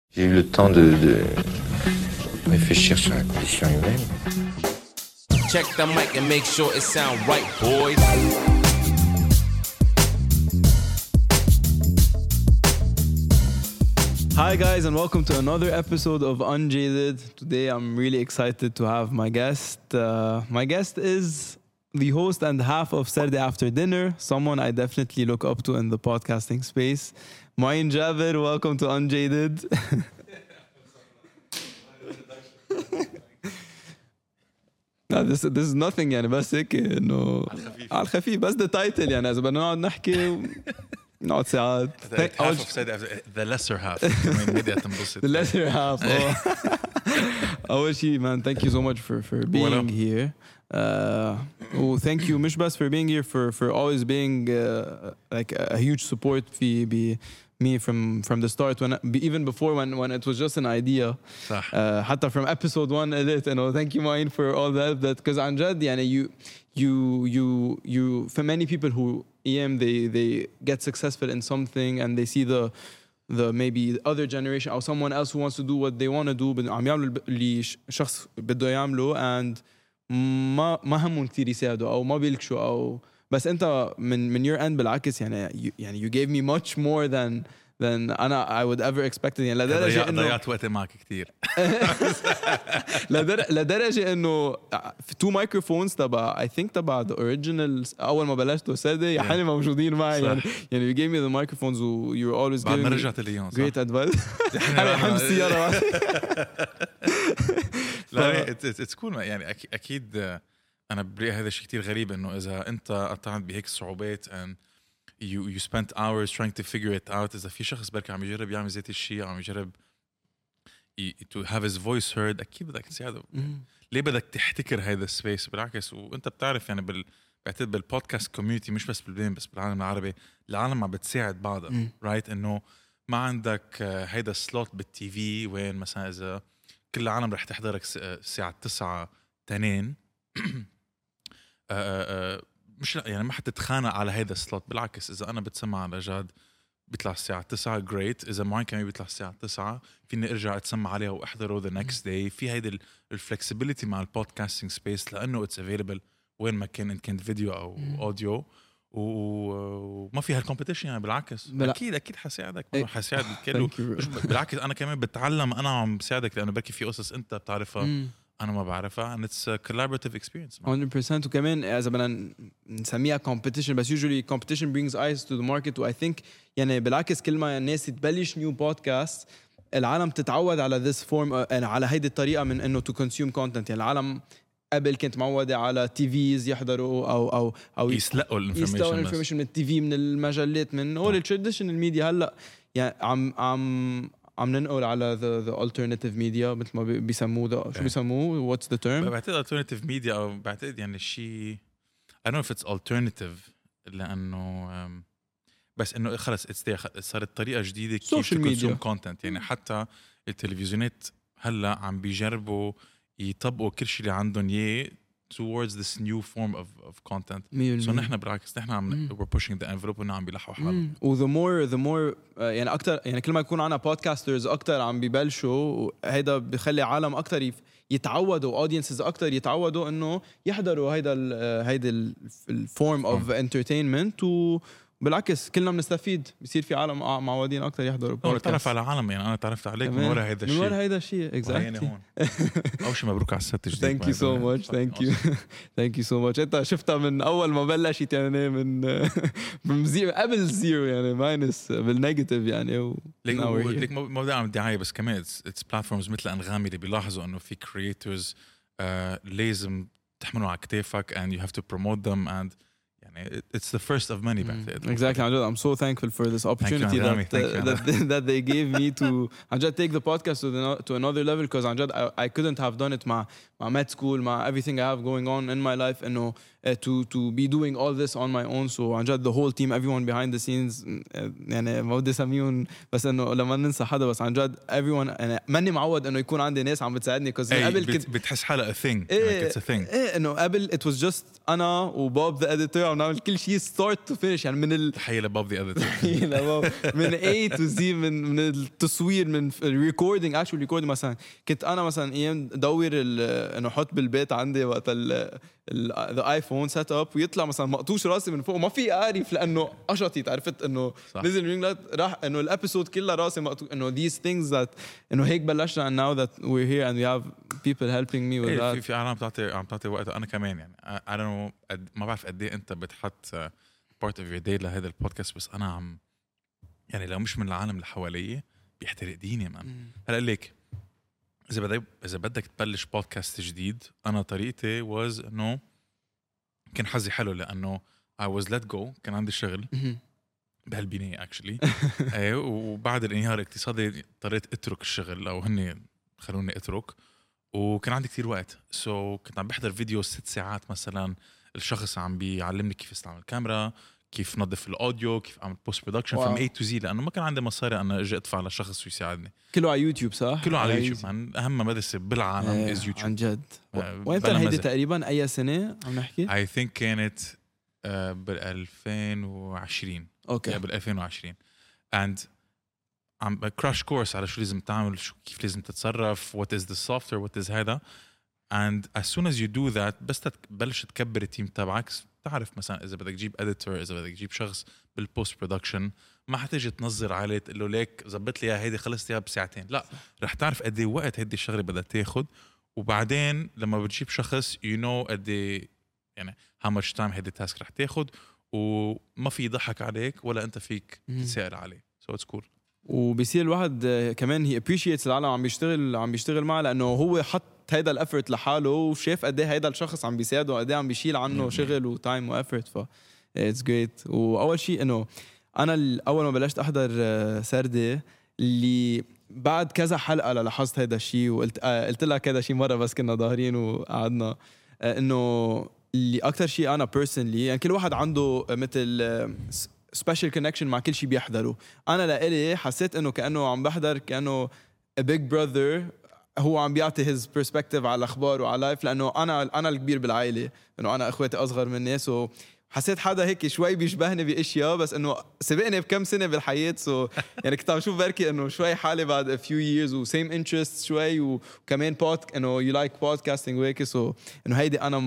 J'ai eu le temps de réfléchir sur la condition humaine. Check the mic and make sure it sound right, boys. Hi guys, and welcome to another episode of Unjaded. Today I'm really excited to have my guest. My guest is the host and half of Saturday After Dinner, someone I definitely look up to in the podcasting space. Moin Jaber, welcome to Unjaded. No, this is nothing يعني بس هيك انه على الخفيف بس the title يعني اذا بدنا نقعد نحكي نقعد ساعات. Half of said the lesser half. The lesser half. أول شيء man, thank you so much for being here. Thank you مش بس for being here, for always being like a huge support في me from the start, even before when it was just an idea. صح. حتى from episode 1 edit, you know, thank you Moin for all that because عن جد يعني you for many people who they get successful in something and they see the maybe other generation or someone else who wants to do what they want to do عم يعملوا اللي شخص بده يعمله and ما همهم كثير يساعدوا أو ما بيلكشوا أو بس أنت من your end بالعكس يعني you gave me much more than I would ever expect يعني لدرجة إنه ضيعت وقت معك كتير لدرجة إنه في 2 microphones تبع I think تبع the originals أول ما بلشت وسادة يا حالي موجودين معي يعني you gave me the microphones you were always بعد giving ما me رجعت اليوم great advice. أنا حمل السيارة. لا it's cool يعني أكيد أنا برأيي هذا شيء كتير غريب إنه إذا أنت قطعت بهيك صعوبات and you spent hours trying to figure it out. إذا في شخص بركي عم يجرب يعمل زي الشيء عم يجرب to have his voice heard أكيد بدك تساعده. ليه بدك تحتكر هذا السبيس؟ بالعكس وأنت بتعرف يعني بعتقد بالبودكاست كوميونتي مش بس بالبلين بس بالعالم العربي العالم عم بتساعد بعضها right إنه ما عندك هيدا سلوت بالتي في وين مثلا إذا كل العالم رح تحضرك الساعة 9 تنين مش يعني ما حتتخانق على هيدا السلوت. بالعكس إذا أنا بتسمع على جاد بيطلع الساعة 9 great. إذا معين كمان بيطلع الساعة 9 فيني أرجع أتسمع عليها وأحضره the next day. في هيدا الفلكسبيليتي مع البودكاستينج سبيس لأنه it's available وين ما كان إن كانت فيديو أو أوديو وما فيها الكومبيتيشن يعني بالعكس أكيد حساعدك حساعد الكل. بالعكس أنا كمان بتعلم أنا عم بساعدك لأنه بركي في قصص أنت بتعرفها أنا ما بعرفها and it's a collaborative experience 100%. وكمان إذا بدنا نسميها competition بس usually competition brings eyes to the market و I think يعني بالعكس كل ما الناس تبلش new podcast العالم تتعود على this form على هيدي الطريقة من إنه to consume content. يعني العالم قبل كنت معودة على TVs يحضروا أو يسلقوا الانفورميشن من التي من المجلات من all traditional media. هلا يعني عم ننقل على the alternative media مثل ما بيسموه شو بيسموه what's the term؟ بعتقد alternative media أو بعتقد يعني شيء I don't know if it's alternative لأنه بس إنه خلص صارت طريقة جديدة كيف تكونسوم content. يعني حتى التلفزيونات هلا عم بيجربوا يطبقوا كل شيء اللي عندهم إياه towards this new form of content. So نحن بالعكس نحن عم we're pushing the envelope ونحن عم بيلحوا حالهم. the more يعني أكتر يعني كل ما يكون عنا podcasters أكتر عم بيبلشوا هيدا بيخلي عالم أكتر يتعودوا audiences أكتر يتعودوا إنه يحضروا هيدا الform of entertainment بالعكس كلنا بنستفيد. بيصير في عالم معودين أكتر يحضروا بودكاست. تعرف على عالم يعني أنا تعرفت عليك من وراء هيدا الشيء. من وراء هيدا الشيء exactly. أول شيء مبروك على الست جديد. Thank you so much. Thank you so much. أنت شفتها من أول ما بلشت يعني من زيرو قبل زيرو يعني ماينس بالنيجاتيف يعني. ليك ما بدي أعمل دعاية بس كمان it's platforms مثل أنغامي اللي بيلاحظوا إنه في creators لازم تحملوا على كتافك and you have to promote them and يعني it's the first of many exactly. I'm so thankful for this opportunity that they gave me to take the podcast to another level because I couldn't have done it مع med school مع everything I have going on in my life إنه to be doing all this on my own. So the whole team everyone behind the scenes يعني ما بدي اسميهم بس إنه لما ننسى حدا بس everyone أنا ماني معود إنه يكون عندي ناس عم بتساعدني because قبل بتحس حالة a thing it's a thing إنه قبل it was just أنا وبوب the editor عم نعمل كل شيء start to finish يعني من تحية لبوب ذا اديتور. من A to Z من التصوير من recording actual recording مثلا كنت انا مثلا ايام دور انه احط بالبيت عندي وقت الايفون سيت اب ويطلع مثلا مقطوش راسي من فوق وما في اعرف لانه قشطت عرفت انه نزل رينج لايت راح انه الابيسود كلها راسي مقطوش انه these things that انه هيك بلشنا and now that we're here and we have people helping me with that. في عالم عم تعطي وقت انا كمان يعني I don't know ما بعرف قد ايه انت بتحط part of your day لهذا البودكاست بس انا عم يعني لو مش من العالم اللي حواليه بيحترق ديني مان. هلا ليك إذا بدك تبلش بودكاست جديد أنا طريقتي was إنه كان حظي حلو لأنه I was let go كان عندي شغل بهالبناية actually وبعد الانهيار الاقتصادي اضطريت أترك الشغل أو هني خلوني أترك وكان عندي كتير وقت كنت عم بحضر فيديو 6 ساعات مثلا الشخص عم بيعلمني كيف استعمل الكاميرا كيف نظف الاوديو كيف اعمل بوست برودكشن from A to Z لانه ما كان عندي مصاري انا اجي ادفع لشخص ويساعدني. كله على يوتيوب صح؟ كله على يوتيوب اهم مدرسه بالعالم از يوتيوب عن جد. وين كان هيدي تقريبا اي سنه عم نحكي؟ I think كانت بال 2020 اوكي بال 2020 and عم كراش كورس على شو لازم تعمل كيف لازم تتصرف what is the software what is هذا and as soon as you do that بس تبلش تكبر التيم تبعك تعرف مثلا إذا بدك تجيب editor إذا بدك تجيب شخص بالpost production ما حتيجي تنظر عليه تقول له ليك زبط لي هيدي خلصت اياها بساعتين لا رح تعرف قد ايه وقت هيدي الشغله بدها تاخد وبعدين لما بتجيب شخص you know قد ايه يعني how much time هيدي التاسك رح تاخد وما في يضحك عليك ولا انت فيك تسأل عليه so it's cool. وبيصير الواحد كمان هي appreciates العالم عم بيشتغل معه لانه هو حط هيدا الافورت لحاله وشاف قد ايه هيدا الشخص عم بيساعده وقد ايه عم بيشيل عنه شغل وتايم وافورت ف اتس جريت. واول شيء انه انا اول ما بلشت احضر سردة اللي بعد كذا حلقه لاحظت هيدا الشيء وقلت قلت لك هيدا شيء مره بس كنا ظاهرين وقعدنا انه اللي اكثر شيء انا بيرسونلي يعني كل واحد عنده مثل سبيشال كونكشن مع كل شيء بيحضره. انا لإلي حسيت انه كانه عم بحضر كانه a big brother هو عم بيعطي his perspective على الاخبار وعلى لايف لانه انا الكبير بالعائله انه انا اخواتي اصغر مني حسيت حدا هيك شوي بيشبهني باشياء بس انه سبقني بكم سنه بالحياه يعني كنت عم اشوف بركي انه شوي حالي بعد a few years و same interests شوي وكمان انه you like podcasting وهيك انه هيدي انا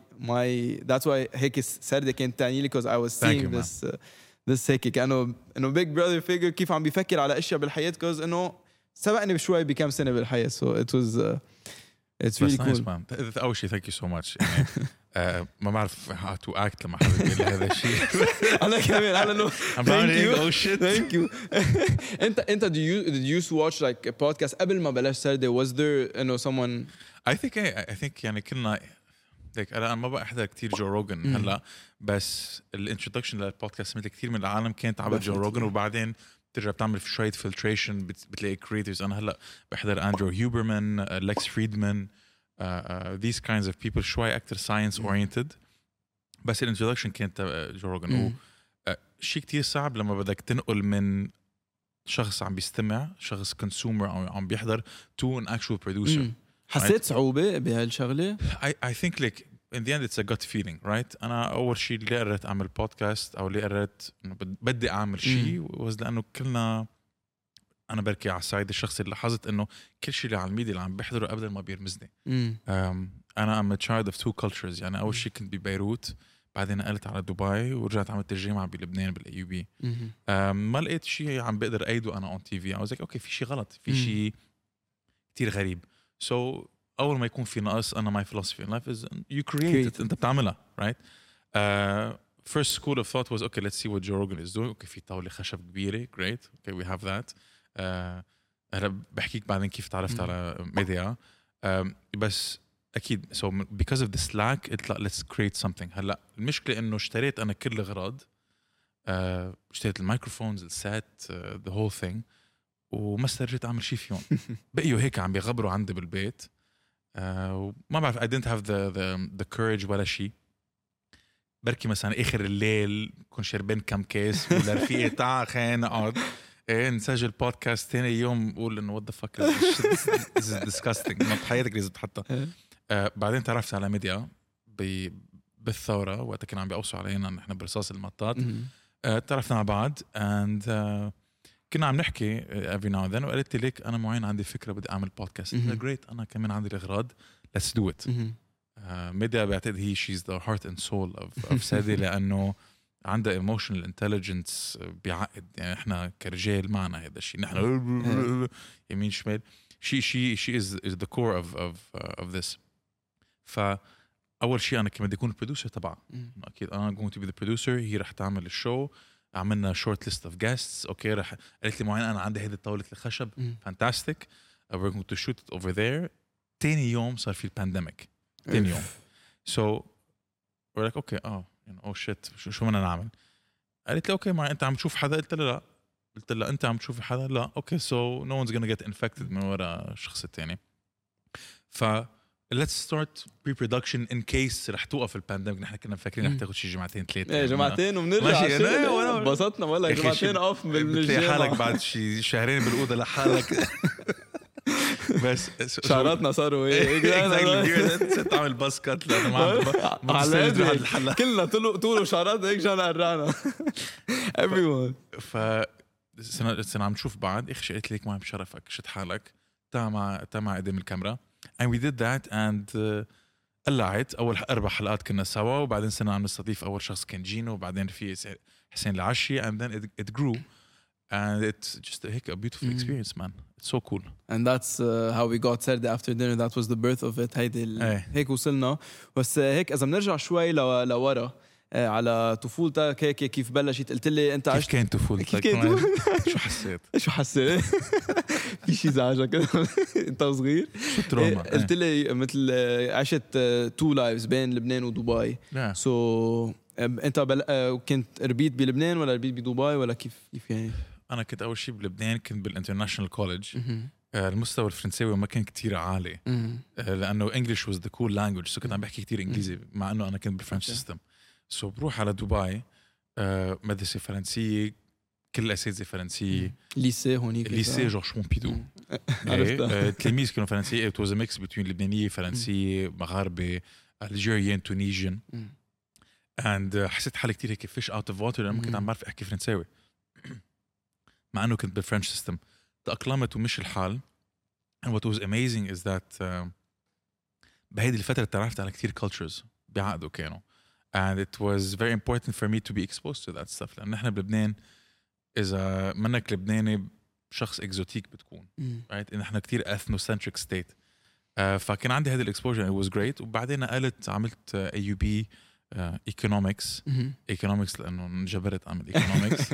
my that's why هيك سردة كانت تعني لي because I was seeing this هيك كانه big brother figure كيف عم بيفكر على اشياء بالحياه because انه سبقني بشوي بكم سنه بالحياه so it was it's really cool. أول شيء thank you so much يعني ما بعرف how to act لما حد يقول لي هذا الشيء. أنا كمان أنا thank you oh shit thank you. أنت did you used to watch like a podcast قبل ما بلش سردة was there you know someone I think يعني كلنا like أنا ما بحضر كتير جو روجن هلا بس الانترودكشن للبودكاست مثل كتير من العالم كانت عبر جو روجن وبعدين ترجع بتعمل شوية فلتريشن بتلاقي creators. أنا هلا بحضر أندرو هيوبرمان ليكس فريدمان these kinds of people شوي أكتر science oriented بس الانترودكشن كانت جو روجن شيء كتير صعب لما بدك تنقل من شخص عم بيستمع شخص consumer أو عم بيحضر to an actual producer. حسيت صعوبة بهالشغلة؟ I think like in the end it's a gut feeling right. أنا أول شيء اللي قررت أعمل بودكاست أو اللي قررت إنه بدي أعمل شيء was لأنه كلنا أنا بركي على السايد الشخص اللي لاحظت إنه كل شيء اللي على الميديا اللي عم بحضره قبل ما بيرمزني. أنا I'm a child of two cultures يعني أول شيء كنت ببيروت بعدين نقلت على دبي ورجعت عملت الجامعة بلبنان بالأيوبي. ما لقيت شيء عم بقدر أيده أنا on TV. I was like okay في شيء غلط في شيء كتير غريب. So أول ما يكون في نقص أنا my philosophy in life is you create it أنت بتعملها right. First school of thought was okay let's see what Joe Rogan is doing. okay في طاولة خشب كبيرة great okay we have that. هلا بحكيك بعدين كيف تعرفت على ميديا بس أكيد so because of the slack let's create something. هلا المشكلة إنه اشتريت أنا كل الأغراض اشتريت الميكروفونز السات the whole thing وما استرجيت أعمل شيء فيهم. بقيوا هيك عم بيغبروا عندي بالبيت وما بعرف I didn't have the courage ولا شيء. بركي مثلا آخر الليل كون شربين كم كيس ولا رفيقي تعا خلينا نقعد نسجل بودكاست تاني يوم قول إنه what the fuck this is disgusting ما بحياتك لازم تحطها. بعدين تعرفت على ميديا بالثوره وقتها كانوا عم بيقوصوا علينا نحن برصاص المطاط. تعرفنا على بعض and كنا عم نحكي every now and then وقالت لي ليك انا معين عندي فكره بدي اعمل بودكاست. جريت انا كمان عندي الاغراض let's do it. ميديا بعتقد هي she's the heart and soul of سادي لانه عندها emotional intelligence بيعقد. يعني احنا كرجال معنا هذا الشيء نحن يمين شمال. she is the core of this. فاول شيء انا كمان بدي اكون البروديوسر تبعها. اكيد انا going to be the producer. هي رح تعمل الشو. عملنا short list of guests. اوكي رح قالت لي معين انا عندي هيدي طاوله الخشب fantastic we're going to shoot it over there. تاني يوم صار في البانديميك. تاني يوم so we're like okay oh shit شو بدنا نعمل. قالت لي اوكي ما انت عم تشوف حدا. قلت لها لا. قلت لها انت عم تشوف حدا. لا اوكي so no one's gonna get infected من وراء الشخص الثاني. ف let's start pre-production in case رح توقف البانديميك. نحن كنا مفكرين رح تاخذ شي جمعتين ثلاثه. ايه جمعتين وبنرجع انبسطنا ولا جمعتين اوف من الجامعه. حالك بعد شي شهرين بالاوضه لحالك. بس شعراتنا صاروا ايه تعمل باسكت لانه ما عندي الحلقه كلنا طول وشعرات هيك جانا قرانا everyone. سنة عم نشوف بعض. اخي قلت لك ما بشرفك شد حالك تا مع قدام الكاميرا and we did that and قلعت. اول 4 حلقات كنا سوا وبعدين سنة عم نستضيف اول شخص كان جينو وبعدين في حسين العشي and then it grew and it's just a beautiful experience man. It's so cool. And that's how we got Saturday after dinner. That was the birth of it. هيك وصلنا. بس هيك إذا بنرجع شوي لورا على طفولتك هيك كيف بلشت. قلت لي أنت كيف كان طفولتك؟ شو حسيت؟ شو حسيت؟ في شيء زعجك أنت صغير؟ شو تروما؟ قلت لي مثل عشت 2 lives بين لبنان ودبي. so أنت كنت ربيت بلبنان ولا ربيت بدبي ولا كيف يعني؟ أنا كنت أول شيء بلبنان كنت بالانترناشنال كوليدج. المستوى الفرنساوي ما كان كتير عالي لأنه English was the cool language. كنت عم بحكي كتير إنجليزي مع أنه أنا كنت بالفرنش سيستم. بروح على دبي مدرسة فرنسية كل الأساتذة فرنسية. ليسي هونيك ليسي جورج بومبيدو. التلاميذ كانوا فرنسية. It was a mix between لبنانية فرنسية مغاربة Algerian Tunisian and حسيت حالي كتير هيك fish out of water لأنه كنت عم بعرف أحكي فرنساوي مع أنه كنت بالفرنش سيستم. تأقلمت ومش الحال. and what was amazing is that بهيدي الفترة تعرفت على كتير cultures بعقده كانوا and it was very important for me to be exposed to that stuff لأن نحن بلبنان إذا منك لبناني شخص إكزوتيك بتكون right نحن كتير ethnocentric state. فكان عندي هذا الإكسبوجر it was great. وبعدين نقلت عملت AUB economics لأنه انجبرت أعمل economics.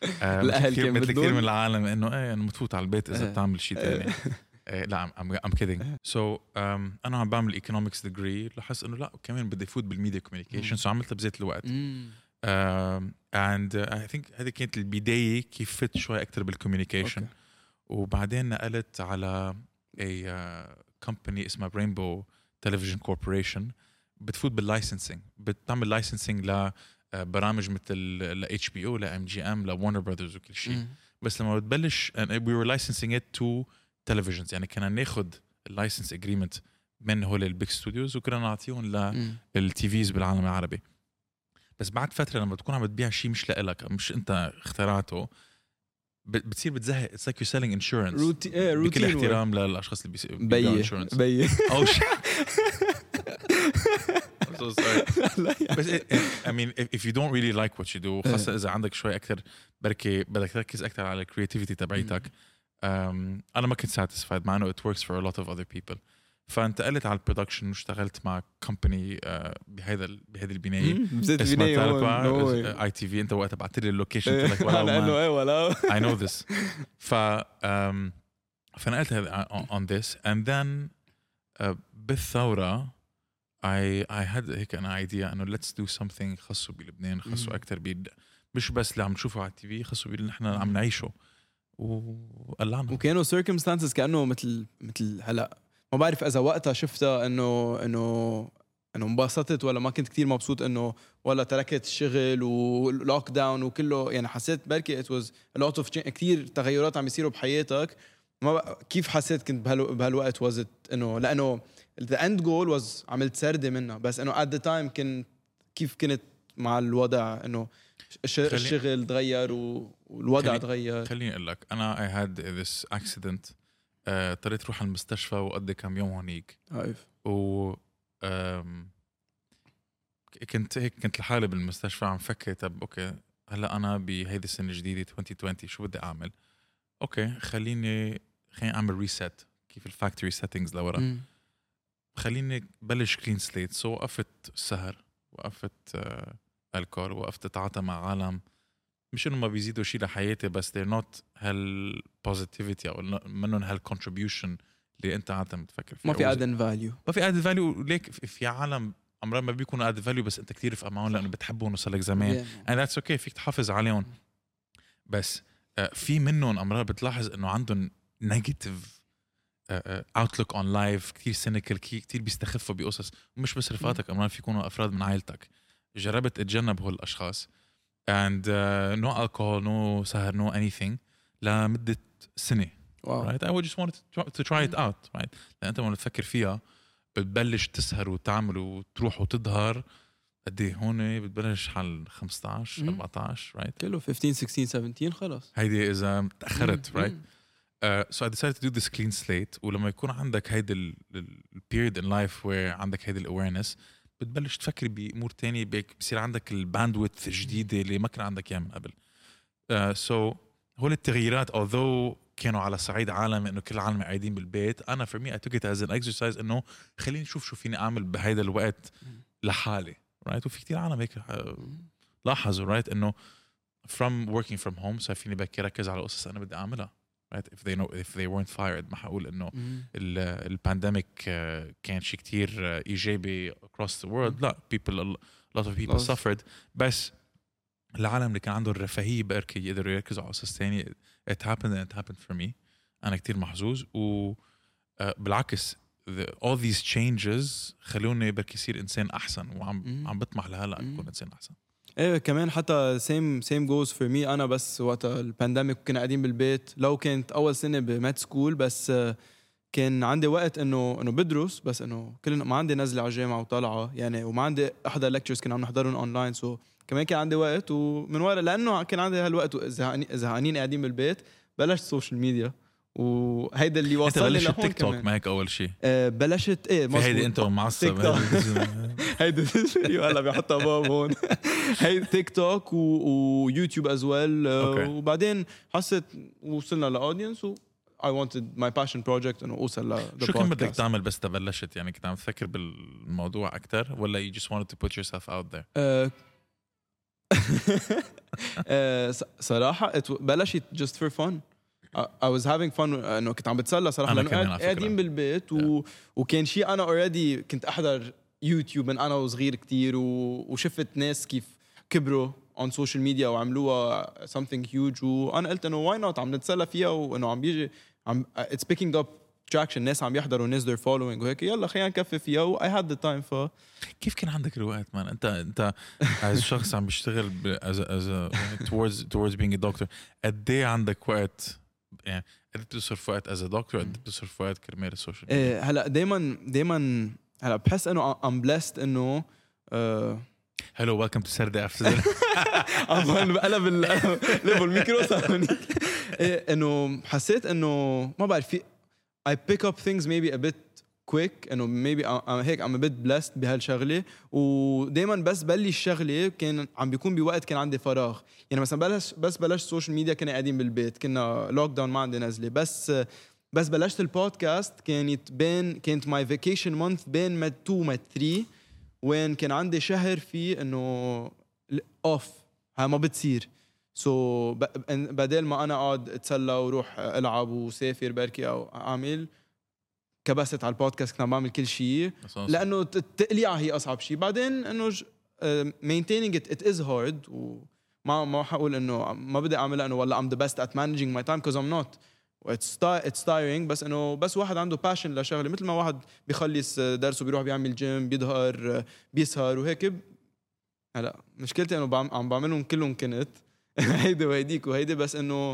مثل كثير من العالم إنه أنا متفوت على البيت إذا بتعمل شيء تاني. لا I'm kidding. so أنا عم بعمل economics degree لاحظت إنه لا كمان بدي فوت بالميديا communication so عملتها بذات الوقت. and I think هذه كانت البداية كيف فت شوي أكتر بالcommunication. وبعدين نقلت على company اسمها Rainbow Television Corporation بتفوت باللايسنسينج. بتعمل لايسنسينج لبرامج مثل ل HBO ل MGM ل Warner Brothers وكل شيء. بس لما بتبلش we were licensing it to televisions يعني كنا ناخد اللايسنس agreement من هول البيج ستوديوز وكنا نعطيهم للتيفيز بالعالم العربي. بس بعد فترة لما تكون عم بتبيع شيء مش لإلك مش أنت اخترعته بتصير بتزهق. It's like you're selling insurance. بكل احترام للأشخاص اللي بيبيعوا insurance. أو شيء. I'm so sorry. بس I mean if you don't really like what you do خاصة إذا عندك شوي أكتر بركي بدك تركز أكتر على creativity تبعيتك. أنا ما كنت satisfied مع إنه it works for a lot of other people. فانتقلت على البرودكشن واشتغلت مع كومباني بهذه البنايه اسمها اي تي في. انت وقتها بعت لي اللوكيشن قلت لك ولا I know this. فنقلت on this and then بالثوره I had هيك أنا idea إنه let's do something خاصه بلبنان خاصه أكتر مش بس اللي عم نشوفه على التي في خاصه باللي نحن عم نعيشه وقلعنا. وكانوا circumstances كأنه مثل هلا ما بعرف إذا وقتها شفتها إنه انبسطت ولا ما كنت كتير مبسوط إنه ولا تركت الشغل ولوك داون وكله يعني حسيت بركي it was a lot of كتير تغيرات عم يصيروا بحياتك. كيف حسيت كنت بهالوقت was it إنه لأنه the end goal was عملت سردة منها بس إنه at the time كنت كيف كنت مع الوضع انه الشغل تغير والوضع تغير؟ خليني اقول لك انا I had this accident. اضطريت اروح على المستشفى وقضي كم يوم هونيك عارف و كنت لحالي بالمستشفى عم فكر طب اوكي هلا انا بهيدي السنه الجديده 2020 شو بدي اعمل؟ اوكي خليني اعمل ريست كيف الفاكتوري سيتنجز لورا. خليني بلش كلين سليت. سو وقفت السهر، وقفت الكول، وقفت اتعاطى مع عالم مش انه ما بيزيدوا شيء لحياتي بس they're not هالبوزيتيفيتي او منهم هالكونتريبيوشن اللي انت عاده بتفكر فيه. ما في ادن فاليو، ما في ادد فاليو. ليك في عالم امرار ما بيكونوا ادد فاليو بس انت كتير رفقه معهم لانه بتحبهم وصار لك زمان and that's okay فيك تحافظ عليهم. بس في منهم امرار بتلاحظ انه عندهم نيجاتيف outlook on life كتير سينيكال، كتير بيستخفوا بقصص. ومش بس رفقاتك، امرار في يكونوا افراد من عائلتك. جربت اتجنب هول الاشخاص and no alcohol, no سهر, no anything لمدة سنة. واو. right? I just wanted to try it out. right? لأن أنت لما تفكر فيها بتبلش تسهر وتعمل وتروح وتظهر قد ايه هون بتبلش حال 15 14 right؟ كله 15 16 17 خلاص هيدي إذا تأخرت right؟ So I decided to do this clean slate. ولما يكون عندك هيدا ال period in life where عندك هيدا awareness بتبلش تفكر بأمور تانية بيصير عندك الباندويث الجديدة اللي ما كان عندك إياه من قبل. So هول التغييرات although كانوا على صعيد عالم إنه كل العالم قاعدين بالبيت، أنا for me I took it as an exercise إنه خليني أشوف شو فيني أعمل بهيدا الوقت لحالي right. وفي كتير عالم هيك لاحظوا right إنه from working from home صار فيني بكي ركز على قصص أنا بدي أعملها right. if they weren't fired ما حقول إنه البانديميك كان شيء كتير إيجابي across the world. لا a lot of people suffered. بس العالم اللي كان عنده الرفاهية بأركي يقدروا يركزوا على قصص تانية. it happened for me. أنا كتير محظوظ. وبالعكس all these changes خلوني بركي يصير إنسان أحسن وعم بطمح لهلا أكون إنسان أحسن. ايه كمان حتى same goes for me. انا بس وقت البانديميك كنا قاعدين بالبيت، لو كانت اول سنه بمات سكول بس كان عندي وقت انه بدرس، بس انه كلنا ما عندي نزله على الجامعه وطالعه يعني، وما عندي احضر ليكتشرز كنا عم نحضرهم اونلاين. سو كمان كان عندي وقت، ومن ورا لانه كان عندي هالوقت زهقانين قاعدين بالبيت بلشت سوشيال ميديا. وهيدا اللي وصلني لهون. تيك توك معك اول شيء بلشت ايه مزبوط. هيدي انت معصب هيدا الفيديو هلا بيحطها باب هون. هيدا تيك توك ويوتيوب از ويل. وبعدين حسيت وصلنا لاودينس و I wanted my passion project انه اوصل ل شو كان بدك تعمل بس تبلشت؟ يعني كنت عم تفكر بالموضوع اكثر ولا you just wanted to put yourself out there؟ صراحه بلشت just for fun. I was having fun انه كنت عم بتسلى صراحه لانه قاعدين بالبيت وكان شيء انا already كنت احضر يوتيوب من انا وصغير كتير وشفت ناس كيف كبروا on social media وعملوها something huge، وانا قلت انه why not عم نتسلى فيها وانه عم بيجي it's picking up traction، ناس عم يحضروا ناس they're following وهيك يلا خلينا نكفي فيها و I had the time. كيف كان عندك الوقت مان؟ انت as شخص عم بيشتغل as towards being a doctor قد ايه عندك وقت؟ يعني قد بتصرف وقت as a doctor قد بتصرف وقت كرمال السوشيال ميديا؟ هلا دايما هلا بحس انه I'm blessed انه hello welcome to Saturday afternoon. قلب الميكرو صار انه حسيت انه ما بعرف في I pick up things maybe a bit quick انه maybe هيك I'm a bit blessed بهالشغله. ودائما بس بلش شغله كان عم بيكون بوقت كان عندي فراغ. يعني مثلا بلشت سوشيال ميديا كنا قاعدين بالبيت، كنا لوك داون ما عندي نزله، بس بلشت البودكاست كانت my vacation month بين مد 2 مد 3 وين كان عندي شهر فيه انه اوف ها ما بتصير. سو بدل ما انا اقعد اتسلى وروح العب وسافر بركي او اعمل كبست على البودكاست كنا بعمل كل شيء لانه التقليعه هي اصعب شيء. بعدين انه maintaining it is hard وما حقول انه ما بدي اعملها انه والله I'm the best at managing my time because I'm not. it's tiring بس انه بس واحد عنده passion لشغله، مثل ما واحد بيخلص درسه بيروح بيعمل جيم بيظهر بيسهر وهيك. هلا مشكلتي انه عم بعملهم كلهم كنت هيدي وهيديك وهيدي، بس انه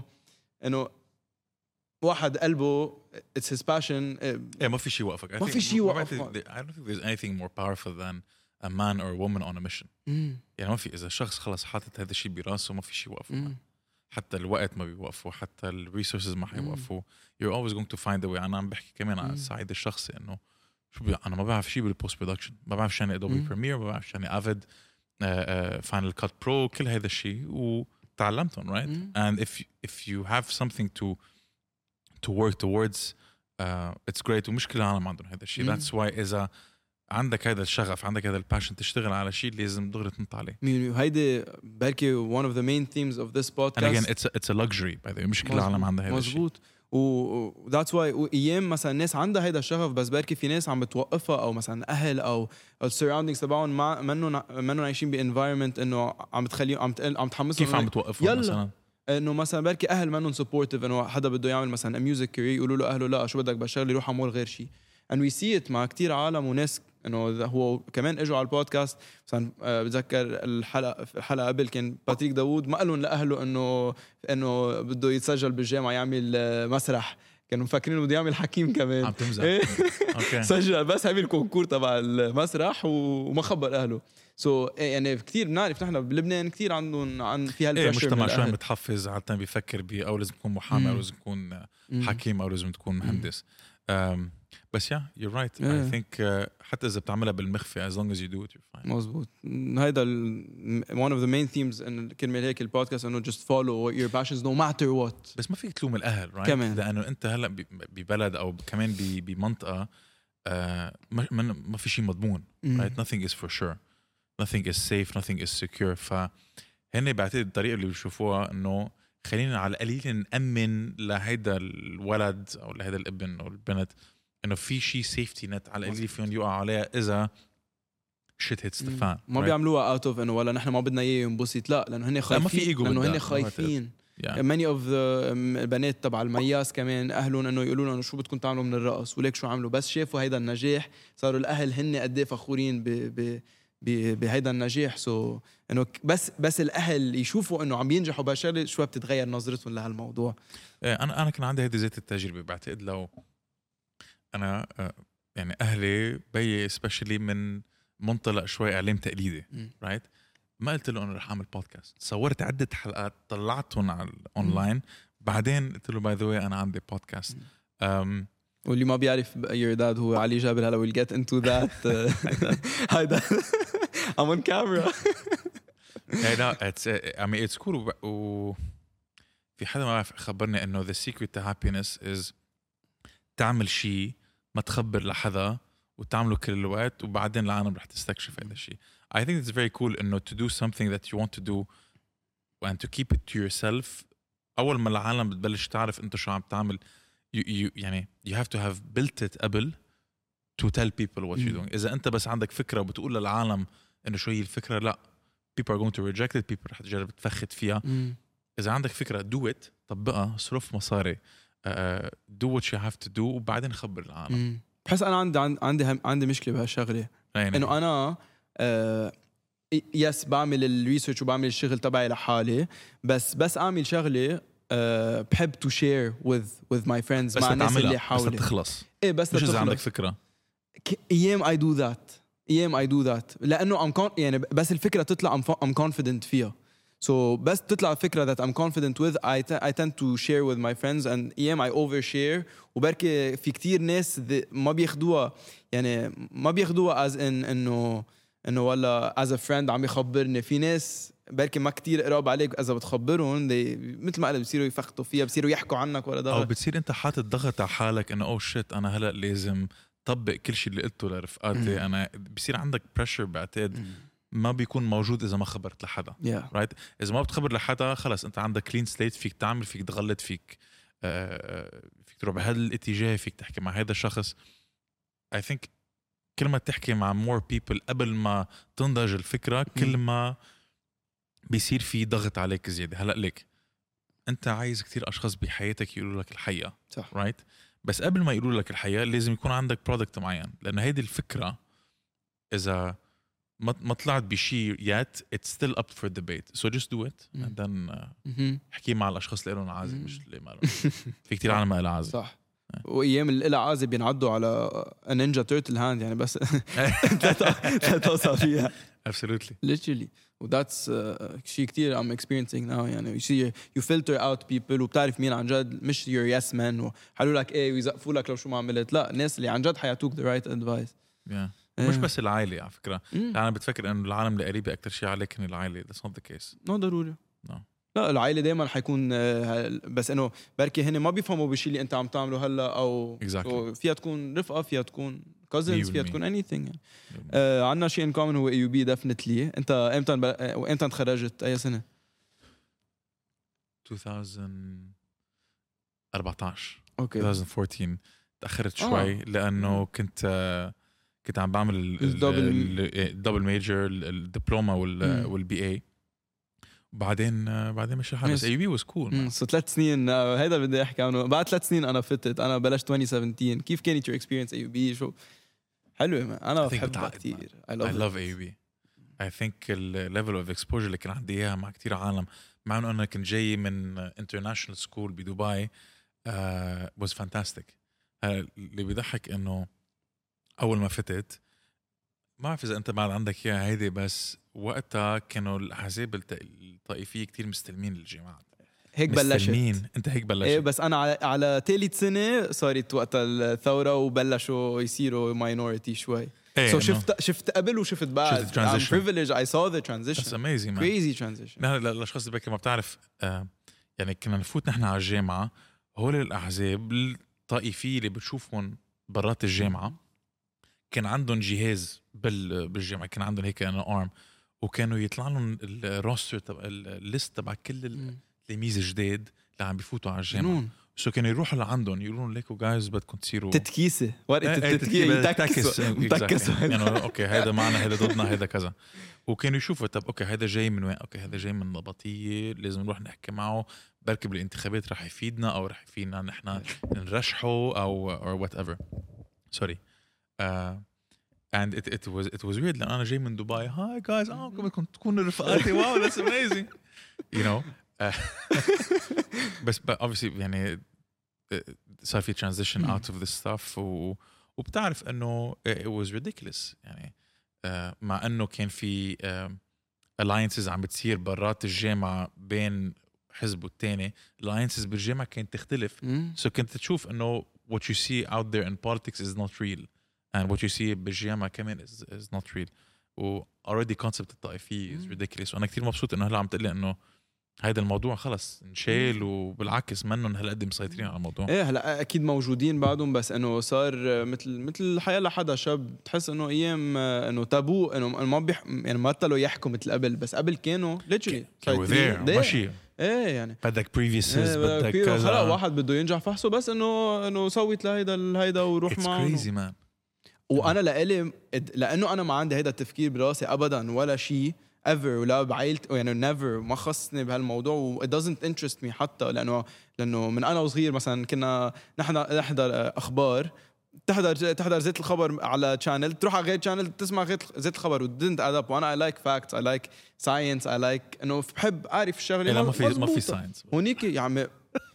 واحد قلبه it's his passion. ما في شيء وقفك. ما في شيء وقفك. I don't think there's anything more powerful than a man or a woman on a mission. يعني ما في إذا شخص خلص حاطط هذا الشيء براسه ما في شيء يوقفه. حتى الوقت ما بيوقفوا، حتى الريسورسز ما حيوقفوا. You're always going to find a way. أنا عم بحكي كمان على الصعيد الشخصي إنه أنا ما بعرف شيء بالبوست برودكشن، ما بعرف شو يعني أدوبي بريمير، ما بعرف شو يعني أفيد فاينل كات برو، كل هذا الشيء وتعلمتهم right. And if you have something to work towards it's great. ومش كل العالم عندهم هذا الشيء. That's why إذا عندك هذا الشغف، عندك هذا الباشن تشتغل على شيء لازم دغري تنط عليه. هيدي بركي one of the main themes of this podcast. And again it's a luxury by the way. مش كل العالم عندها هذا الشيء. مزبوط. that's why ايام مثلا الناس عندها هيدا الشغف، بس بركي في ناس عم بتوقفها، او مثلا اهل او السراوندينجز تبعهم منهم عايشين بانفايرمنت انه عم بتخليهم عم تحمسهم. كيف عم بتوقفهم مثلا؟ انه مثلا بركي اهل منهم سبورتيف، انه حدا بده يعمل مثلا ميوزك كارير يقولوا له اهله لا شو بدك بشتغل يروح على مول غير شيء. and we see it مع كتير عالم وناس انه هو كمان اجوا على البودكاست. مثلا بتذكر الحلقه قبل كان باتريك داوود ما قالوا لاهله انه بده يتسجل بالجامعه يعمل مسرح، كانوا مفكرين بده يعمل حكيم كمان. عم تمزح. اوكي سجل بس عمل كونكور تبع المسرح وما خبر اهله. يعني كتير بنعرف نحن بلبنان كتير عن في هالبريشر. مجتمع شوي متحفز عادة بيفكر او لازم تكون محامي او لازم تكون حكيم او لازم تكون مهندس. بس you're right. I think حتى إذا بتعملها بالمخفى as long as you do it you're fine. مزبوط. هيدا one of the main themes إن كلمة هيك البودكاست إنه just follow your passions no matter what. بس ما فيك تلوم الأهل right. كمان. لأنه أنت هلا ببلد أو كمان بمنطقة ما في شيء مضمون right. Nothing is for sure. Nothing is safe. Nothing is secure. فهن بعتقد الطريقة اللي بيشوفوها إنه خلينا على القليل نأمن لهيدا الولد أو لهيدا الابن أو البنت إنه في شيء سيفتي نت على القليل فيهم يقع عليها إذا shit hits the fan. ما بيعملوها out of إنه ولا نحن ما بدنا إياه ينبسط، لا لأنه هن خايفين. لأنه هن خايفين. many of the البنات تبع المياس كمان أهلهم إنه يقولوا لهم شو بدكم تعملوا من الرقص وليك شو عملوا، بس شافوا هيدا النجاح صاروا الأهل هن قد إيه فخورين بهيدا النجاح. إنه بس الأهل يشوفوا إنه عم ينجحوا بهالشغلة شوي بتتغير نظرتهم لهالموضوع. أنا كان عندي هذه ذات التجربة. بعتقد لو أنا يعني أهلي بي especially من منطلق شوي إعلام تقليدي right. ما قلت له أنا رح أعمل بودكاست، صورت عدة حلقات طلعتهم على الأونلاين بعدين قلت له by the way أنا عندي بودكاست. واللي ما بيعرف your dad هو علي جابر. هلا we'll get into that. هيدا I'm on camera. it's cool. في حدا ما خبرني إنه the secret to happiness is تعمل شيء ما تخبر لحدا وتعمله كل الوقت وبعدين العالم رح تستكشف هذا الشيء. I think it's very cool إنه to do something that you want to do and to keep it to yourself. أول ما العالم بتبلش تعرف أنت شو عم تعمل يعني you have to have built it قبل to tell people what you're doing. إذا أنت بس عندك فكرة وبتقول للعالم إنه شو هي الفكرة، لا people are going to reject it. people رح تجرب تفخت فيها. إذا عندك فكرة do it، طبقها، صرف مصاري، do what you have to do وبعدين خبر العالم. بحس أنا عندي مشكلة بهالشغلة إنه أنا يس بعمل الريسيرش وبعمل الشغل تبعي لحالي، بس أعمل شغلة بحب to share with my friends مع الناس اللي حولي. بس تخلص بس مش إذا عندك فكرة. أيام I do that لأنه يعني بس الفكرة تطلع I'm confident فيها. بس تطلع فكرة that I'm confident with I tend to share with my friends and I overshare. وبركي في كتير ناس ما بياخدوها يعني ما بياخدوها as in إنه ولا as a friend عم يخبرني. في ناس بركي ما كتير قراب عليك إذا بتخبرهم مثل ما قلت بصيروا يفخطوا فيها، بصيروا يحكوا عنك ولا ده، أو بتصير أنت حاطط ضغط على حالك إنه shit أنا هلأ لازم طبق كل شيء اللي قلته لرفقاتي. أنا بصير عندك pressure بعتقد ما بيكون موجود إذا ما خبرت لحدا right. إذا ما بتخبر لحدا خلص أنت عندك clean slate، فيك تعمل، فيك تغلط، فيك تروح بهذا الاتجاه، فيك تحكي مع هذا الشخص. I think كل ما تحكي مع more people قبل ما تنضج الفكرة كل ما بيصير في ضغط عليك زيادة. هلأ لك أنت عايز كتير أشخاص بحياتك يقولوا لك الحقيقة صح right. بس قبل ما يقولوا لك الحقيقة لازم يكون عندك product معين، لأن هيدي الفكرة إذا ما طلعت بشيء yet it's still up for debate. so just do it and then احكي مع الأشخاص اللي لهم عازم مش اللي ما لهم. في كتير عالم ما لهم عازم. صح. وايام القلعازه بينعدوا على نينجا تيرتل هاند يعني بس لا توصل فيها absolutely literally وذاتس شيء كتير I'm experiencing now يعني you filter out people وبتعرف مين عن جد مش your yes man وحلوا لك ايه ويزقفوا لك لو شو ما عملت لا الناس اللي عن جد حيعطوك the right advice مش بس العائلة على فكرة أنا بتفكر إنه العالم اللي قريبة أكتر شيء عليك من العائلة that's not the case ضروري no. لا العائلة دايما حيكون بس إنه بركي هن ما بيفهموا بالشيء اللي أنت عم تعمله هلا أو exactly. فيها تكون رفقة فيها تكون cousins فيها تكون anything يعني. عنا شيء in common هو AUB definitely أنت إمتى تخرجت أي سنة 2014 أوكي 2014 تأخرت شوي لأنه كنت عم بعمل الدبل ميجر الدبلومة والبي اي بعدين مش الحال بس AUB was cool so 3 سنين هيدا بدي احكي عنه بعد 3 سنين انا فتت انا بلشت 2017 كيف كانت your experience AUB شو حلوة انا بحبها كتير I love AUB I think the level of exposure اللي كان عندي اياها مع كتير عالم مع انه انا كنت جاي من international school بدبي was fantastic اللي بيضحك انه اول ما فتت ما بعرف اذا انت بعد عندك اياها هيدي بس وقتها كانوا الاحزاب الطائفيه كتير مستلمين الجامعات هيك بلشت انت هيك بلشت ايه بس انا على ثالث سنه صارت وقتها الثوره وبلشوا يصيروا ماينورتي شوي so شفت قبل وشفت بعد I'm privileged I saw the transition that's amazing man crazy transition للاشخاص اللي بكره ما بتعرف يعني كنا نفوت نحن على الجامعه هول الاحزاب الطائفيه اللي بتشوفهم برات الجامعه كان عندهم جهاز بالجامعه كان عندهم هيك ارم وكانوا يطلع لهم الروستر تبع الليست تبع كل التلاميذ الجداد اللي عم بيفوتوا على الجامعه سو كانوا يروحوا لعندهم يقولوا لهم ليكو جايز بدكم تصيروا تتكيسه ورقه التتكيسه تكسوا يعني اوكي هذا معنا هذا ضدنا هذا كذا وكانوا يشوفوا طب اوكي هذا جاي من وين اوكي هذا جاي من نبطيه لازم نروح نحكي معه بركي بالانتخابات رح يفيدنا او رح يفيدنا نحن نرشحه او whatever sorry and it was weird لأن أنا جاي من دبي hi guys بدكم تكونوا رفقاتي wow that's amazing you know بس obviously يعني صار في transition out of this stuff وبتعرف إنه it was ridiculous يعني مع إنه كان في alliances عم بتصير برات الجامعة بين حزب والتاني alliances بالجامعة كانت تختلف so كنت تشوف إنه what you see out there in politics is not real and what you see بالجامعة كمان is not real و already concept الطائفية is ridiculous وأنا كتير مبسوط إنه هلا عم تقلي إنه هيدا الموضوع خلص نشيل وبالعكس منهم هالقد مسيطرين على الموضوع ايه هلا اكيد موجودين بعدهم بس انه صار مثل الحياه لحدا شاب تحس انه ايام انه تابو انه ما يعني ما بطلوا يحكوا مثل قبل بس قبل كانوا literally ماشي ايه يعني بدك previouses بدك كذا خلق واحد بده ينجح فحصه بس انه سويت لهيدا وروح معه it's crazy man وانا لانه انا ما عندي هيدا التفكير براسي ابدا ولا شيء ever ولا بعائلتي يعني never ما خصني بهالموضوع و it doesn't interest me حتى لانه من انا وصغير مثلا كنا نحضر اخبار تحضر زيت الخبر على channel تروح على غير channel تسمع زيت الخبر و didn't add up وانا I like facts I like science I like انه بحب اعرف الشغله ما في science هونيك يا عمي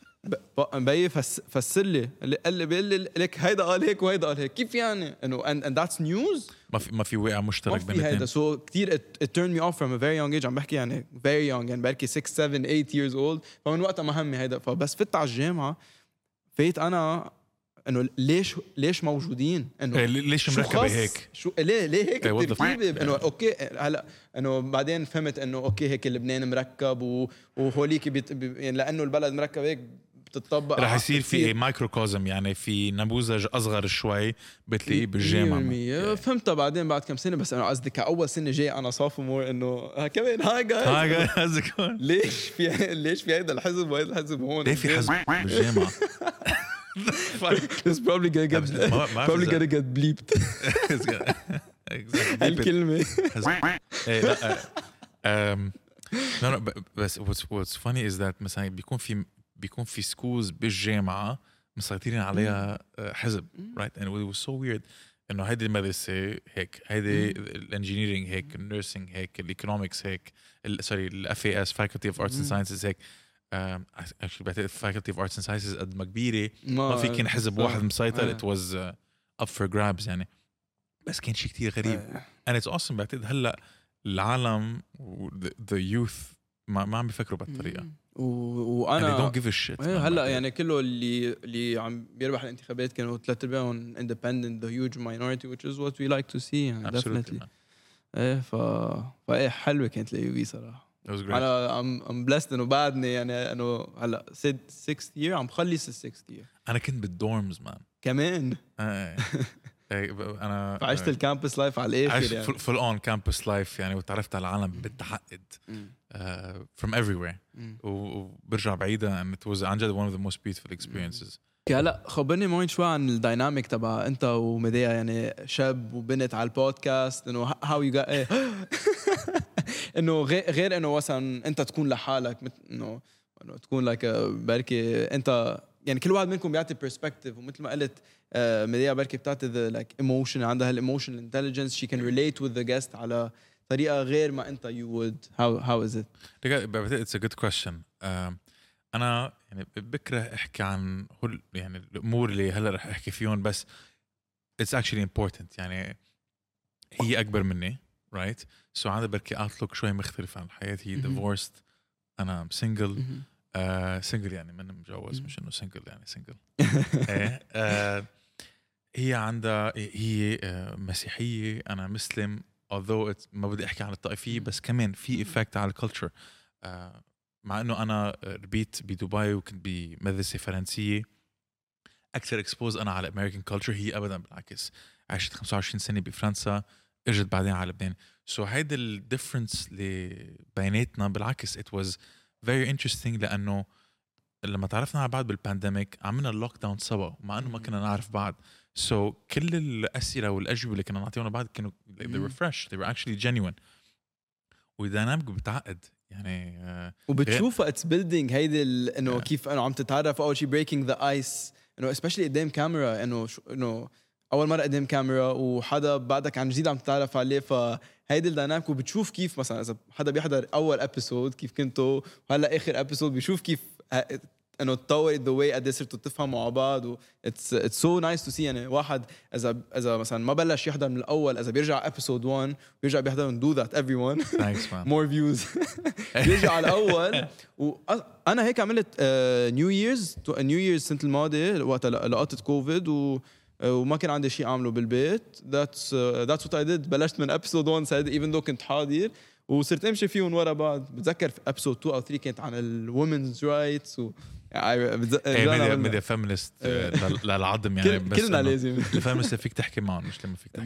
بي فسر لي قال لي بيقول لي لك هيدا قال هيك وهيدا قال هيك كيف يعني انه and that's news ما في وقع مشترك بين الاثنين سو كثير it turned me off from a very young age عم بحكي يعني very young يعني بركي 6 7 8 years old فمن وقتها ما همي هيدا فبس فت على الجامعه فيت انا انه ليش موجودين انه ليش مركبه هيك شو ليه هيك التركيبه انه اوكي هلا انه بعدين فهمت انه اوكي هيك لبنان مركب وهوليك يعني لانه البلد مركب هيك بتطبق رح يصير في مايكروكوزم يعني في نموذج اصغر شوي بتلاقيه بالجامعه فهمتها بعدين بعد كم سنه بس انا قصدي كاول سنه جاي انا sophomore انه كمان هاي جايز ليش في هيدا الحزب وهيدا الحزب هون ليه في حزب بالجامعه It's probably gonna get bleeped الكلمه no بس what's funny is that مثلا بيكون في سكولز بالجامعة مسيطرين عليها حزب right and it was so weird إنه هيدي المدرسة هيك هيدي الانجينيرينج هيك النيرسينج هيك الايكونومكس هيك sorry FAS Faculty of Arts and Sciences هيك actually بعتقد faculty of arts and sciences قد ما كبيرة ما في كان حزب واحد مسيطر. it was up for grabs يعني. بس كان شيء كتير غريب and it's awesome. بعتقد هلا العالم the youth ما عم بيفكروا بالطريقة وانا they don't give a shit. هلا يعني كله اللي عم بيربح الانتخابات كانوا 3/4 independent, the huge minority, which is what we like to see يعني. definitely. فايه حلوة كانت اليوبي صراحة. انا I'm blessed انه بعدني يعني انه هلا 6th year عم بخلص 6th year. انا كنت بالدورمز مان كمان. انا عشت الكامبس لايف على الاخر يعني فول اون كامبس لايف يعني. وتعرفت على العالم بالتعقد from everywhere وبرجع بعيدا and it was عن جد one of the most beautiful experiences. هلا خبرني معين شوي عن الدايناميك تبع انت ومديا يعني شاب وبنت على البودكاست انه how you got ايه انه غير انه مثلا انت تكون لحالك انه تكون لايك بركي انت يعني كل واحد منكم بيعطي perspective ومثل ما قلت مديا بركي بتعطي like emotion عندها الايموشنال intelligence she can relate with the guest على طريقة غير ما انت you would. how is it? It's a good question. أنا يعني بكره أحكي عن يعني الأمور اللي هلا رح أحكي فيهم بس it's actually important يعني. هي أكبر مني right so عندها بركي outlook شوي مختلف عن الحياة. هي divorced أنا single single يعني من متجوز مش إنه single يعني single. هي عندها هي مسيحية أنا مسلم although ما بدي أحكي عن الطائفية بس كمان في effect على الculture. مع انه انا ربيت بدبي وكنت بمدرسه فرنسيه اكثر اكسبوز انا على امريكان كلتشر. هي ابدا بالعكس عشت 25 سنه بفرنسا اجت بعدين على لبنان. سو هيدا الديفرنس اللي بيناتنا بالعكس it was very interesting لانه لما تعرفنا على بعض بالبانديميك عملنا اللوك داون سوا مع انه ما كنا نعرف بعض. سو كل الاسئله والاجوبه اللي كنا نعطيهم لبعض كانوا they were fresh they were actually genuine وديناميك بتعقد يعني. وبتشوفها اتس بيلدينج هيدي انه كيف انه عم تتعرف اول شيء بريكينج ذا ايس انه سبيشلي قدام كاميرا انه اول مره قدام كاميرا وحدا بعدك عن جديد عم تتعرف عليه فهيدي الديناميك. وبتشوف كيف مثلا اذا حدا بيحضر اول ابيسود كيف كنتوا وهلا اخر ابيسود بيشوف كيف انه تطور the way قد صرتوا تفهموا مع بعض و it's so nice to see يعني. واحد اذا مثلا ما بلش يحضر من الاول اذا بيرجع episode 1 ويرجع بيحضر do that everyone more views بيرجع على الاول. وانا هيك عملت نيو ييرز السنه الماضيه وقت لقطه كوفيد وما كان عندي شيء اعمله بالبيت. that's what I did. بلشت من episode 1 سعيد even though كنت حاضر وصرت امشي فيهم ورا بعض. بتذكر في episode 2 او 3 كانت عن الwomen's rights و ميديا فيمينست للعظم يعني. بس كلنا لازم الفيمينست فيك تحكي معهم مش لما فيك تحكي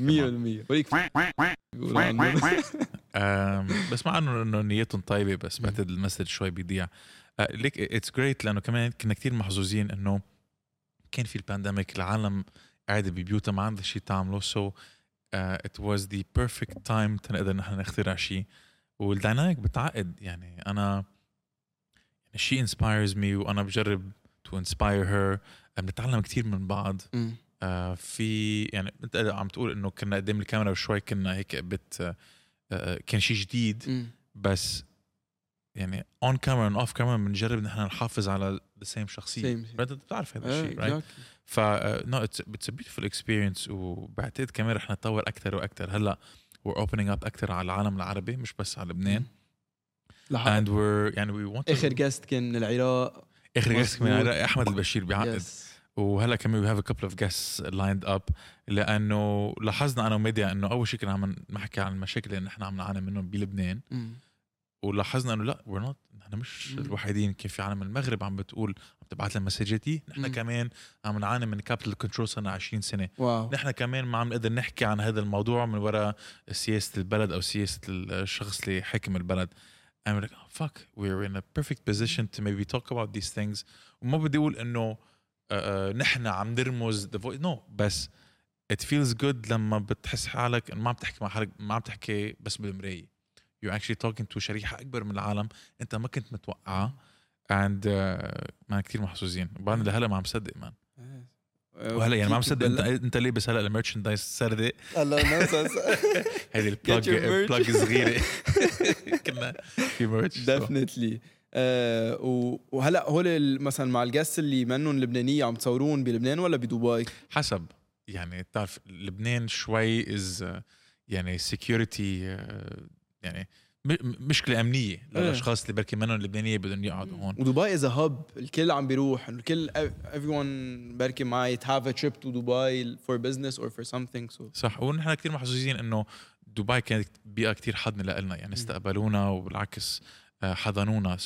100% بس مع انه نيتهم طيبه بس بعتقد المسج شوي بيضيع. ليك اتس جريت لانه كمان كنا كتير محظوظين انه كان في البانديميك العالم قاعده ببيوتها ما عندها شيء تعمله. سو it was the perfect time تنقدر نحن نخترع شيء والديناميك بتعقد يعني. أنا she inspires me وأنا بجرب to inspire her. بنتعلم كتير من بعض. في يعني أنت عم تقول إنه كنا قدام الكاميرا وشوي كنا هيك كان شيء جديد بس يعني on camera and off camera بنجرب نحن نحافظ على the same شخصية. بتعرف هذا الشيء right؟ no it's a beautiful experience وبعتقد كمان رح نتطور أكتر وأكتر. هلا we're opening up أكتر على العالم العربي مش بس على لبنان. and we're يعني we want آخر guest كان من العراق. أحمد البشير بعقد. وهلا كمان we have a couple of guests lined up لأنه لاحظنا أنا وميديا إنه أول شيء كنا عم نحكي عن المشاكل اللي نحن عم نعاني منهم بلبنان. ولاحظنا إنه لا we're not نحن مش الوحيدين. كيف في عالم المغرب عم بتقول عم تبعت لنا مسجاتي نحن كمان عم نعاني من capital control صرنا 20 سنة. نحن كمان ما عم نقدر نحكي عن هذا الموضوع من وراء سياسة البلد أو سياسة الشخص اللي حاكم البلد. I'm like oh, fuck we're in a perfect position to maybe talk about these things. وما بدي أقول إنه نحن عم نرمز the voice no بس it feels good لما بتحس حالك ما عم تحكي مع حالك ما عم تحكي بس بالمراية. you're actually talking to شريحة أكبر من العالم أنت ما كنت متوقعها and ما كتير محظوظين. وبعدين لهلا ما عم صدق مان. وهلا يعني ما عم صدق انت لابس هلا الميرشندايز سردة الله نفس هذه البلاج صغيرة كنا في ميرش definitely وهلا هول مثلا مع الجاست اللي منهم لبنانيه عم تصورون بلبنان ولا بدبي؟ حسب يعني بتعرف لبنان شوي از يعني security يعني مشكله امنيه للاشخاص اللي بركي منهم لبنانيه بدهم يقعدوا هون. ودبي از هاب، الكل عم بيروح، الكل everyone بركي might have a trip to Dubai for business or for something. So صح. ونحن كثير محظوظين انه دبي كانت بيئه كثير حضنه لنا، يعني استقبلونا وبالعكس حضنونا.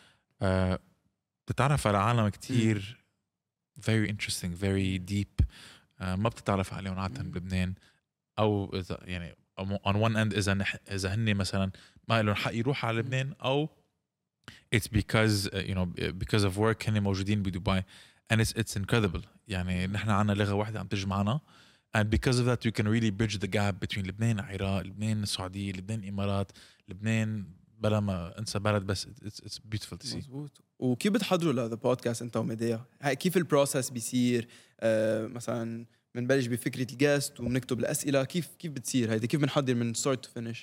بتتعرف على عالم كثير very interesting very deep ما بتتعرف عليهم عادة بلبنان، او اذا يعني on one end اذا هن مثلا ما لهم حق يروحوا على لبنان، او it's because you know because of work هن موجودين بدبي and it's incredible. يعني نحن عنا لغة واحدة عم تجمعنا and because of that you can really bridge the gap between لبنان العراق، لبنان السعودية، لبنان الإمارات، لبنان بلا ما انسى بلد، بس it's beautiful to see. مزبوط. وكيف بتحضروا لهذا البودكاست انت وميديا؟ كيف البروسس بيصير؟ مثلا بنبلش بفكرة الجاست وبنكتب الأسئلة، كيف بتصير هيدا؟ كيف بنحضر من start to finish؟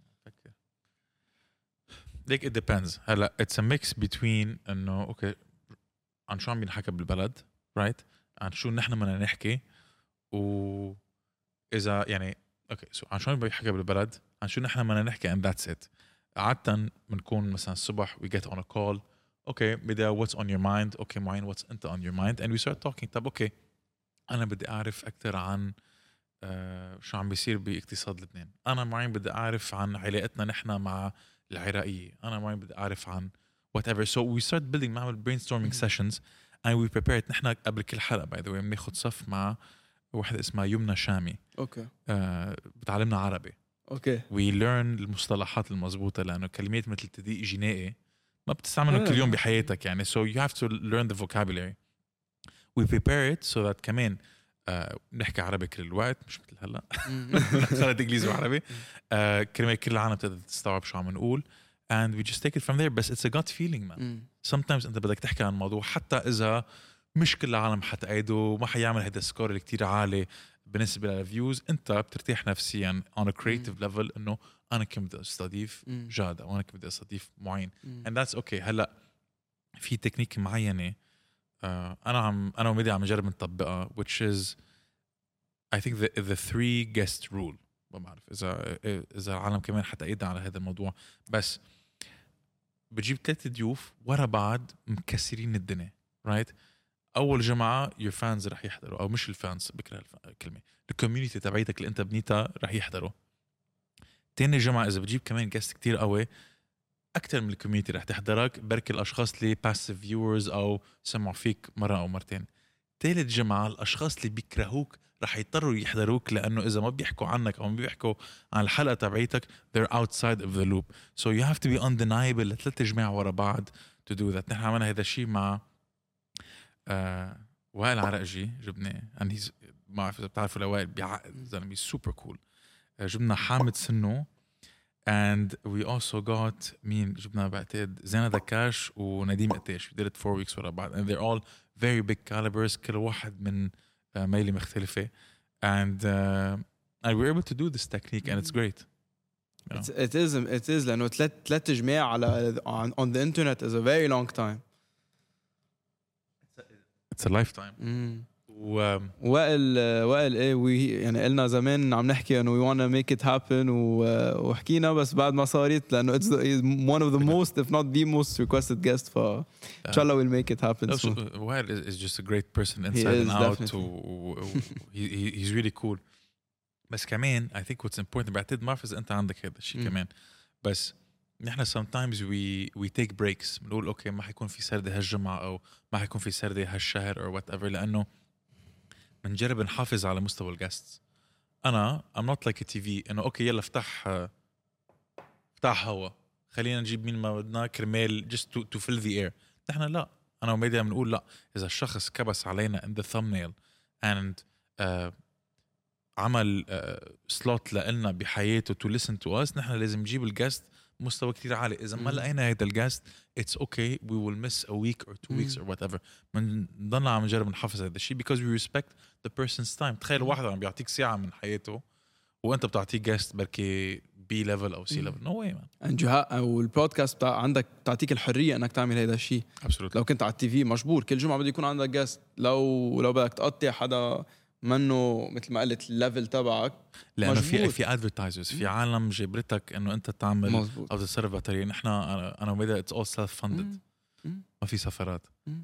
Like it depends. هلا it's a mix between انه اوكي عن شو عم بينحكى بالبلد right، عن شو نحن بدنا نحكي، و اذا يعني اوكي عن شو عم بيحكى بالبلد، عن شو نحن بدنا نحكي and that's it. عادة بنكون مثلا الصبح we get on a call اوكي بدي what's on your mind، اوكي معين what's انت on your mind and we start talking. طب اوكي انا بدي اعرف اكثر عن شو عم بيصير باقتصاد لبنان، انا معين بدي اعرف عن علاقتنا نحن مع العراقية، انا معين بدي اعرف عن whatever. So we start building نعمل brainstorming sessions and we prepare it. نحن قبل كل حلقة by the way بناخد صف مع واحدة اسمها يمنى شامي اوكي بتعلمنا عربي. اوكي we learn المصطلحات المضبوطة، لأنه كلمات مثل تضييق جنائي ما بتستعملهم كل يوم بحياتك يعني. so you have to learn the vocabulary. we prepare it so that كمان نحكي عربي كل الوقت، مش مثل هلا خلط انجليزي وعربي. كلمة كل العالم تقدر تستوعب شو عم نقول and we just take it from there. بس it's a gut feeling man. sometimes انت بدك تحكي عن موضوع حتى اذا مش كل العالم حتأيده وما حيعمل هيدا السكور اللي كتير عالي بالنسبة للفيوز، انت بترتاح نفسيا on a creative level انه انا كم بدي استضيف جاد او انا كم بدي استضيف معين and that's okay. هلا في تكنيك معينة انا وميديا عم نجرب نطبقها which is I think the 3 guest rule. ما بعرف اذا العالم كمان حتأيدنا على هذا الموضوع، بس بتجيب 3 ضيوف ورا بعض مكسرين الدنيا right. اول جمعه your fans رح يحضروا، او مش الفانز بكره الكلمه الكوميونتي تبعيتك اللي انت بنيتها رح يحضروا. تاني جمعه اذا بتجيب كمان جاست كتير قوي اكثر من الكوميونتي رح تحضرك، بركي الاشخاص اللي باسيف فيورز او سمعوا فيك مره او مرتين. ثالث جمعه الاشخاص اللي بيكرهوك رح يضطروا يحضروك، لانه اذا ما بيحكوا عنك او ما بيحكوا عن الحلقه تبعيتك they're outside of the loop. so you have to be undeniable ل3 جماع ورا بعض to do that. نحن عملنا هذا الشيء مع وائل عرقجي، جبناه and he's ما بعرف اذا بتعرفوا لوائل بيعقد زلمه سوبر كول. جبنا حامد سنو and we also got مين جبنا بعتقد زينة دكاش ونديم قتاش. we did it 4 weeks ورا بعض and they're all very big calibers، كل واحد من ميلة مختلفة and we're able to do this technique and it's great. it is لأنه 3 جماع على on the internet is a very long time. it's a lifetime. وائل ايه يعني قلنا زمان عم نحكي انه we wanna make it happen وحكينا، بس بعد ما صارت لانه it's one of the most if not the most requested guest، فان شاء الله we'll make it happen. وائل is just a great person inside and out he's really cool. بس كمان I think what's important بعتقد ما بعرف اذا انت عندك هذا الشيء كمان، بس نحن sometimes we take breaks. بنقول اوكي ما حيكون في سردة هالجمعة او ما حيكون في سردة هالشهر or whatever، لانه بنجرب نحافظ على مستوى الجاست. انا I'm not like a TV انه اوكي يلا افتح هوا خلينا نجيب مين ما بدنا كرمال just to fill the air. نحن لا، انا وميديا بنقول لا، اذا الشخص كبس علينا in the thumbnail and عمل slot لنا بحياته to listen to us، نحن لازم نجيب الجاست مستوى كتير عالي. إذا ما لقينا هيدا الجاست it's okay we will miss a week or 2 weeks or whatever. من ضلنا عم نجرب نحافظ هذا الشيء because we respect the person's time. تخيل واحد عم بيعطيك ساعة من حياته وأنت بتعطيه جاست بركي B level أو C level. No way man. أو البودكاست بتاع عندك تعطيك الحرية إنك تعمل هذا الشيء. Absolutely. لو كنت على التي في مجبور كل جمعة بده يكون عندك جاست. لو بدك تقطع حدا منه مثل ما قلت الليفل تبعك لأنه مجبور. في advertisers في عالم جبرتك إنه أنت تعمل مزبوط. أو تتصرف بطريقة. نحن أنا وميدا it's all self funded. ما في سفرات.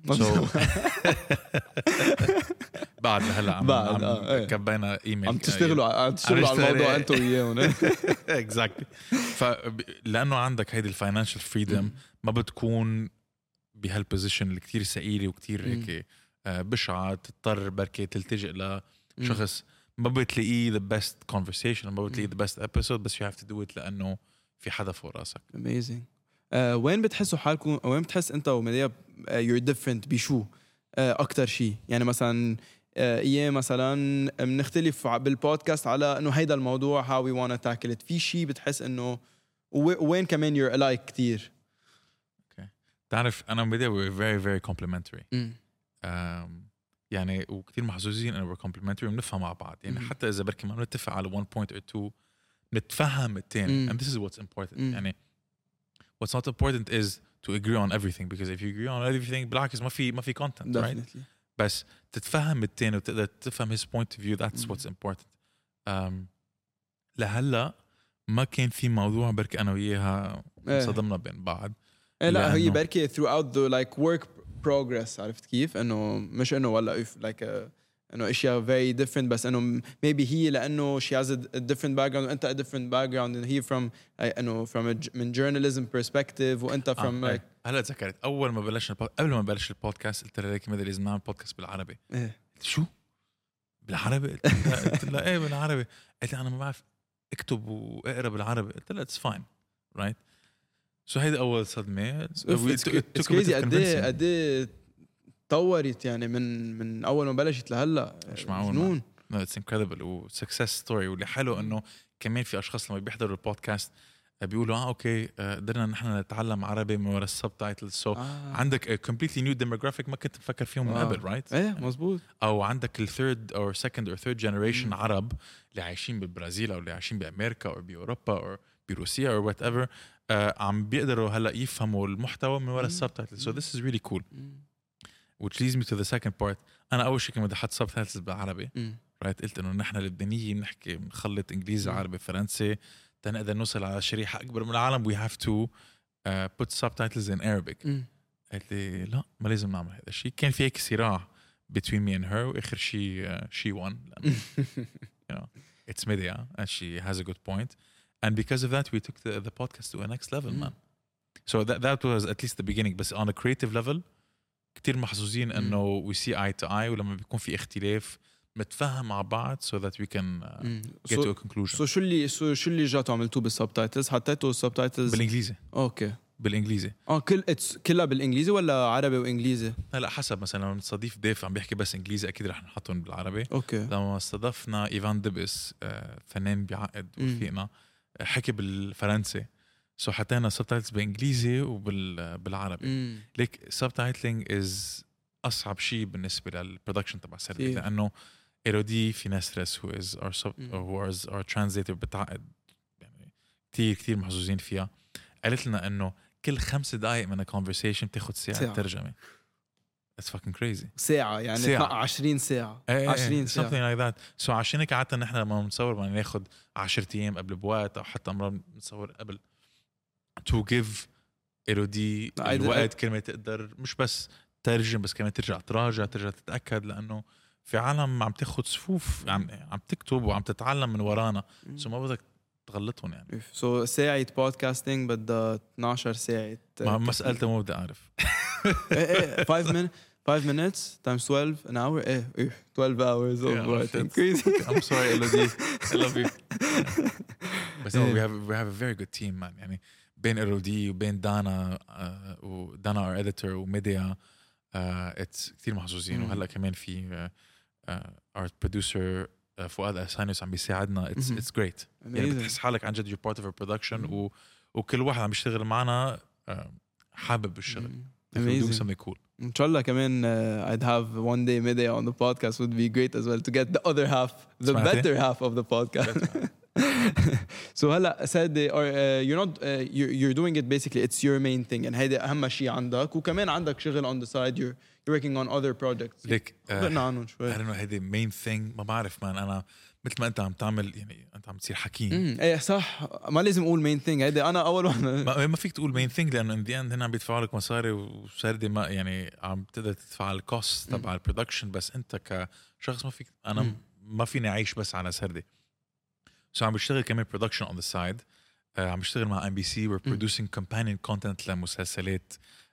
بعد هلا عم كبينا ايميل عم تشتغلوا على الموضوع انت وياهم. اكزاكتلي. لانه عندك هيدي الفاينانشال فريدم ما بتكون بهالبوزيشن اللي كتير ثقيله وكتير هيك بشعه تضطر بركي تلتجئ لشخص ما بتلاقيه the best conversation ما بتلاقيه the best episode بس you have to do it لانه في حدا فوق راسك. amazing. وين بتحسوا حالكم وين بتحس انت ومديا you're different بشو اكتر شيء؟ يعني مثلا ايام مثلا بنختلف بالبودكاست على انه هيدا الموضوع how we want to tackle it. في شيء بتحس انه وين كمان you're alike كتير؟ تعرف انا ومديا we're very very complimentary. يعني وكتير محظوظين انه we're complimentary وبنفهم مع بعض. يعني حتى اذا بركي ما بنتفق على one point or two نتفهم التاني. and this is what's important. يعني what's not important is to agree on everything because if you agree on everything بالعكس ما في content. Definitely. Right? بس تتفهم التاني وتقدر تفهم his point of view. That's what's important. لهلا ما كان في موضوع بركي أنا وياها صدمنا بين بعض. لا هي بركي throughout the like work progress. عرفت كيف انه مش انه ولا like انه اشياء very different بس انه maybe هي لانه she has a different background وانت a different background and he from انه from من journalism perspective وانت from like. هلا تذكرت اول ما بلشنا قبل ما بلش البودكاست قلت لك ماذا لازم نعمل بودكاست بالعربي. شو بالعربي؟ قلت لها ايه بالعربي. قلت لها انا ما بعرف اكتب واقرا بالعربي. قلت لها it's fine right. so هيدا اول صدمه. it's crazy قد طورت يعني من اول ما بلشت لهلا. مش معقول. no it's incredible و success story. واللي حلو انه كمان في اشخاص لما بيحضروا البودكاست بيقولوا اوكي قدرنا نحن نتعلم عربي من وراء السبتايتلز. so عندك a completely new demographic ما كنت مفكر فيهم من قبل right. ايه مزبوط. او عندك الثيرد or second or third generation عرب اللي عايشين بالبرازيل او اللي عايشين بامريكا او باوروبا او بروسيا او whatever عم بيقدروا هلا يفهموا المحتوى من وراء السبتايتلز. so this is really cool. which leads me to the second part. أنا أول شيء كنت حط subtitles بالعربي. right. قلت إنه نحن اللبنانيين بنحكي نخلط إنجليزي عربي فرنسي تنقدر نوصل على شريحة أكبر من العالم. we have to put subtitles in Arabic. قلت لي لا ما لازم نعمل هذا الشيء. كان في هيك صراع between me and her وآخر شيء she won. you know it's media and she has a good point and because of that we took the podcast to a next level man. so that was at least the beginning. بس on a creative level كتير محظوظين انه we see eye to eye ولما بيكون في اختلاف متفهم مع بعض so that we can get to a conclusion. so شو اللي جاتوا عملتوه بالسبتايتلز؟ حطيتوا السبتايتلز بالانجليزي. اوكي بالانجليزي. كلها بالانجليزي ولا عربي وانجليزي؟ لا حسب. مثلا لما نستضيف ضيف عم بيحكي بس انجليزي اكيد رح نحطهم بالعربي. اوكي. لما استضفنا ايفان دبس فنان بيعقد وفيقنا حكي بالفرنسي so حطينا subtitles بإنجليزي وبالعربي. ليك subtitling is أصعب شيء بالنسبة للبرودكشن تبع السيرفي لأنه إيرودي في ناس who is our translator بتعقد يعني كتير محظوظين فيها. قالت لنا إنه كل 5 دقايق من conversation بتاخد ساعة ترجمة. It's fucking crazy. ساعة يعني 20 ساعة. 20 ساعة. something like that. so عشان هيك قعدنا نحن لما نصور بدنا ناخد 10 أيام قبل بوقت أو حتى مرة نصور قبل to give إيرودي الوقت كلمة تقدر مش بس ترجم بس كمان ترجع تراجع تتأكد لأنه في عالم عم تاخد صفوف عم تكتب وعم تتعلم من ورانا so ما بدك تغلطهم يعني. so ساعة بودكاستينج بدها 12 ساعة. ما سألته ما بدي أعرف. 5 minutes times 12 an hour 12 hours of writing. Crazy. I'm sorry Elodie I love you. but no, we have a very good team man. يعني بين إيرودي وبين دانا ودانا our editor وميديا it's كتير محظوظين. وهلا كمان في our producer فؤاد أسانيوس عم بيساعدنا. it's great. يعني بتحس حالك عن جد you're part of our production وكل واحد عم يشتغل معنا حابب الشغل. doing something cool. إن شاء الله كمان I'd have one day media on the podcast would be great as well to get the other half the better half of the podcast. So هلا سادة you're not you're doing it basically it's your main thing and هيدا أهم شيء عندك وكمان عندك شغل on the side you're working on other projects. ليك خبرنا عنهم شوي. I don't know هيدي main thing ما بعرف مان أنا مثل ما أنت عم تعمل يعني أنت عم تصير حكيم. ايه صح ما لازم أقول main thing هيدا أنا أول واحد. ما فيك تقول main thing لأنه in the end هنا عم بيدفعوا لك مصاري وسردي ما يعني عم تقدر تدفع الكوست تبع البرودكشن بس أنت كشخص ما فيك أنا ما فيني أعيش بس على سردي. So عم بشتغل كمان production on the side. عم بشتغل مع MBC we're producing companion content لمسلسلات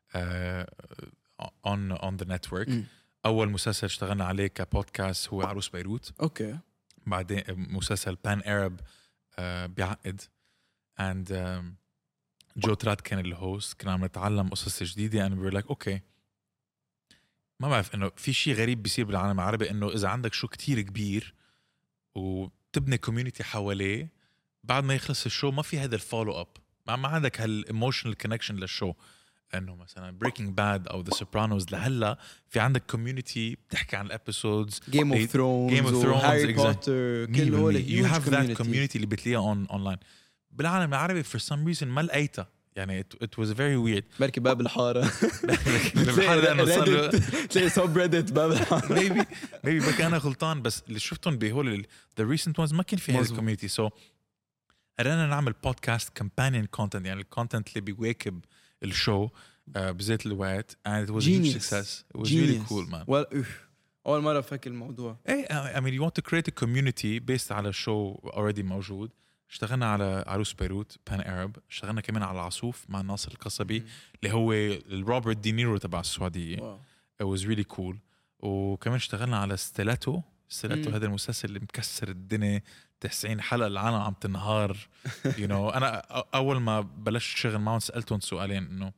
on the network. أول مسلسل اشتغلنا عليه كبودكاست هو عروس بيروت. أوكي. بعدين مسلسل Pan Arab بيعقد and جو تراد كان الهوست كنا عم نتعلم قصص جديدة and we were like okay ما بعرف إنه في شيء غريب بيصير بالعالم العربي إنه إذا عندك شو كتير كبير وتبني كوميونيتي حواليه بعد ما يخلص الشو ما في هذا الفولو اب ما عندك هالإيموشنال كونكشن للشو انه مثلا Breaking Bad او The Sopranos لهلا في عندك كوميونيتي بتحكي عن الابيسودز Game of Thrones هاري بوتر كل هول you have that community اللي بتلاقيها online بالعالم العربي for some reason ما لقيتها يعني it was very weird بركي باب الحارة الحارة لأنه صار له تلاقي سب ريدت باب الحارة maybe بك أنا غلطان بس اللي شفتهم بهول the recent ones ما كان في هذا الكوميونيتي so قررنا نعمل بودكاست companion content يعني الكونتنت اللي بيواكب الشو بذات الوقت and it was a huge success it was really cool man أول مرة فاكر الموضوع I mean you want to create a community based على show already موجود اشتغلنا على عروس بيروت Pan Arab اشتغلنا كمان على عصوف مع ناصر القصبي اللي هو روبرت دينيرو تبع السعودية it was really cool وكمان اشتغلنا على ستيلاتو هذا المسلسل اللي مكسر الدنيا 90 حلقة العالم عم تنهار you know أنا أول ما بلشت شغل معهم سألتهم سؤالين إنه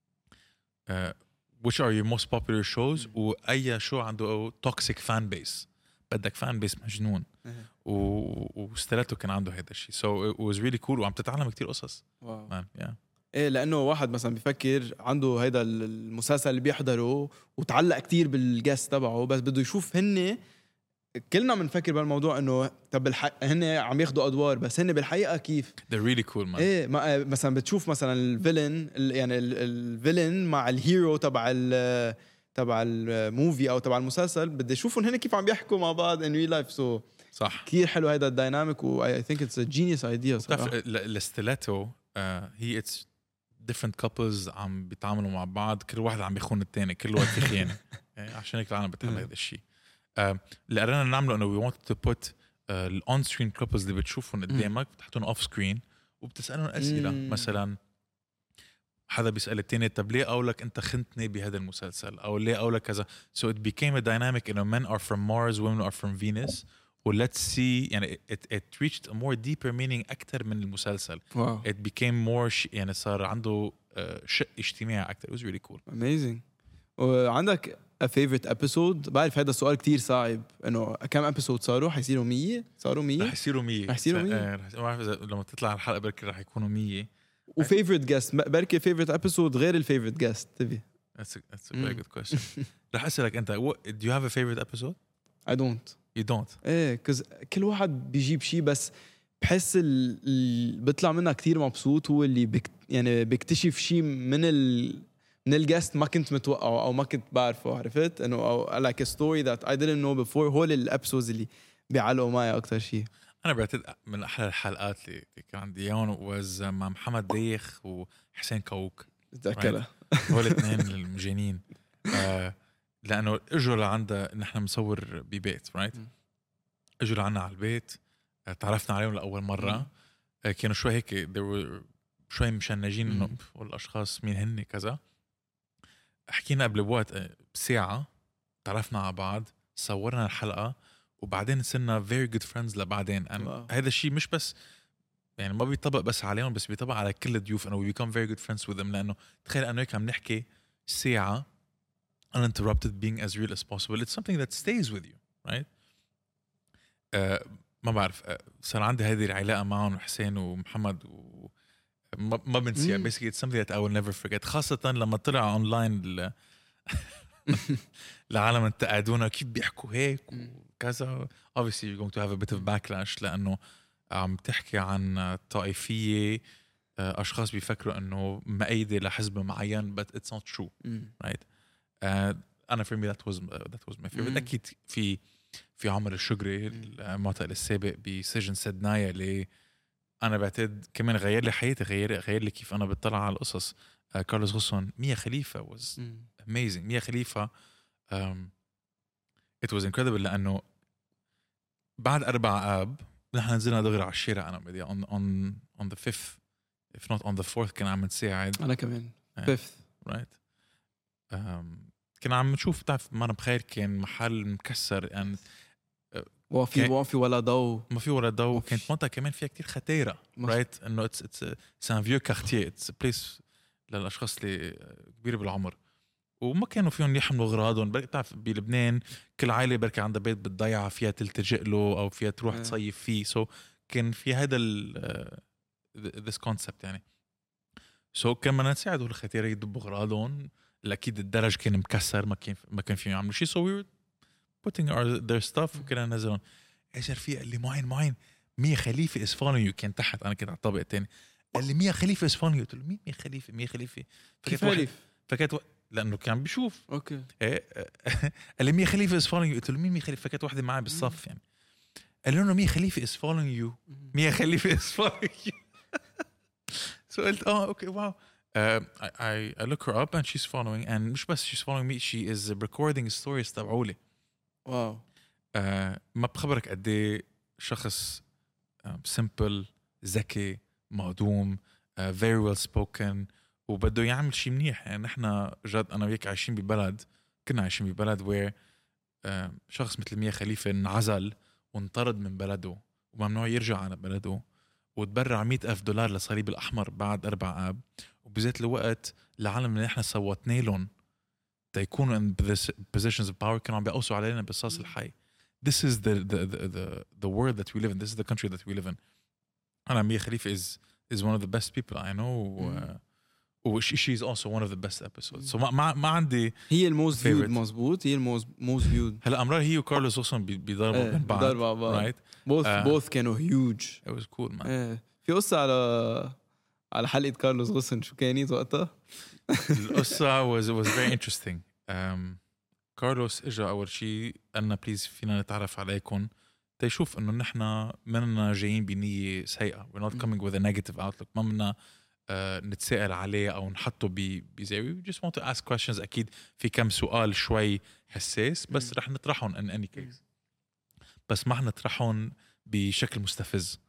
which are your most popular shows وأي شو عنده toxic fan base بدك fan base مجنون وستلاتو كان عنده هذا الشيء so it was really cool وعم تتعلم كتير قصص yeah. ايه لانه واحد مثلا بيفكر عنده هيدا المسلسل اللي بيحضره وتعلق كتير بالجاست تبعه بس بده يشوف هن كلنا بنفكر بالموضوع انه طب هن عم ياخدوا ادوار بس هن بالحقيقه كيف they're really cool man ايه مثلا بتشوف مثلا الفيلن يعني الفيلن مع الهيرو تبع الموفي او تبع المسلسل بدي اشوفهم هن كيف عم بيحكوا مع بعض in real life so صح كتير حلو هيدا الديناميك و I think it's a genius idea صراحه الستيلاتو هي it's different couples عم بيتعاملوا مع بعض كل واحد عم بيخون الثاني كل واحد في خيانه يعني عشان هيك العالم بتعمل هذا الشيء اللي قررنا نعمله انه we wanted to put on screen couples اللي بتشوفهم قدامك بتحطهم off screen وبتسألهم أسئلة مثلا حدا بيسأل التاني طب ليه قولك انت خنتني بهذا المسلسل او ليه قولك كذا so it became a dynamic انه men are from Mars women are from Venus و let's see يعني it reached a more deeper meaning أكتر من المسلسل it became more يعني صار عنده شق اجتماعي أكتر it was really cool amazing وعندك a favorite episode بعرف هذا السؤال كتير صعب انه كم episode صاروا حيصيروا 100 صاروا 100 رح يصيروا 100 ما بعرف لما تطلع الحلقة بركي رح يكونوا 100 و favorite guest بركي favorite episode غير ال favorite guest تبي that's a very good question رح أسألك أنت do you have a favorite episode I don't you don't ايه cause كل واحد بيجيب شيء بس بحس بيطلع منها كتير مبسوط هو اللي يعني بيكتشف شيء من الجاست ما كنت متوقعه او ما كنت بعرفه عرفت انه او like a story that I didn't know before هول الابسودز اللي بيعلقوا معي اكتر شيء انا بعتقد من احلى الحلقات اللي كان عندي اياهم was مع محمد ديخ وحسين كوك تذكرها هول الاثنين المجانين لانه اجوا لعندنا نحن مصور ببيت اجوا لعنا على البيت تعرفنا عليهم لاول مره كانوا شوي هيك شوي مشنجين انه والاشخاص مين هن كذا حكينا قبل بوقت بساعة تعرفنا على بعض صورنا الحلقة وبعدين صرنا very good friends لبعدين هذا الشيء مش بس يعني ما بيطبق بس عليهم بس بيطبق على كل الضيوف انه we become very good friends with them لانه تخيل انه هيك عم نحكي ساعة uninterrupted being as real as possible it's something that stays with you right ما بعرف صار عندي هذه العلاقة معهم حسين ومحمد ما بنسيها basically it's something that I will never forget خاصة لما طلع اونلاين العالم انتقدونا كيف بيحكوا هيك وكذا obviously you're going to have a bit of backlash لأنه عم تحكي عن طائفية، أشخاص بيفكروا إنه مأيدة لحزب معين but it's not true right. أنا for me that was my favorite. أكيد في عمر الشقري المعتقل السابق بسجن سدنايا اللي أنا بعتقد كمان غير لي حياتي، غير لي كيف أنا بطلع على القصص. كارلوس غوسون. ميا خليفة was amazing. ميا خليفة it was incredible لأنه بعد 4 آب نحن نزلنا دغري على الشارع. أنا بدي on the 5th if not on the 4th كنا عم نساعد. أنا كمان 5th right. كنا عم نشوف تعرف ما أنا بخير كان محل مكسر and وفي ولا ضوء، ما في ولا ضوء. كانت منطقة كمان فيها كتير خطيرة right. إنه it's un vieux quartier, it's a place للأشخاص اللي كبير بالعمر وما كانوا فيهم يحملوا أغراضهم. بتعرف بلبنان كل عائلة بركة عندها بيت بتضيعها فيها تلتجئ له أو فيها تروح تصيف فيه. so كان في هذا this concept يعني. so كان بدنا نساعد الخطيرة يدبوا أغراضهم. أكيد الدرج كان مكسر ما كان فيهم يعملوا شيء. so we were putting their stuff وكنا ننزلهم. ايش رفيق اللي معين ميا خليفة is following you. كان تحت أنا كنت على الطابق الثاني. قال لي ميا خليفة is following you. قلت له مين ميا خليفة كيف خليف؟ فكانت لأنه كان بيشوف. اوكي. قال لي ميا خليفة is following you. قلت له مين ميا خليفة؟ فكانت واحدة معي بالصف يعني. قال له ميا خليفة is following you. ميا خليفة is following you. so قلت okay wow. I look her up and she's following and مش بس she's following me, she is recording stories تبعولي. واو. ما بخبرك قد ايه شخص simple ذكي مهضوم very well spoken وبده يعمل شيء منيح. يعني نحن جد أنا وياك كنا عايشين ببلد where شخص مثل ميا خليفة انعزل وانطرد من بلده وممنوع يرجع على بلده وتبرع $100,000 للصليب الأحمر بعد 4 آب. وبذات الوقت العالم اللي نحن صوتنا لهم تيكونوا in positions of power كانوا عم بيقوسوا علينا بالصاص الحي. This is the world that we live in. This is the country that we live in. أنا ميا خليفة is one of the best people I know. she's also one of the best episodes. so ما عندي هي الموست فيود. مزبوط. هي الموست فيود. هلا أمرار هي وكارلوس أصلاً بيضربوا من بعض. right. both كانوا huge. It was cool man. في قصة على حلقة كارلوس غوسن شو كانت وقتها؟ القصة was very interesting. كارلوس إجا أول شيء قالنا بليز فينا نتعرف عليكم تيشوف إنه نحنا مننا جايين بنية سيئة. we're not coming with a negative outlook. ما منا نتسائل عليه أو نحطه بزاوية. we just want to ask questions. أكيد في كم سؤال شوي حساس بس رح نطرحهم in any case. بس ما حنطرحهم بشكل مستفز.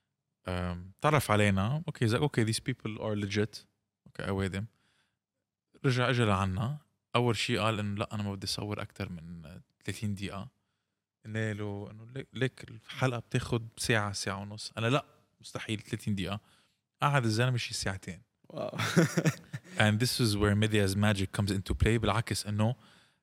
تعرف علينا okay these people are legit okay أوادم. رجع إجا لعنا أول شيء قال إنه لا أنا ما بدي أصور أكتر من 30 دقيقة. قلنا له إنه ليك الحلقة بتاخد ساعة ونص. أنا لا مستحيل 30 دقيقة. قعد الزلمة شي 2 ساعة. and this is where media's magic comes into play. بالعكس إنه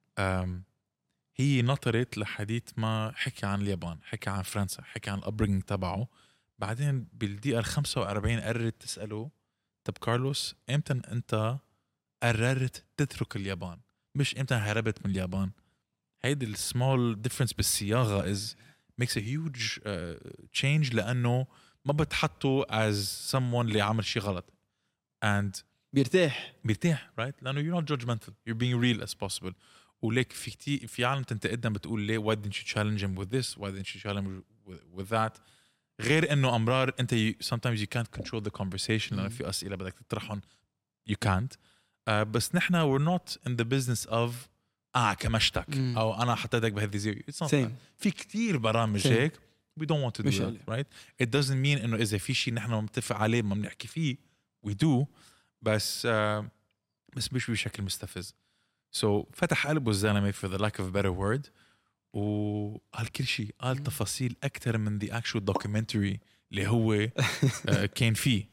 هي نطرت لحديث ما حكي عن اليابان، حكي عن فرنسا، حكي عن الابرينج تبعه. بعدين بالدقيقة 45 قررت تسأله طب كارلوس امتى انت قررت تترك اليابان؟ مش امتى هربت من اليابان. هيدي السمول difference بالصياغة makes a huge change لأنه ما بتحطه as someone اللي عمل شيء غلط and بيرتاح right. لأنه you're not judgmental, you're being real as possible. وليك في عالم تنتقدنا بتقول ليه why didn't you challenge him with this, why didn't you challenge with that. غير انه امرار انت sometimes you can't control the conversation لأنه في أسئلة بدك تطرحهم you can't. بس نحنا we're not in the business of كمشتك او انا حطيتك بهذه الزاوية. في كتير برامج هيك we don't want to do that right. It doesn't mean انه اذا في شيء نحنا متفق عليه ما بنحكي فيه we do بس مش بشكل مستفز. so فتح قلبه الزلمة for the lack of a better word وقال كل شيء. قال تفاصيل أكتر من the actual documentary اللي هو كان فيه.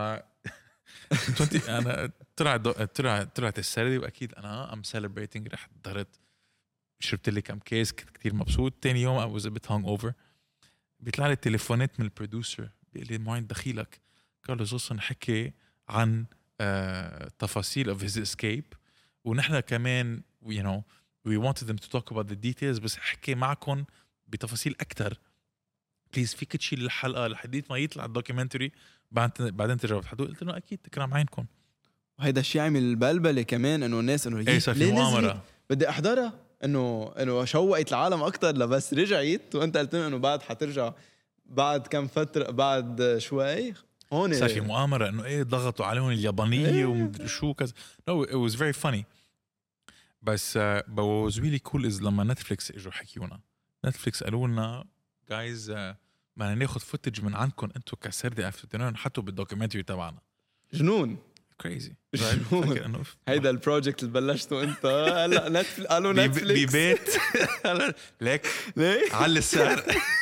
أنا طلعت السردي وأكيد أنا I'm celebrating. رح ضرت شربت لي كم كيس كنت كتير مبسوط. تاني يوم I was a bit hungover. بيطلع لي تليفونات من البروديوسر بيقول لي معين دخيلك كارلوس غوسون حكي عن تفاصيل of his escape ونحن كمان you know we wanted them to talk about the details بس حكي معكم بتفاصيل أكتر بليز فيك تشيل الحلقه لحديت ما يطلع الدوكيومنتري بعدين ترجعوا تحضروا. قلت له اكيد كرام عينكم. وهيدا الشيء عمل بلبله كمان انه الناس انه ايه صار في مؤامره. بدي احضرها انه شوقت العالم اكتر لبس رجعت وانت قلت لهم انه بعد حترجع بعد كم فتره بعد شوي هون صار في مؤامره انه ايه ضغطوا عليهم اليابانيه إيه. ومدري شو كذا. no it was very funny بس what was really cool is لما نتفليكس اجوا حكيونا. نتفليكس قالوا لنا جايز بدنا ناخذ فوتج من عندكم انتم كسردي افتتنون نحطه بالدوكيومنتري تبعنا. جنون كريزي. جنون. هيدا البروجكت اللي بلشته انت هلا نتفليكس قالوا نتفليكس ببيت ليك على السعر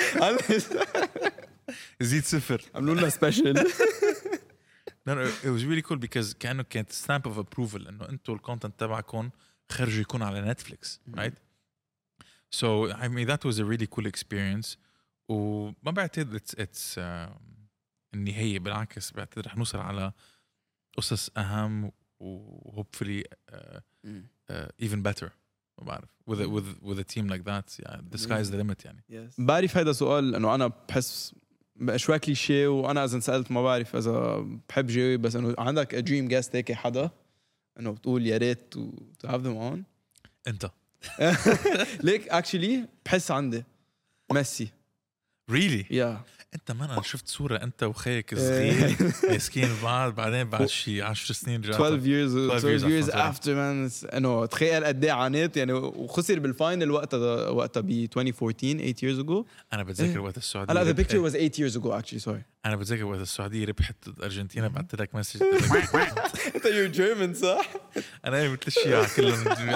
زيد صفر عملوا لنا سبيشل. No, it was really cool because كانت stamp of approval انه انتم الكونتنت تبعكم خرج يكون على نتفليكس right. So I mean that was a really cool experience. وما بعتقد it's النهاية. بالعكس بعتقد رح نوصل على قصص أهم و hopefully even better. ما بعرف with a team like that yeah, the sky is the limit يعني. بعرف هيدا سؤال انه انا بحس شوي كليشيه وانا اذا سالت ما بعرف اذا بحب جاوب بس انه عندك دريم جاست هيك حدا انه بتقول يا ريت to have them on. انت ليك actually بحس عندي ميسي really yeah. انت ما انا شفت صوره انت وخيك صغير ماسكين بعض بعدين بعد شي 10 سنين رجعت 12 years after man انه تخيل قد ايه عانيت يعني وخسر بالفاينل وقتها ب 2014 8 years ago. انا بتذكر وقت السعوديه لا the picture was 8 years ago actually sorry. انا بتذكر وقت السعوديه ربحت الارجنتين بعثت لك مسج انت you're German صح؟ انا مثل الشيعة كلهم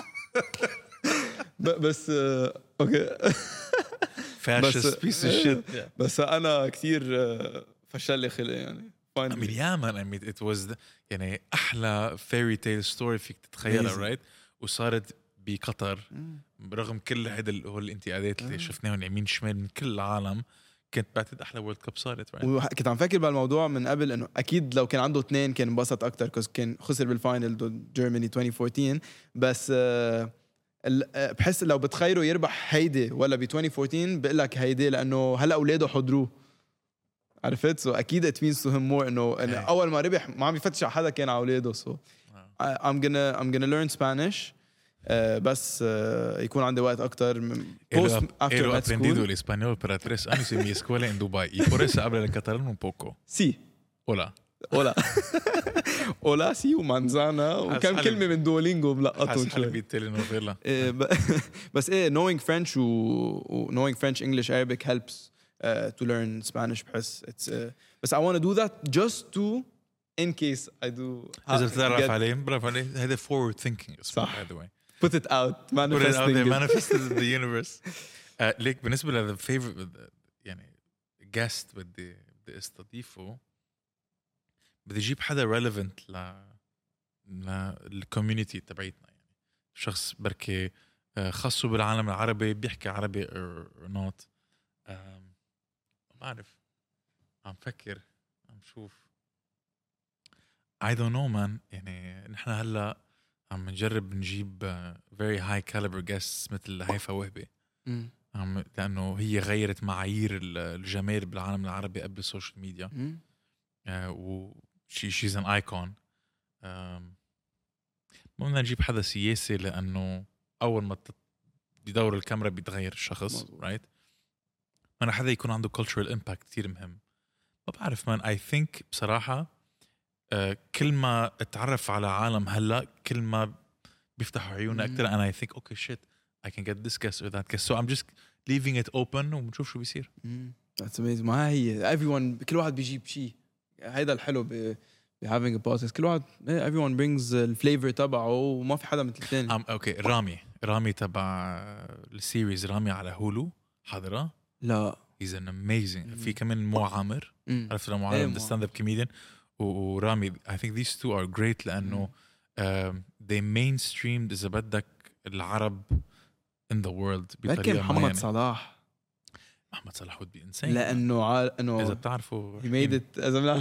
بس اوكي فاشست بيس الشيت. بس انا كثير فشل لي خلقي يعني I mean yeah man I mean it was يعني احلى fairy tale story فيك تتخيلها right. وصارت بقطر برغم كل هيدا الانتقادات اللي شفناهم يمين شمال من كل العالم. كنت بعتقد احلى وورلد كاب صارت right. وكنت عم فكر بالموضوع من قبل انه اكيد لو كان عنده اثنين كان انبسط اكثر كوز كان خسر بالفاينل ضد جيرماني 2014 بس بحس لو بتخيروا يربح هيدي ولا ب 2014 بقول لك هيدي لانه هلا اولاده حضروه عرفت سو اكيد it means to him more انه اول ما ربح ما عم يفتش على حدا كان على اولاده سو I'm gonna learn Spanish بس يكون عندي وقت اكتر post after med school. aprendido el español para 3 años en mi escuela en Dubái y por eso hablo el catalán un poco. Sí. Hola. Hola. Hola sí ومانزانا وكم كلمة من دولينجو ملقطهم شوي. بالتلينوفيلا. بس إيه knowing French و knowing French English Arabic helps to learn Spanish بحس it's بس I want to do that just to in case I do. إذا بتعرف عليه برافو عليه هذا forward thinking صح. by the way. Put it out. Manifesting it. Manifest it in the universe. ليك بالنسبة ل the favorite يعني guest بدي استضيفه بدي أجيب حدا relevant للcommunity تبعيتنا يعني شخص بركي خاصه بالعالم العربي بيحكي عربي or not. ما أعرف عم فكر عم شوف I don't know man يعني نحن هلا عم نجرب نجيب very high caliber guests مثل هيفا وهبي لأنه هي غيرت معايير الجمال بالعالم العربي قبل السوشيال ميديا و she's an icon. ممكن نجيب حدا سياسي لأنه أول ما بدور الكاميرا بيتغير الشخص right. أنا حدا يكون عنده cultural impact كتير مهم. ما بعرف man I think بصراحة كل ما اتعرف على عالم هلا كل ما بيفتحوا عيوننا أكتر and I think okay shit I can get this guest or that guest so I'm just leaving it open وبنشوف شو بيصير. That's amazing. ما هي everyone كل واحد بيجيب شيء هيدا الحلو ب having a podcast كل واحد everyone brings الفليفر تبعه وما في حدا مثل الثاني. اوكي رامي تبع السيريز رامي على هولو حضرة لا he's an amazing في كمان مو عامر عرفت مو عامر the stand up comedian ورامي I think these two are great لأنه they mainstreamed إذا بدك العرب in the world بطريقة محمد صلاح would be insane لأنه إذا بتعرفوا he made it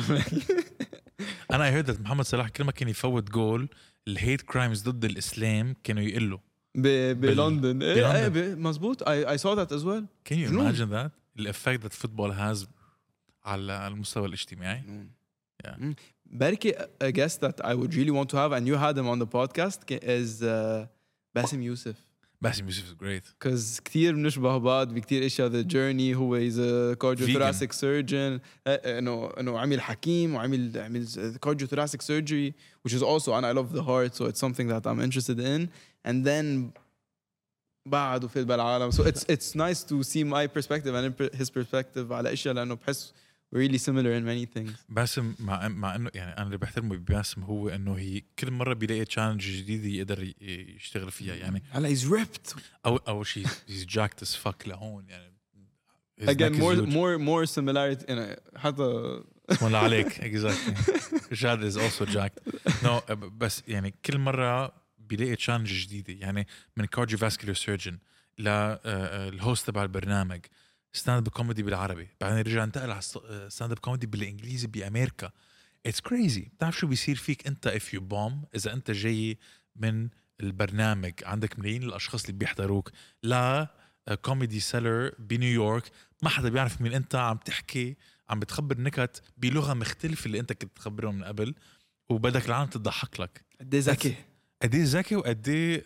أنا heard that محمد صلاح كل ما كان يفوت جول الهيت كرايمز ضد الإسلام كانوا يقلوا بلندن مزبوط I saw that as well. Can you imagine that الeffect that football has على المستوى الاجتماعي. بركي a guest that I would really want to have, and you had him on the podcast, is باسم يوسف. باسم يوسف is great. Because كتير بنشبه بعض بكتير اشياء. The journey هو is a cardiothoracic surgeon. انه عمل حكيم وعمل cardiothoracic surgery, which is also, and I love the heart, so it's something that I'm interested in. And then بعد وفيد بالعالم. So it's nice to see my perspective and his perspective على اشياء لانه بحس we're really similar in many things. باسم مع انه يعني انا اللي بحترمه بباسم هو انه هي كل مره بيلاقي تشالنج جديده يقدر يشتغل فيها. يعني هلا he's ripped. اول شيء he's jacked as fuck لهون يعني. Again more similarity يعني حتى ولا عليك exactly. Jad is also jacked. No بس يعني كل مره بيلاقي تشالنج جديده. يعني من cardiovascular surgeon للهوست تبع البرنامج ستاند اب كوميدي بالعربي، بعدين رجع انتقل على ستاند اب كوميدي بالانجليزي بامريكا. اتس كريزي. بتعرف شو بيصير فيك انت if you bomb؟ اذا انت جاي من البرنامج عندك ملايين الاشخاص اللي بيحضروك لا كوميدي سيلر بنيويورك ما حدا بيعرف مين انت، عم تحكي عم بتخبر نكت بلغه مختلفه اللي انت كنت تخبرهم من قبل وبدك العالم تضحك لك. قد ايه ذكي، قد ايه ذكي وقد ايه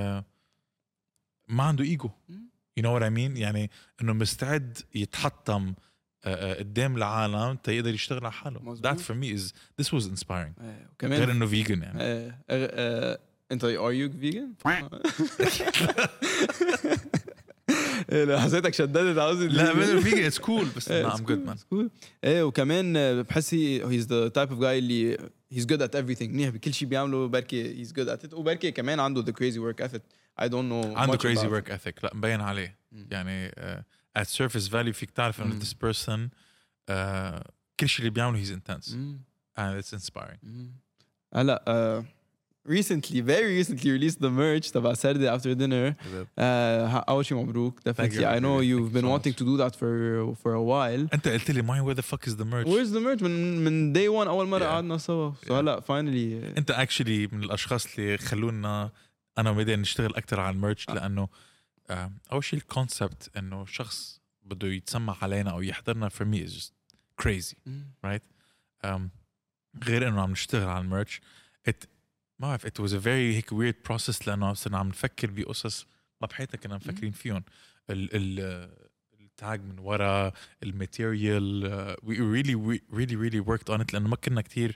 ما عنده ايجو. You know what I mean؟ يعني انه مستعد يتحطم قدام العالم تيقدر يشتغل على حاله. That for me is this was inspiring. غير انه vegan يعني. انت are you vegan؟ لا حسيتك شددت عاوز. لا من vegan it's cool بس I'm good man. ايه وكمان بحس he's the type of guy اللي he's good at everything. منيح بكل شيء بيعمله. بركي he's good at it وبركي كمان عنده the crazy work ethic. I don't know. عنده crazy work ethic. لا مبين عليه. يعني at surface value فيك تعرف إنه this person كل شيء اللي بيعمله he's intense and it's inspiring. هلا recently very recently released the merch تبع Saturday after dinner. أول شيء مبروك. Definitely I know you've been wanting to do that for a while. أنت قلت لي where the fuck is the merch? Where's the merch من day one أول مرة قعدنا سوا. So هلا finally أنت actually من الأشخاص اللي خلونا أنا وميدان نشتغل أكتر على الميرش لأنه أول شيء الكونسبت إنه شخص بده يتسمع علينا أو يحضرنا for me is just crazy right. غير إنه عم نشتغل على الميرش ما بعرف it was a very هيك weird process لأنه صرنا عم نفكر بقصص ما بحياتنا كنا مفكرين فيهم. التاج من ورا الماتيريال we really worked on it لأنه ما كنا كتير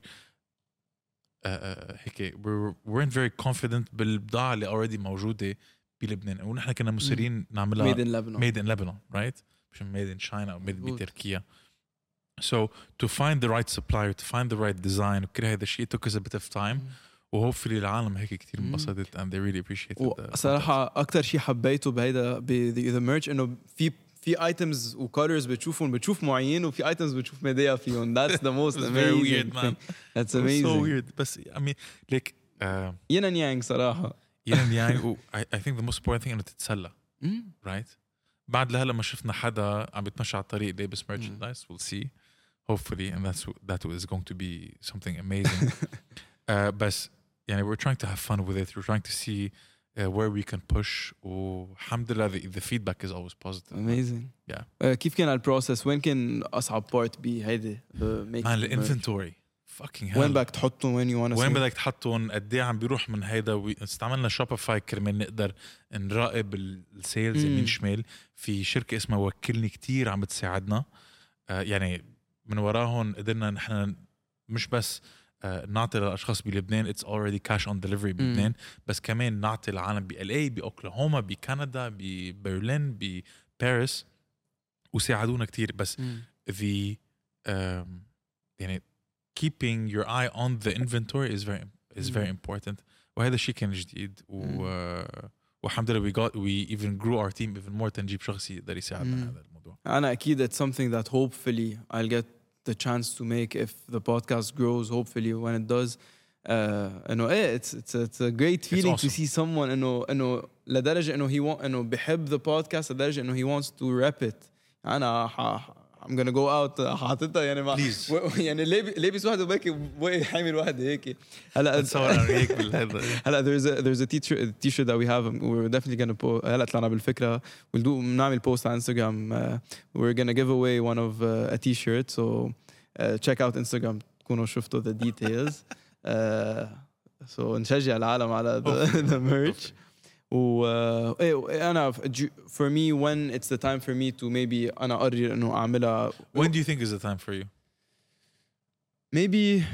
هيك weren't very confident بالبضاعة اللي already موجودة بلبنان ونحن كنا مصرين نعملها made in Lebanon right مش made in China أو made بتركيا. So to find the right supplier to find the right design وكل هذا الشيء took us a bit of time وhopefully العالم هيك كتير انبسطت and they really appreciated. صراحة أكتر شيء حبيته بهيدا the merch إنه في items و colors بتشوف معين وفي items بتشوف ميديا فيهم. That's the most amazing very weird man. That's amazing. So weird بس I mean like yin and yang صراحة yin and yang I think the most important thing إنه تتسلى right. بعد لهلا ما شفنا حدا عم بيتمشى على الطريق لابس merchandise. We'll see hopefully and that is going to be something amazing. بس يعني we're trying to have fun with it. We're trying to see where we can push والحمد لله the feedback is always positive. Amazing. Yeah. كيف كان البروسس؟ وين كان أصعب part بهيدا الانفنتوري fucking hell. وين بدك تحطهم وين بدك تحطهم قد ايه عم بيروح من هيدا استعملنا شوبيفاي كرمال نقدر نراقب السيلز يمين شمال. في شركة اسمها وكلني كتير عم بتساعدنا يعني من وراهم قدرنا نحن مش بس نعطي للأشخاص بلبنان it's already cash on delivery بلبنان بس كمان نعطي العالم بLA بأوكلاهوما بكندا ببرلين بباريس وساعدونا كتير. بس the يعني keeping your eye on the inventory is very important وهذا الشيء كان جديد والحمد لله we even grew our team even more تنجيب شخص يقدر يساعدنا هذا الموضوع. أنا أكيد it's something that hopefully I'll get the chance to make if the podcast grows hopefully when it does. It's a great feeling awesome. To see someone إنه لدرجة إنه إنه بيحب the podcast لدرجة إنه he wants to rep it. أنا I'm gonna go out حاططها يعني مع Please. يعني لابس واحد وباكي حامل واحد هيك هلا تصور انا هيك بالهذا هلا there's a t-shirt that we have we're definitely gonna post هلا طلعنا بالفكره بنعمل post على انستغرام we're gonna give away one of a t-shirt so check out Instagram تكونوا شفتوا the details so نشجع العالم على the merch أنا for me when it's the time for me to maybe أنا أقرر إنه أعملها when do you think is the time for you maybe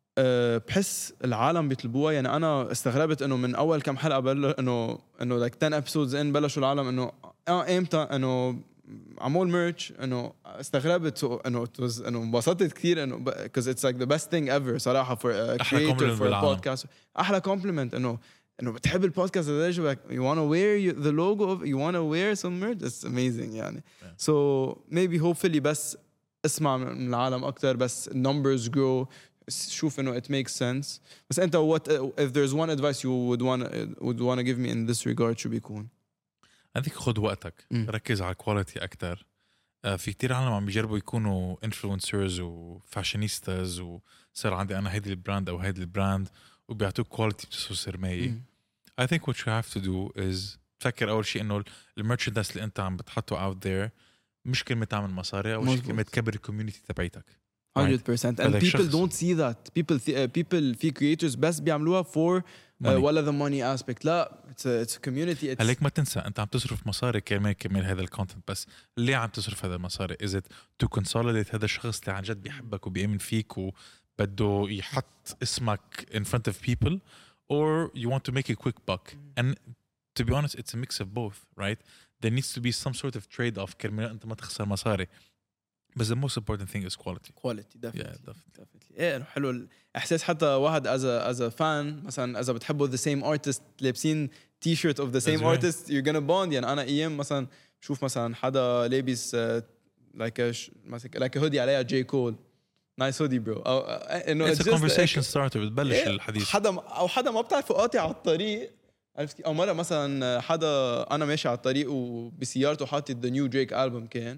بحس العالم بيطلبوها يعني أنا استغربت إنه من أول كم حلقة إنه like 10 episodes in بلشوا العالم إنه إمتى إنه عمول merch إنه استغربت إنه it was إنه انبسطت كثير إنه because it's like the best thing ever صراحة for a creator for a podcast أحلى compliment إنه بتحب البودكاست لدرجة you want to wear the logo of you want to wear some merch it's amazing يعني so maybe hopefully بس اسمع من العالم أكتر بس numbers grow شوف إنه it makes sense بس أنت what if there's one advice you would want to give me in this regard شو بيكون هذيك خد وقتك ركز على الكواليتي أكتر في كتير عالم عم بيجربوا يكونوا influencers وفاشينيستاز وصار عندي أنا هيدي البراند أو هيدي البراند وبيعطوك كواليتي بتسوى سرماية I think what you have to do is تفكر أول شيء إنه الميرشندايز اللي أنت عم بتحطه out there مش كلمة تعمل مصاري أو كلمة تكبر الكوميونيتي تبعيتك 100% and people don't see that people في creators بس بيعملوها for ولا the money aspect لا it's a community هليك ما تنسى أنت عم تصرف مصاري كرمال هذا الكونتنت بس ليه عم تصرف هذا المصاري is it to consolidate هذا الشخص اللي عن جد بيحبك وبيأمن فيك وبده يحط اسمك in front of people or you want to make a quick buck and to be honest it's a mix of both right there needs to be some sort of trade-off كرمال أنت ما تخسر مصاري but the most important thing is quality definitely إيه حلو الإحساس حتى واحد as a fan مثلا إذا بتحبوا the same artist لابسين t-shirt of the same artist you're gonna bond يعني أنا أيام مثلا شوف مثلا حدا لابس like a hoodie عليها J. Cole nice hoodie bro it's a conversation starter بتبلش الحديث حدا ما بتعرفه قاطع على الطريق عرفت او مره مثلا حدا انا ماشي على الطريق وبسيارته حاطط the new Drake album كان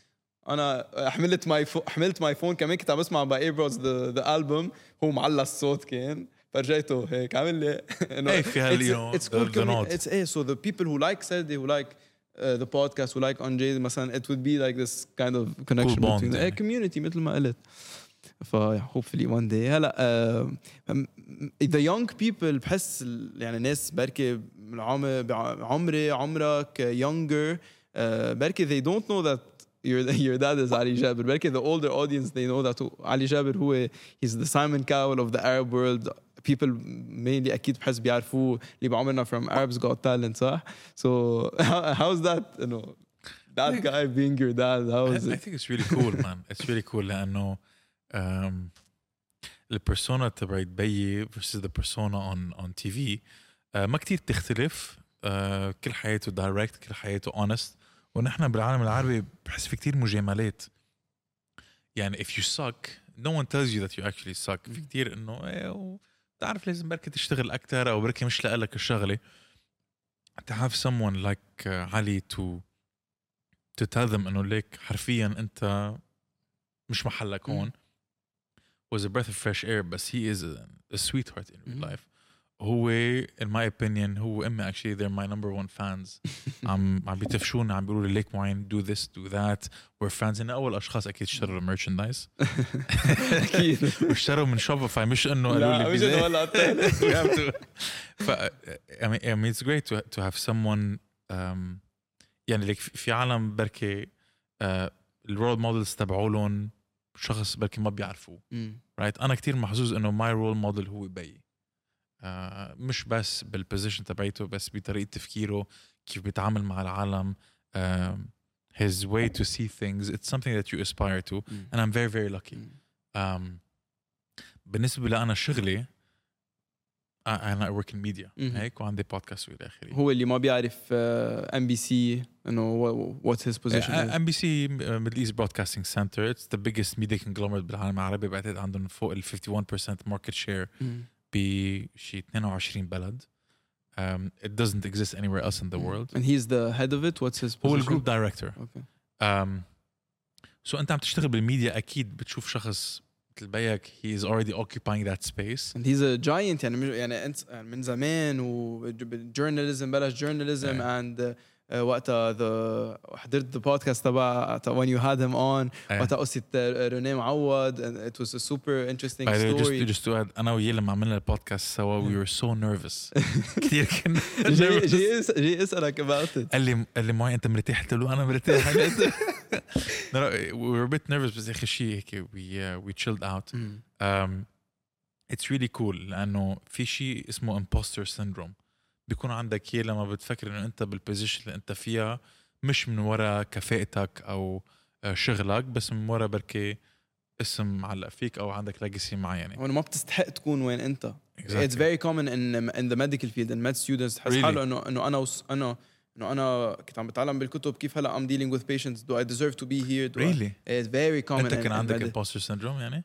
انا حملت ماي فون كمان كنت عم بسمع باي بروز the album هو معلق الصوت كان فرجيته هيك عامل لي انه it's cool it's so the people who like Saturday who like the podcast who like on Jay مثلا it would be like this kind of connection cool between the community مثل ما قلت hopefully one day هلا the young people بحس يعني ناس بركي عمري عمرك younger بركي they don't know that your dad is Ali Jaber بركي the older audience they know that Ali Jaber هو he's the Simon Cowell of the Arab world people mainly أكيد بحس بيعرفوه اللي بعمرنا from Arabs Got Talent صح so how's that you know that guy being your dad how is it I think it's really cool man it's really cool لأنه البرسونا تبعت بيي versus the persona on TV ما كتير تختلف كل حياته direct كل حياته honest ونحن بالعالم العربي بحس في كتير مجاملات يعني if you suck no one tells you that you actually suck في كتير إنه تعرف لازم بركة تشتغل أكتر أو بركة مش لقلك الشغلة to have someone like علي to tell them إنه ليك حرفيا أنت مش محلك هون was a breath of fresh air but he is a sweetheart in real life هو in my opinion هو أمي actually they're my number one fans عم بيتفشون عم بيقولوا لي ليك معين do this do that we're fans إن أول أشخاص أكيد اشتروا merchandise أكيد واشتروا من شوبيفاي مش إنه قالوا لي بيزاي I mean it's great to have someone يعني لك في عالم بركي الرول مودلز تبعولهم شخص بركي ما بيعرفوه right أنا كتير محظوظ إنه my role model هو بي مش بس بالبوزيشن تبعيته بس بطريقة تفكيره كيف بيتعامل مع العالم his way to see things it's something that you aspire to and I'm very very lucky بالنسبة لأنا شغلي أنا work in media هيك وعندي بودكاست وإلى آخره هو اللي ما بيعرف MBC إنه what's his position MBC Middle East Broadcasting Center it's the biggest media conglomerate بالعالم العربي بعتقد عندهم فوق ال 51% market share بشي 22 بلد it doesn't exist anywhere else in the world and he's the head of it what's his position هو الجروب director okay سو انت عم تشتغل بالميديا اكيد بتشوف شخص مثل بيك he is already occupying that space. and he's a giant يعني انت من زمان وجورناليزم بلش جورناليزم and وقتها حضرت the podcast تبع when you had him on وقتها قصة روني معوض and it was a super interesting story. just to add أنا وياه لما عملنا البودكاست سوا we were so nervous كتير كنا جاي اسألك about it. قال لي معي أنت مرتاح؟ قلت له أنا مرتاح. we were a bit nervous بس آخر شيء هيك we chilled out. It's really cool لأنه في شيء اسمه imposter syndrome بيكون عندك إياه لما بتفكر إنه أنت بالبوزيشن اللي أنت فيها مش من وراء كفاءتك أو شغلك بس من وراء بركي اسم معلق فيك أو عندك ليجاسي معينة وأنا ما بتستحق تكون وين أنت. Exactly. It's very common in the medical field and med students تحس حاله إنه أنا كنت عم بتعلم بالكتب كيف هلا I'm dealing with patients. Do I deserve to be here? Really? It's very common. أنت كان عندك imposter syndrome يعني؟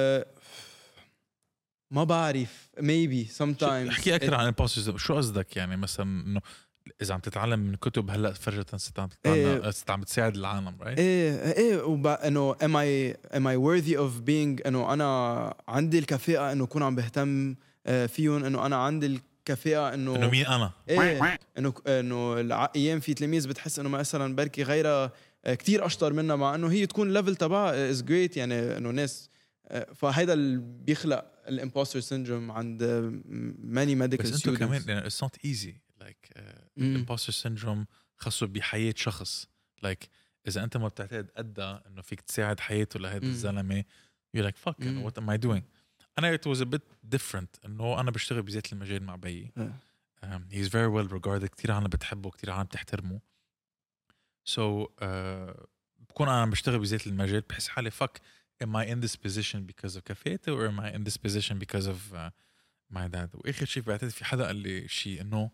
ما بعرف maybe sometimes. احكي أكثر عن imposter syndrome. شو قصدك يعني مثلا إنه إذا عم تتعلم من كتب هلا فجأة عم بتساعد العالم right؟ إيه إنه am I worthy of being إنه أنا عندي الكفاءة إنه أكون عم بهتم فيهم إنه أنا عندي الكفاءة إنه مين أنا؟ إيه إنه أيام في تلاميذ بتحس إنه مثلا بركي غيرها كتير أشطر منها مع إنه هي تكون level تبعها is great يعني إنه ناس فهيدا اللي بيخلق الامبوستر سيندروم عند many medical students. بس انتو كمان it's not easy like imposter syndrome خاصه بحياة شخص like إذا أنت ما بتعتقد قدها إنه فيك تساعد حياته لهذا الزلمة you're like fuck what am I doing. أنا it was a bit different إنه أنا بشتغل بذات المجال مع بيي he's very well regarded كتير عالم بتحبه كتير عالم بتحترمه so بكون أنا بشتغل بذات المجال بحس حالي fuck am I in this position because of كفايته or am I in this position because of my dad. وآخر شيء بعتقد في حدا قال لي شيء إنه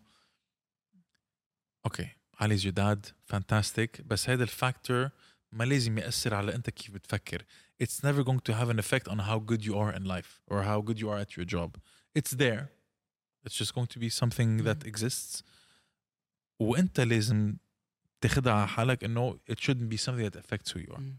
okay علي is your dad fantastic بس هذا الفاكتور ما لازم يأثر على أنت كيف بتفكر. It's never going to have an effect on how good you are in life or how good you are at your job. It's there. It's just going to be something that exists. وأنت لازم تاخدها على حالك إنه it shouldn't be something that affects who you are.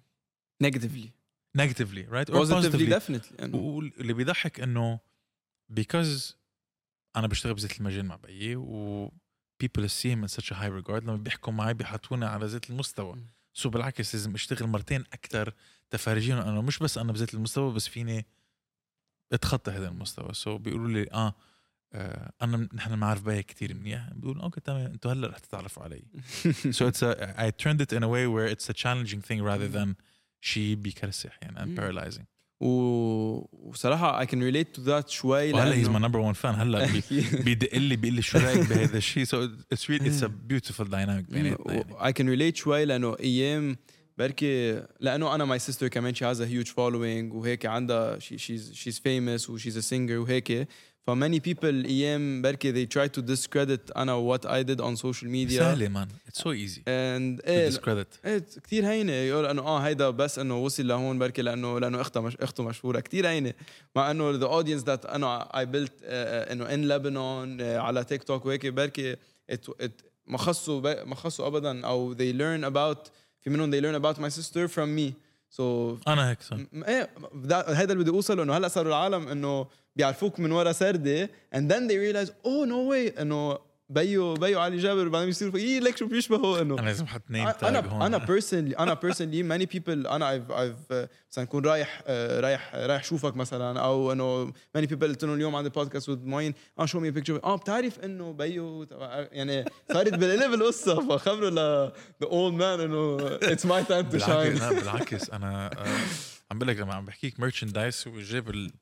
Negatively, right? Or positively definitely. واللي بيضحك إنه because أنا بشتغل بذات المجال مع بيي و people see him in such a high regard لما بيحكوا معي بيحطوني على ذات المستوى. سو بالعكس لازم اشتغل مرتين أكتر تفرجين أنا مش بس أنا بذات المستوى بس فيني اتخطى هذا المستوى. سو بيقولوا لي أنا نحن معرف بيي كتير منيح. بيقولوا أوكي تمام أنتوا هلا رح تتعرفوا علي. So I turned it in a way where it's a challenging thing rather than شيء بيكرسح يعني and paralyzing. وصراحة I can relate to that شوي. هلا he's my number one fan. هلا بيدق لي بيقول لي شو رأيك بهذا الشيء. So it's really it's a beautiful dynamic بيناتنا. I can relate شوي لأنه أيام بركي لأنه أنا my sister كمان she has a huge following وهيك عندها she's famous و she's a singer وهيك. For many people أيام بركي they try to discredit أنا what I did on social media. سهلة man. It's so easy and to discredit. كتير هينة يقول إنه هيدا بس إنه وصل لهون بركي لأنه أخته مشهورة كتير هينة مع إنه the audience that أنا I built إنه in Lebanon على تيك توك وهيك بركي ما خصوا أبدا أو they learn about في منهم they learn about my sister from me. So أنا هيك صار. هيدا اللي بدي أوصله إنه هلأ صاروا العالم إنه بيعرفوك من ورا سردة and then they realize oh no way إنه بيو علي جابر بعدين بيصيروا ليك شو بيشبهوا إنه أنا لازم أحط name tag هون. أنا personally many people أنا I've مثلا كون رايح شوفك مثلا أو إنه many people قلت لهم اليوم عندي podcast with معين show me a picture بتعرف إنه بيو يعني صارت بالقلب القصة فخبروا the old man إنه it's my time to shine. بالعكس أنا عم بقولك لما عم بحكيك merchandise وجاب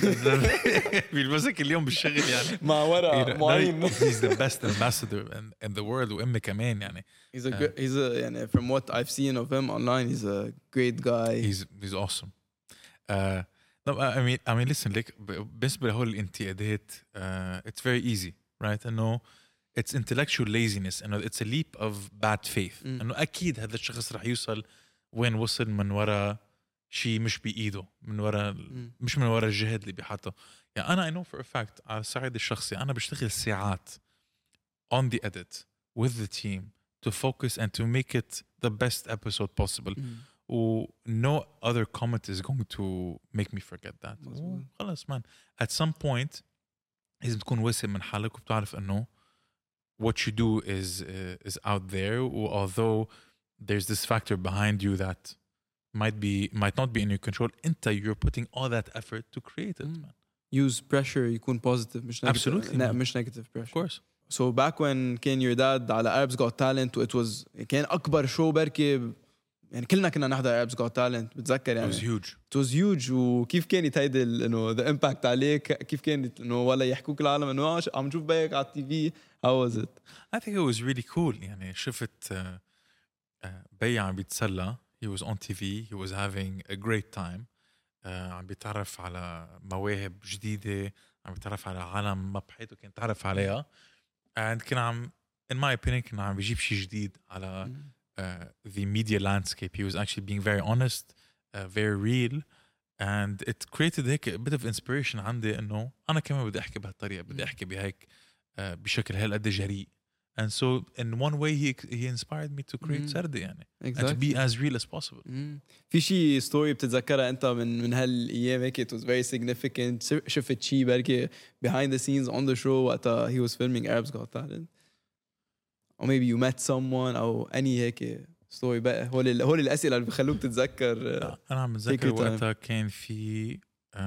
بيلبسك اليوم بالشغل يعني مع ورا معين. He's the best ambassador in the world وأمي كمان يعني. He's a يعني from what I've seen of him online he's a great guy. He's awesome. No, I mean listen like بالنسبة لهول الانتقادات it's very easy right إنه it's intellectual laziness إنه it's a leap of bad faith إنه أكيد هذا الشخص رح يوصل وين وصل من ورا شيء مش بإيده من وراء مش من وراء الجهد اللي بيحطه. يعني أنا I know for a fact على الصعيد الشخصي أنا بشتغل ساعات on the edit with the team to focus and to make it the best episode possible. و no other comment is going to make me forget that. مظبوط. خلاص man. At some point لازم تكون واثق من حالك وبتعرف إنه what you do is out there. Although there's this factor behind you that might not be in your control, you're putting all that effort to create it, man. use pressure يكون positive مش negative. Absolutely, man. مش negative Of pressure. course. So back when كان your dad على Arabs Got Talent it was كان أكبر show بركي يعني كلنا كنا نحضر Arabs Got Talent بتذكر It يعني. was huge. It was huge وكيف كانت هيدي إنه the impact عليك كيف كانت إنه ولا يحكوك العالم إنه عم نشوف بيك على التي في. How was it? I think it was really cool. يعني شفت بي عم بيتسلى. He was on TV. He was having a great time. عم بيتعرف على مواهب جديدة. عم بيتعرف على عالم ما بحياته كان تعرف عليها. And كان عم in my opinion كان عم بيجيب شيء جديد على the media landscape. He was actually being very honest, very real. And it created هيك a bit of inspiration عندي إنه أنا كمان بدي أحكي بهالطريقة. بدي أحكي بهيك بشكل هالقد جريء. And so in one way he inspired me to create سردة يعني. And to be as real as possible. في شيء ستوري بتتذكرها انت من هالايام هيك it was very significant شفت شيء بركي behind the scenes on the show وقتها he was filming Arabs Got Talent or maybe you met someone او any هيك ستوري بقى هول الاسئله اللي بخلوك تتذكر. انا عم بتذكر وقتها كان في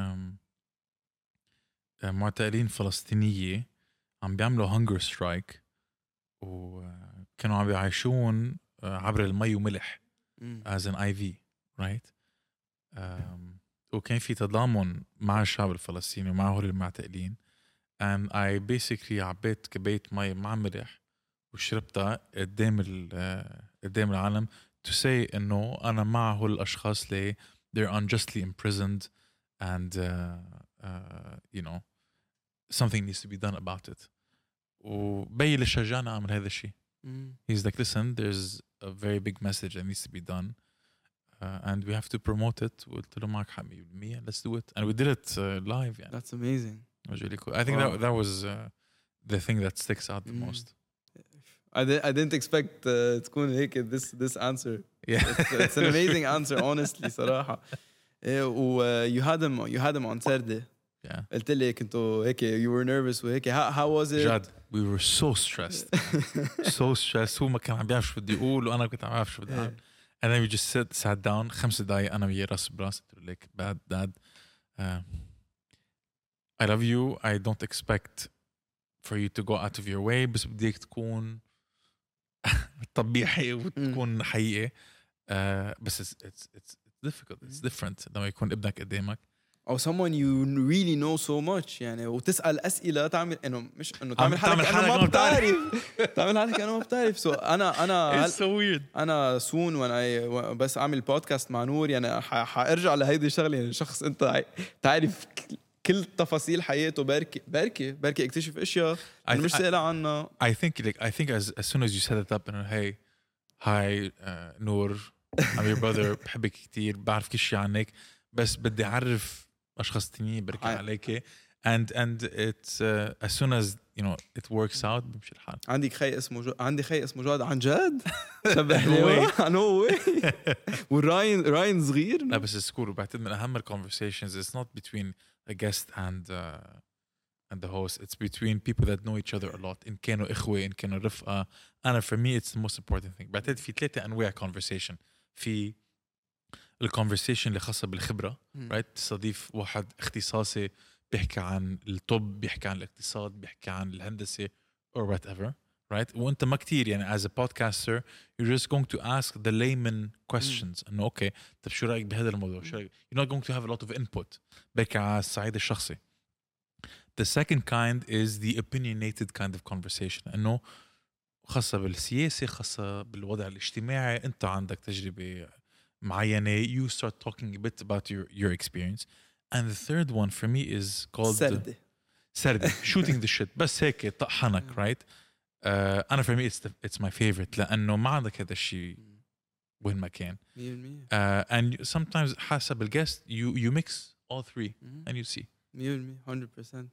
معتقلين فلسطينية عم بيعملوا hunger strike وكانوا عم بيعيشون عبر المي وملح as an IV, right? وكان في تضامن مع الشعب الفلسطيني ومع هول المعتقلين. and I basically عبيت كباية مي مع ملح وشربتها قدام العالم to say إنه أنا مع هول الأشخاص اللي they're unjustly imprisoned and you know something needs to be done about it. وبي اللي شجعنا أعمل هذا الشيء. He's like, listen, there's a very big message that needs to be done and we have to promote it. وقلت له معك حق 100%. Let's do it. And we did it live. يعني. That's amazing. It was really cool. I think that was the thing that sticks out the most. I didn't expect تكون هيك this answer. Yeah. It's an amazing answer honestly صراحة. و you had him on Saturday. Yeah. قلت لي كنتوا هيك you were nervous وهيك how was it? جد we were so stressed. so stressed. هو ما كان عم بيعرف شو بدي أقول وأنا كنت عم بعرف شو بدي أعمل. And then we just sat down 5 دقايق أنا وياه راس براس. قلت له like dad I love you. I don't expect for you to go out of your way بس بديك تكون طبيعي وتكون حقيقي. بس it's difficult. It's different لما يكون ابنك قدامك. أو someone you really know so much يعني وتسأل أسئلة تعمل إنه مش إنه تعمل حالك أنا ما بتعرف تعمل حالك أنا ما بتعرف. so أنا It's so weird. أنا soon when I بس أعمل بودكاست مع نور يعني حأرجع لهيدي الشغلة يعني شخص أنت تعرف كل تفاصيل حياته بركي اكتشف أشياء أنا مش سائل عنها. I think as soon as you set it up and hey hi نور I'm your brother بحبك كتير بعرف كل شيء عنك بس بدي أعرف أشخاص تانيين بركي عليك and it's as soon as you know it works out بمشي الحال. عندي خي اسمه جاد عن جد شبه لي no way وراين صغير. لا بس السكول وبعتقد من أهم conversations it's not between a guest and the host. It's between people that know each other a lot. إن كانوا إخوة إن كانوا رفقة. أنا for me it's the most important thing. بعتقد في 3 أنواع conversation. في الconversation اللي خاصة بالخبرة right تستضيف واحد اختصاصي بيحكي عن الطب بيحكي عن الاقتصاد بيحكي عن الهندسة or whatever right وانت ما كتير يعني as a podcaster you're just going to ask the layman questions انه اوكي طب شو رأيك بهذا الموضوع شو رأيك you're not going to have a lot of input بيحكي على الصعيد الشخصي. The second kind is the opinionated kind of conversation انه خاصة بالسياسة خاصة بالوضع الاجتماعي انت عندك تجربة معينة you start talking a bit about your experience. And the third one for me is called سردة shooting the shit بس هيك طحنك right. أنا for me it's my favorite لأنه ما عندك هذا الشيء وين ما كان. And sometimes حسب الguest you mix all 3 and you see 100%.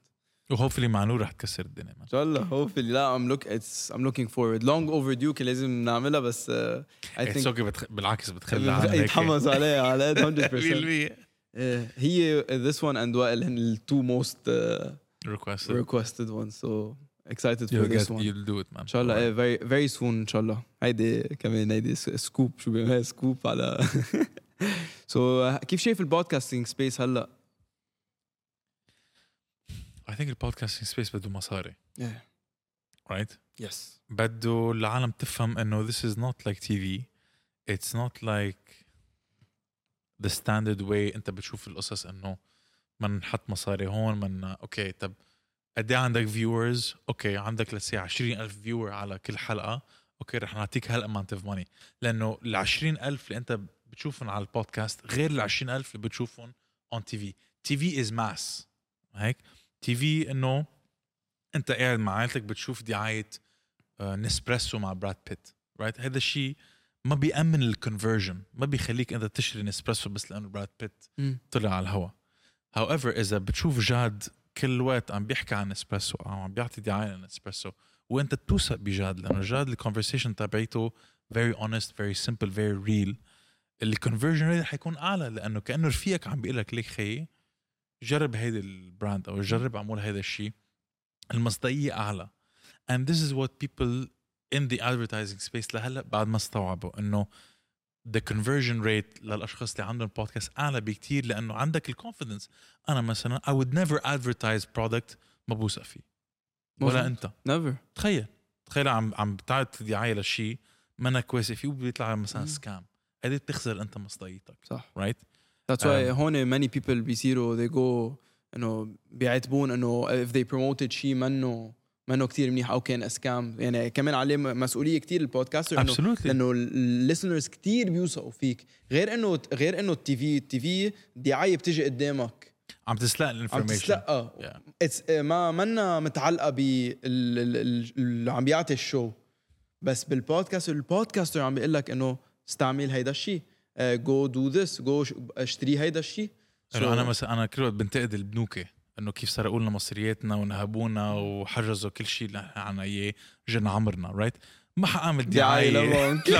وهوفلي مع نور رح تكسر الدنيا ان شاء الله hopefully. لا I'm looking forward. long overdue كان لازم نعملها بس I think بالعكس بتخلي على يتحمس عليها على 100%. 100% هي this one and وائل هن ال two most requested ones, so excited for this one. you'll do it man ان شاء الله very very soon ان شاء الله. هيدي كمان هيدي سكوب شو بيعملها سكوب على so كيف شايف البودكاستينج سبيس هلا؟ I think البودكاستينج سبيس بده مصاري right yes بده العالم تفهم انه this is not like TV. It's not like the standard way انت بتشوف القصص انه من نحط مصاري هون من اوكي طب قد ايه عندك viewers اوكي عندك لسه 20,000 viewer على كل حلقة اوكي رح نعطيك هالامount of money لانه ال 20,000 اللي انت بتشوفهم على البودكاست غير ال 20,000 اللي بتشوفهم on TV. TV is mass هيك TV انه انت قاعد مع عائلتك بتشوف دعاية نسبريسو مع براد بيت رايت. هذا الشيء ما بيأمن الكونفرجن ما بيخليك انت تشتري نسبريسو بس لانه براد بيت طلع على الهواء. however اذا بتشوف جاد كل وقت عم بيحكي عن نسبريسو او عم بيعطي دعاية لنسبريسو وانت توثق بجاد لانه جاد الكونفرسيشن تبعيته very honest very simple very real الكونفرجن ريت حيكون اعلى لانه كانه رفيقك عم بيقول لك ليك خيي جرب هيدا البراند او جرب اعمل هيدا الشيء. المصداقية اعلى and this is what people in the advertising space لهلا بعد ما استوعبوا انه the conversion rate للاشخاص اللي عندهم بودكاست اعلى بكتير لانه عندك الكونفيدنس. انا مثلا I would never advertise product ما بوثق فيه ولا انت never. تخيل عم بتعطي دعاية للشيء ما انك واثق فيه وبيطلع مثلا سكام. هذه بتخسر انت مصداقيتك صح right. That's why هون many people بيصيروا they go انه بيعتبون انه if they promoted شيء منه كتير منيح او كان اسكام. يعني كمان عليه مسؤوليه كتير البودكاستر انه لانه الليسنرز كتير بيوثقوا فيك غير انه التي في دعايه بتجي قدامك عم تسلق الانفورميشن ما منا متعلقه اللي عم بيعطي الشو بس البودكاستر عم بيقول لك انه استعمل هيدا الشيء go do this go اشتري هيدا الشيء. انا مثلا انا كل وقت بنتقد البنوكه انه كيف سرقوا لنا مصرياتنا ونهبونا وحجزوا كل شيء اللي عنا اياه جن عمرنا رايت. ما حاعمل دعايه لبنك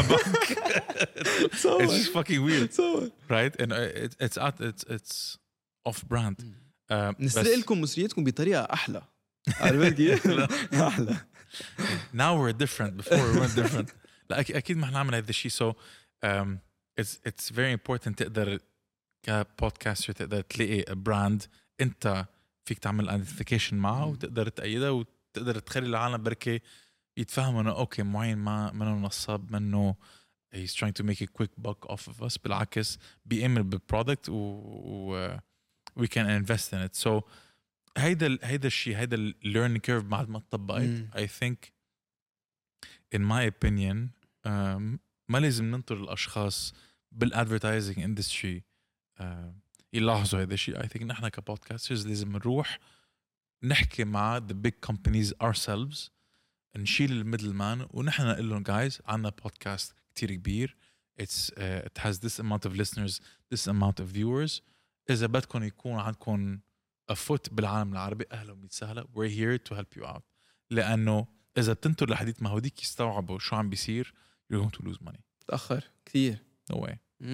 it's fucking weird right and it's off brand. نسرق لكم مصرياتكم بطريقه احلى عرفت كيف احلى. now we're different before we weren't different. لا اكيد ما حنعمل هذا الشيء so it's very important تقدر كبودكاستر تقدر تلاقي براند انت فيك تعمل ايدنتيفيكيشن معه وتقدر تأيدها وتقدر تخلي العالم بركي يتفهموا انه اوكي معين ما منه نصاب منه he's trying to make a quick buck off of us. بالعكس بيأمن بالبرودكت و we can invest in it. so هيدا الشيء هيدا learning curve بعد ما تطبقت I think in my opinion ما لازم ننطر الاشخاص بالادفيرتايزنج اندستري يلاحظوا هذا الشيء. I think نحن كبودكاسترز لازم نروح نحكي مع the big companies ourselves نشيل الميدل مان ونحن نقول لهم guys عنا بودكاست كتير كبير it has this amount of listeners this amount of viewers إذا بدكم يكون عندكم a foot بالعالم العربي أهلا وسهلا we're here to help you out. لأنه إذا بتنطر لحديث ما هوديك يستوعبوا شو عم بيصير you're going to lose money. تأخر كثير no way.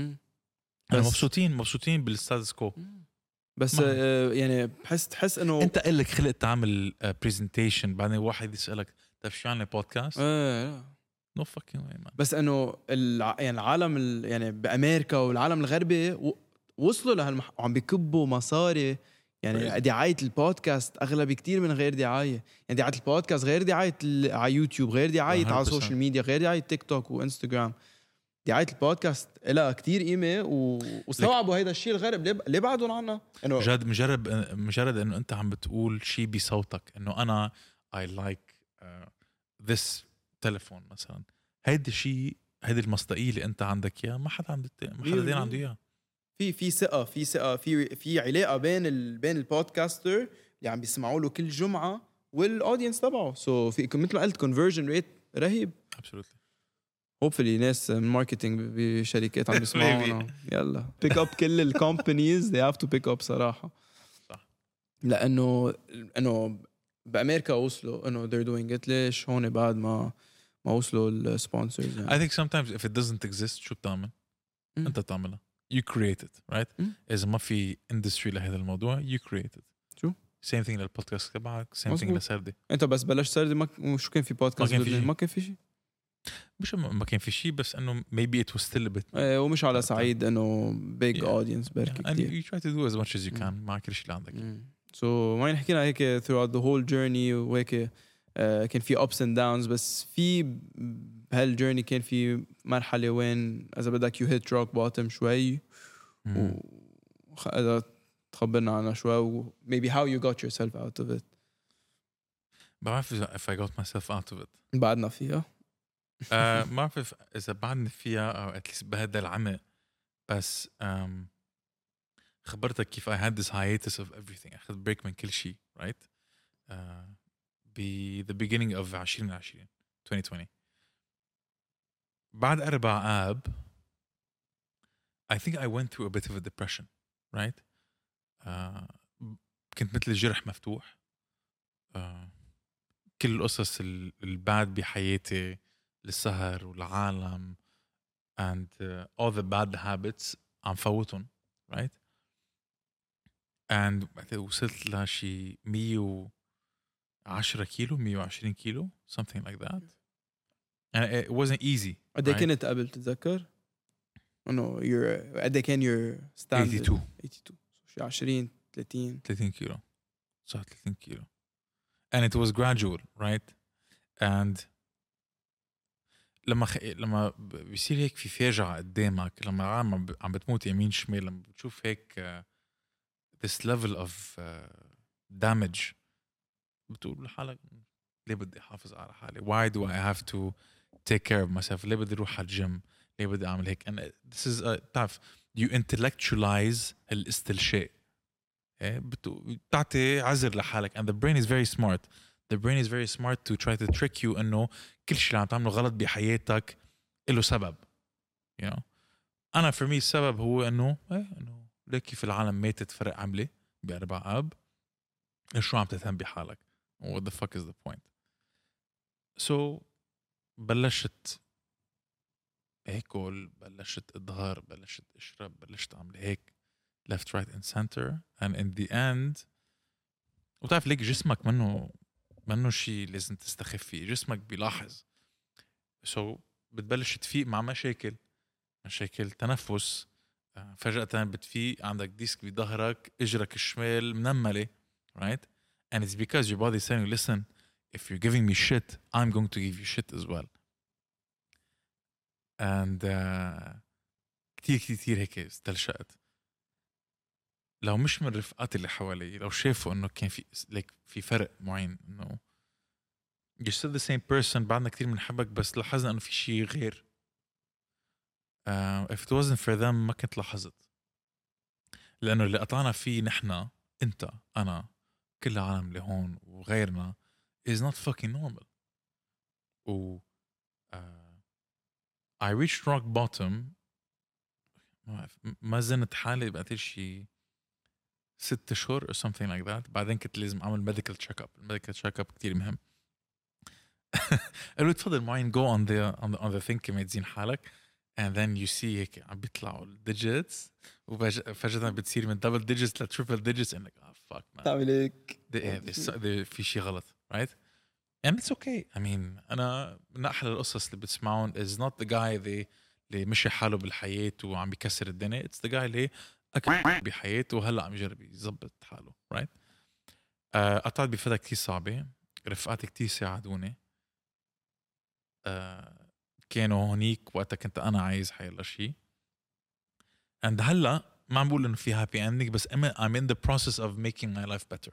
مبسوطين بالستاتس كو بس يعني تحس انه انت قلك خلق تعمل بريزنتيشن بعدين واحد يسألك طيب شو يعني بودكاست no fucking way man. بس انه يعني العالم يعني بأمريكا والعالم الغربي وصلوا وعم بيكبوا مصاري يعني دعاية البودكاست أغلب كتير من غير دعاية. يعني دعاية البودكاست غير دعاية على يوتيوب غير دعاية على السوشيال ميديا غير دعاية تيك توك وإنستغرام. دعاية البودكاست لها كتير قيمة واستوعبوا هيدا الشيء الغرب ليه بعدون عنا إنه جد مجرد إنه أنت عم بتقول شيء بصوتك إنه أنا I like this تلفون مثلا هيدا الشيء هيدا المصداقية اللي أنت عندك إياه ما حدا عنده عنده إياه. في ثقة في علاقة بين البودكاستر اللي عم بيسمعوا له كل جمعة والأودينس تبعه. سو في مثل ما قلت conversion rate رهيب. absolutely. hopefully ناس من ماركتينج بشركات عم بيسمعونا يلا pick up كل الكومبانيز they have to pick up صراحة. صح. لانه بامريكا وصلوا انه they're doing it. ليش هون بعد ما وصلوا السبونسرز يعني. I think sometimes if it doesn't exist شو بتعمل؟ انت تعملها. You create it, right? اذا ما في industry لهذا الموضوع you create it. شو same thing للبودكاست تبعك, same thing لسردي. انت بس بلشت سردي شو كان في بودكاست؟ ما كان في شيء. مش ما كان في شيء, بس انه maybe it was still a bit. ومش على صعيد انه big audience بركي and كتير. you try to do as much as you can مع كل شيء اللي عندك. so ما نحكينا هيك throughout the whole journey وهيك كان في ups and downs, بس في بهالجيرني كان في مرحلة وين إذا بدك you hit rock bottom شوي إذا تخبرنا عنها شوي و maybe how you got yourself out of it. بعرف if I got myself out of it. بعدنا فيها. ما بعرف إذا بعدني فيها أو at least بهذا العمق, بس خبرتك كيف I had this hiatus of everything. أخذ break من كل شيء, right? be the beginning of 2020. بعد 4 آب I think I went through a bit of a depression, right? كنت مثل الجرح مفتوح. كل القصص الباد بحياتي, السهر والعالم and all the bad habits عم فوتهم, right? and وصلت لشي 110 كيلو 120 كيلو something like that, and it wasn't easy. قد ايه كنت قبل تتذكر؟ انه قد ايه كان your standard؟ 82 شي 20 30 كيلو, صح 30 كيلو, and it was gradual, right? and لما بيصير هيك في فاجعة قدامك, لما عم بتموت يمين شمال, لما بتشوف هيك this level of damage, بتقول لحالك ليه بدي أحافظ على حالي? Why do I have to take care of myself? ليه بدي أروح على الجيم؟ ليه بدي أعمل هيك؟ and this is تعرف you intellectualize الاستلشاء, بتعطي عذر لحالك, and the brain is very smart. The brain is very smart to try to trick you إنه كل شيء اللي عم تعمله غلط بحياتك له سبب, you know. أنا for me السبب هو إنه ليه كيف العالم ماتت فرق عملة ب4 آب, شو عم تهتم بحالك? What the fuck is the point? So بلشت أكل, بلشت أظهر, بلشت أشرب, بلشت أعمل هيك left right and center, and in the end وتعرف ليك جسمك منه شيء لازم تستخف فيه, جسمك بيلاحظ. so بتبلش تفيق مع مشاكل تنفس, فجأة بتفيق عندك ديسك بظهرك, اجرك الشمال منملة, right? and it's because your body is saying, listen, if you're giving me shit, I'm going to give you shit as well. and كتير هيك استلشأت. لو مش من رفقاتي اللي حوالي, لو شافوا انه كان في فرق معين, انه you're still the same person, بعدنا كتير منحبك, بس لاحظنا انه في شيء غير. if it wasn't for them ما كنت لاحظت, لانه اللي قطعنا فيه نحنا, انت, انا, كل العالم اللي هون وغيرنا is not fucking normal. و I reached rock bottom, ما زنت حالي بعد شيء 6 أشهر or something like that. بعدين كنت لازم أعمل medical check-up. medical check-up كتير مهم. قالوا تفضل معين go on the thing كما تزين حالك, and then you see هيك عم بيطلعوا digits, وفجأة بتصير من double digits ل triple digits, and like fuck man, تعمل هيك في شيء غلط, right? and it's okay. I mean أنا من أحلى القصص اللي بتسمعون is not the guy اللي مشي حاله بالحياة وعم بيكسر الدنيا, it's the guy اللي أكبر بحياته وهلأ عم يجرب يزبط حاله, right? قطعت بفترة كتير صعبة, رفقاتي كتير ساعدوني, كانوا هونيك وقتها كنت أنا عايز حيلا شيء, and هلأ ما عم بقول إنه في happy ending, بس I'm in the process of making my life better.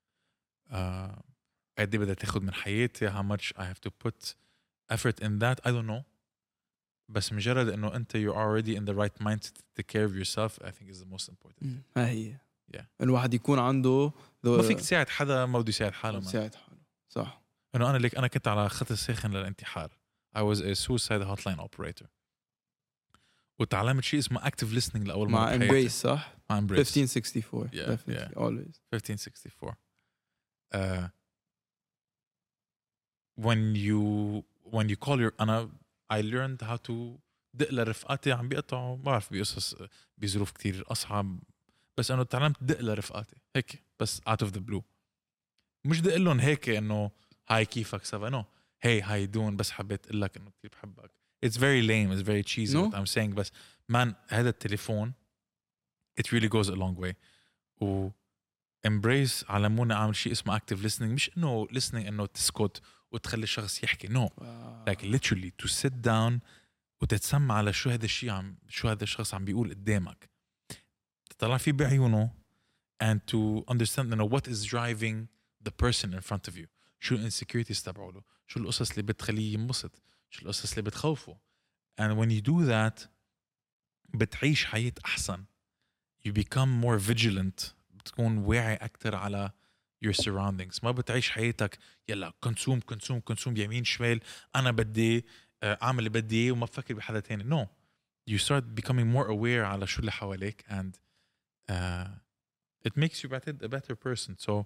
قد بدها تاخد من حياتي, how much I have to put effort in that I don't know, بس مجرد إنه أنت you're already in the right mindset to take care of yourself I think is the most important. ها هي yeah. الواحد يكون عنده ما فيك تساعد حدا ما بده يساعد حاله, صح. إنه أنا كنت على خط الساخن للانتحار. I was a suicide hotline operator, وتعلمت شيء اسمه active listening لأول مرة مع embrace, صح؟ مع embrace 1564 Yeah, definitely yeah. always 1564 when you call your أنا I learned how to دق لرفقاتي عم بيقطعوا ما بعرف بقصص بظروف كتير أصعب بس أنه تعلمت دق لرفقاتي هيك بس out of the blue مش دق لهم هيك إنه هاي كيفك سوا no hey how you doing بس حبيت أقول لك إنه كتير بحبك it's very lame it's very cheesy No. what I'm saying بس man هذا التليفون it really goes a long way و embrace علمونا أعمل شيء اسمه active listening مش إنه listening إنه تسكت وتخلي الشخص يحكي no like literally to sit down وتتسمع على شو هذا الشيء شو هذا الشخص عم بيقول قدامك تطلع فيه بعيونه and to understand you know what is driving the person in front of you شو insecurities تبعوله شو القصص اللي بتخليه ينبسط شو القصص اللي بتخوفه and when you do that بتعيش حياة أحسن you become more vigilant بتكون واعي أكتر على your surroundings ما بتعيش حياتك يلا كونسوم يمين شمال أنا بدي أعمل اللي بدي إياه وما بفكر بحدا تاني no you start becoming more aware على شو اللي حواليك and it makes you a better person so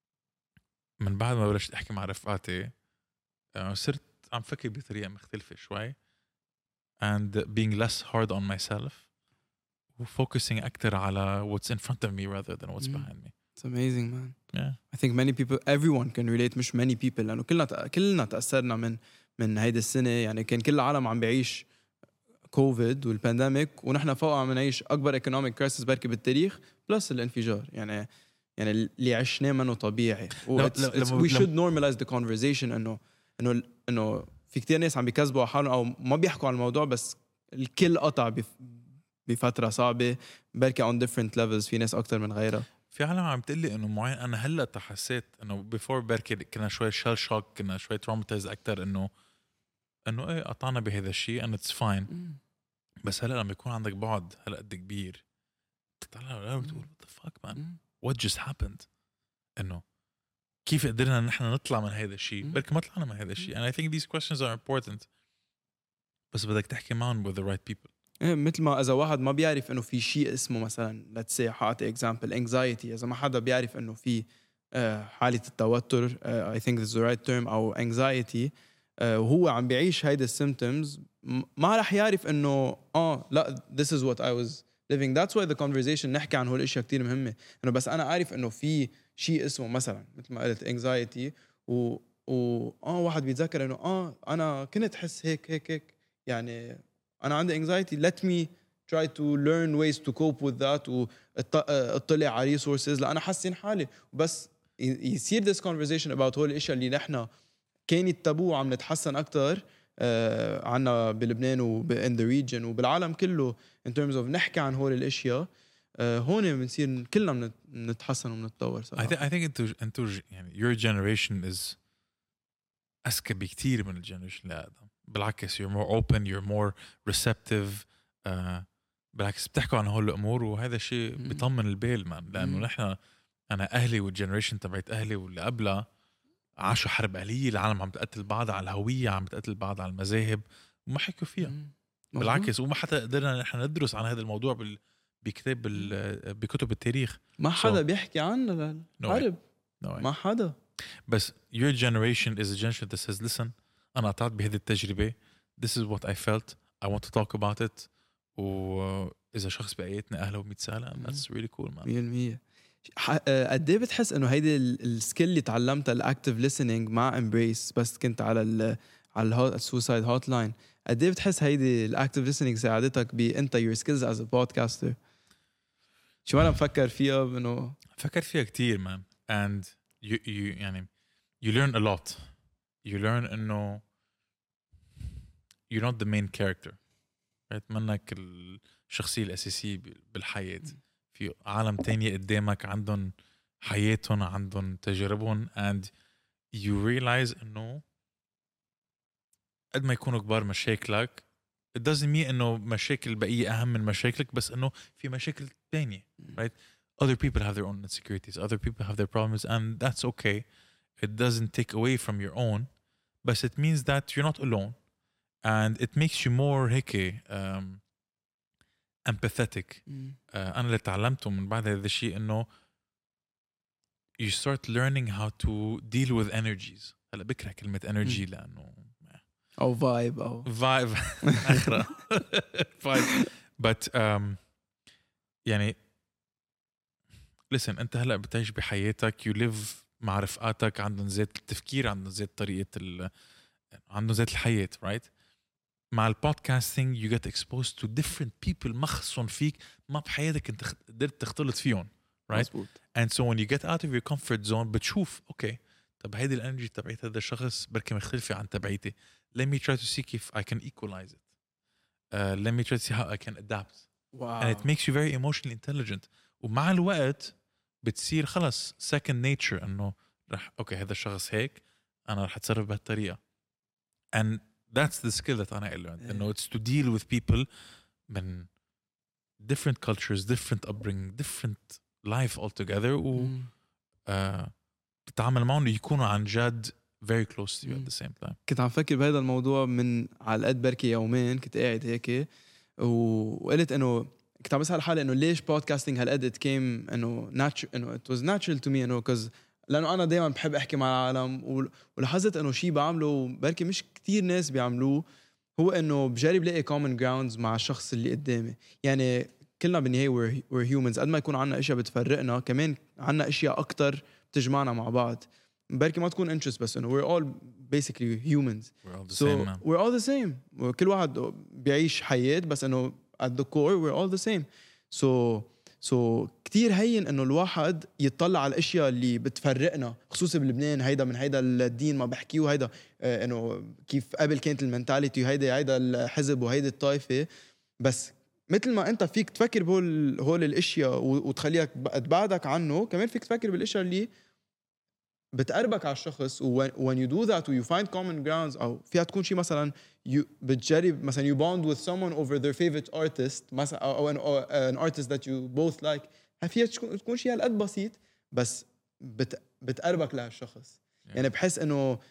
من بعد ما بلشت أحكي مع رفقاتي صرت عم فكر بطريقة مختلفة شوي and being less hard on myself focusing أكتر على what's in front of me rather than what's behind me. It's amazing man. Yeah. I think many people everyone can relate مش many people لأنه كلنا تأثرنا من هيدا السنة يعني كان كل العالم عم بيعيش كوفيد والبانديميك ونحن فوق عم نعيش أكبر economic crisis بركي بالتاريخ بلس الانفجار يعني اللي عشناه منه طبيعي we should normalize the conversation إنه في كتير ناس عم بيكذبوا على حالهم أو ما بيحكوا عن الموضوع بس الكل قطع بفترة صعبة بركي on different levels في ناس أكتر من غيرها في عالم عم تقلي إنه معين أنا هلأ تحسيت إنه before بركي كنا شوي shell shock كنا شوي traumatized أكتر إنه إيه قطعنا بهذا الشيء and it's fine بس هلأ لما يكون عندك بعد هلأ قد كبير تطلع بتقول what the fuck man what just happened إنه كيف قدرنا نحن نطلع من هذا الشيء بركي ما طلعنا من هذا الشيء and I think these questions are important بس بدك تحكي معهم with the right people مثل ما إذا واحد ما بيعرف إنه في شيء اسمه مثلا let's say حاعطي example anxiety إذا ما حدا بيعرف إنه في حالة التوتر I think this is the right term أو anxiety وهو عم بيعيش هيدا السيمبتومز ما رح يعرف إنه لا this is what I was living that's why the conversation نحكي عن هول الأشياء كتير مهمة إنه بس أنا عارف إنه في شيء اسمه مثلا مثل ما قلت anxiety واحد بيتذكر إنه أنا كنت حس هيك يعني أنا عندي anxiety let me try to learn ways to cope with that واطلع على resources لأنا حسن حالي بس يصير this conversation about هول الأشياء اللي نحنا كانت تابو عم نتحسن أكتر عنا بلبنان in the region وبالعالم كله in terms of نحكي عن هول الأشياء هون بنصير كلنا بنتحسن وبنتطور I think انتو يعني your generation is أذكى بكتير من الجنريشن اللي قدام بالعكس you're more open you're more receptive بالعكس بتحكوا عن هول الأمور وهذا الشيء بيطمن البال مان لأنه نحن أنا أهلي والجنريشن تبعت أهلي واللي قبلها عاشوا حرب أهلية العالم عم بتقتل بعض على الهوية عم بتقتل بعض على المذاهب وما حكوا فيها بالعكس وما حتى قدرنا نحن ندرس عن هذا الموضوع بكتاب بكتب التاريخ ما حدا بيحكي عنه الحرب ما حدا بس your generation is a generation that says listen أنا قطعت بهذه التجربة this is what I felt I want to talk about it وإذا شخص بقيتنا أهله ومتسالة that's really cool man 100% قد ايه بتحس انه هيدي السكيل اللي تعلمتها الاكتيف listening مع امبريس بس كنت على السوسايد هوت لاين قد ايه بتحس هيدي الاكتيف listening ساعدتك بانت your skills as a podcaster شو انا بفكر فيها انه فكر فيها كتير man and you يعني you learn a lot you learn انه you're not the main character منك الشخصية الأساسية بالحياة في عالم تانية قدامك عندهم حياتهم عندهم تجاربهم and you realize انه قد ما يكونوا كبار مشاكلك it doesn't mean انه مشاكل بقية اهم من مشاكلك بس انه في مشاكل تانية right other people have their own insecurities other people have their problems and that's okay it doesn't take away from your own but it means that you're not alone and it makes you more هيك empathetic. أنا اللي تعلمته من بعد هذا الشيء إنه you start learning how to deal with energies. هلا بكره كلمة energy لأنه أو vibe أو vibe آخرة vibe but يعني listen أنت هلا بتعيش بحياتك you live مع رفقاتك عندهم ذات التفكير عندهم ذات طريقة عندهم ذات الحياة right. مع البودكاستينج you get exposed to different people مخصون فيك ما بحياتك انت قدرت تختلط فيهم right مزبوط. and so when you get out of your comfort zone بتشوف اوكي طب هيدي الانرجي تبعت هذا الشخص بركي مختلفة عن تبعيتي let me try to see if I can equalize it let me try to see how I can adapt wow. and it makes you very emotionally intelligent ومع الوقت بتصير خلص second nature انه رح اوكي هذا الشخص هيك انا رح اتصرف بهالطريقة and that's the skill that I learned. You know, it's to deal with people من different cultures, different upbringing, different life altogether و تتعامل معهم يكونوا عن جد very close to you at the same time. كنت عم فكر بهذا الموضوع من على قد بركي يومين كنت قاعد هيك وقلت انه كنت عم بسأل حالي انه ليش بودكاستينج هالقد it came انه انه it was natural to me انه cause لأنه أنا دايماً بحب أحكي مع العالم ولاحظت إنه شيء بعمله بركي مش كتير ناس بيعملوه هو إنه بجرب لاقي common grounds مع الشخص اللي قدامي يعني كلنا بالنهاية we're humans قد ما يكون عنا أشياء بتفرقنا كمان عنا أشياء أكتر بتجمعنا مع بعض بركي ما تكون interest بس إنه we're all basically humans we're all the same كل واحد بيعيش حياة بس إنه at the core we're all the same so كتير هين انه الواحد يتطلع على الاشياء اللي بتفرقنا خصوصا بلبنان هيدا من هيدا الدين ما بحكيه هيدا انه كيف قبل كانت المنتاليتي هيدا الحزب وهيدا الطائفه بس مثل ما انت فيك تفكر بهول الاشياء وتخليك تبعدك عنه كمان فيك تفكر بالاشياء اللي بتقربك على الشخص when you do that you find common grounds او فيها تكون شيء مثلا بتجرب مثلا you bond with someone over their favorite artist مثلا او an artist that you both like فيها تكون شيء هالقد بسيط بس بتقربك لهالشخص يعني بحس انه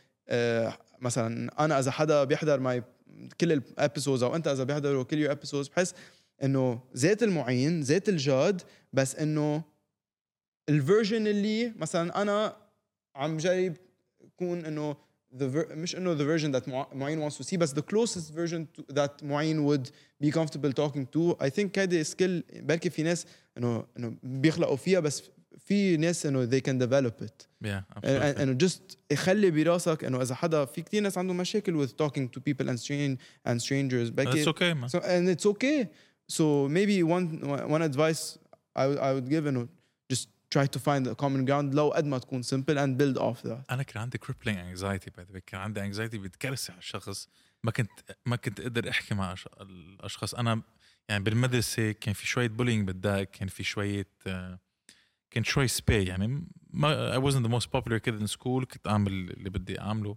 مثلا انا اذا حدا بيحضر معي كل الابيسودز او انت اذا بيحضروا كل الابيسودز بحس انه ذات المعين ذات الجاد بس انه الفيرجن اللي مثلا انا عم جايب يكون انه مش انه the version that معين wants to see بس the closest version that معين would be comfortable talking to I think هذه skill بركي في ناس انه بيخلقوا فيها بس في ناس انه they can develop it انه just يخلي براسك انه اذا حدا في كتير ناس عندهم مشاكل with talking to people and strangers It's okay man and it's okay so maybe one advice I would give انه just try to find a common ground لو قد ما تكون simple and build off that. أنا كان عندي crippling anxiety by the way كان عندي anxiety بتكرسي على الشخص ما كنت أقدر أحكي مع الأشخاص أنا يعني بالمدرسة كان في شوية bullying بالداك كان في شوية كان شوي سبي يعني I wasn't the most popular kid in school كنت أعمل اللي بدي أعمله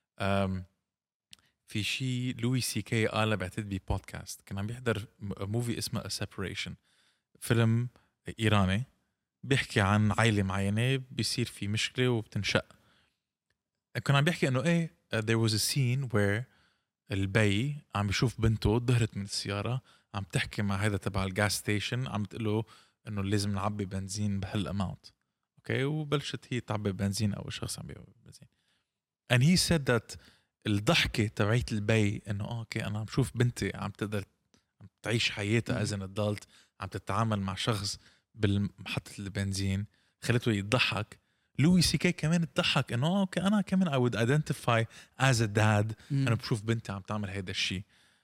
في شيء لوي سي كي قال بعتقد ببودكاست كان عم بيحضر موفي اسمه A Separation فيلم إيراني بيحكي عن عائلة معينة بيصير في مشكلة وبتنشق كان عم بيحكي انه ايه there was a scene where البي عم بيشوف بنته ظهرت من السيارة عم تحكي مع هذا تبع الجاس ستيشن عم تقوله انه لازم نعبي بنزين بهالاماونت اوكي وبلشت هي تعبي بنزين او شخص عم بيعبي بنزين and he said that الضحكة تبعت البي انه اوكي انا عم شوف بنتي عم تقدر عم تعيش حياتها as an adult عم تتعامل مع شخص بالمحطة البنزين خلته يضحك لوي سي كي كمان تضحك انه اوكي انا كمان I would identify as a dad انا بشوف بنتي عم تعمل هيدا الشيء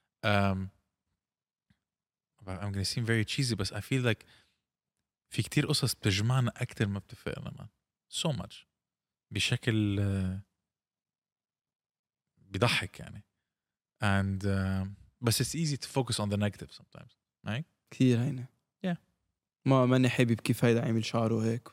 I'm gonna seem very cheesy بس I feel like في كتير قصص بتجمعنا أكتر ما بتفرقنا man so much بشكل بيضحك يعني and بس it's easy to focus on the negative sometimes right كثير هينة ما ماني حابب كيف هيدا عامل شعره هيك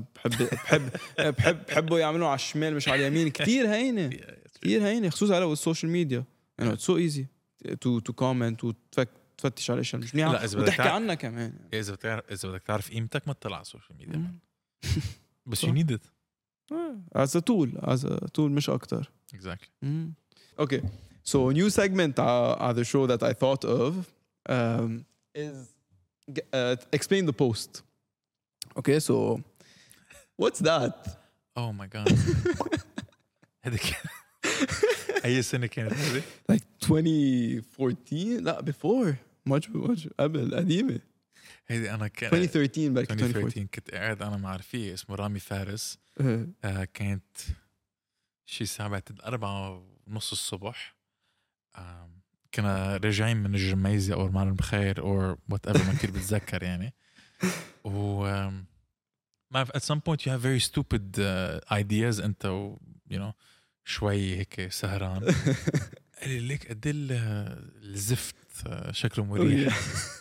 بحبه يعملوا على الشمال مش على اليمين كتير هينة كتير هينة خصوصا على السوشيال ميديا يعني it's so easy to comment وتفتش على الاشياء مش منيحة وتحكي عنها كمان إذا بدك تعرف قيمتك ما تطلع على السوشيال ميديا بس you need it as a tool مش أكتر exactly okay so a new segment on the show that I thought of is explain the post. Okay, so what's that? Oh my god. هذيك أي سنة كانت هذه؟ Like 2014? لا before. much قبل قديمة. هذه أنا كان 2013 back 2014. 2013 كنت قاعد أنا مع رفيق اسمه رامي فارس. كانت شي الساعة بعد 4:30 الصبح. كنا راجعين من الجميزة أو المعلم بخير or whatever ما كنت بتذكر يعني. و ما at some point you have very stupid ideas أنت you know شوي هيك سهران. قال لي ليك قد الزفت شكله مريح.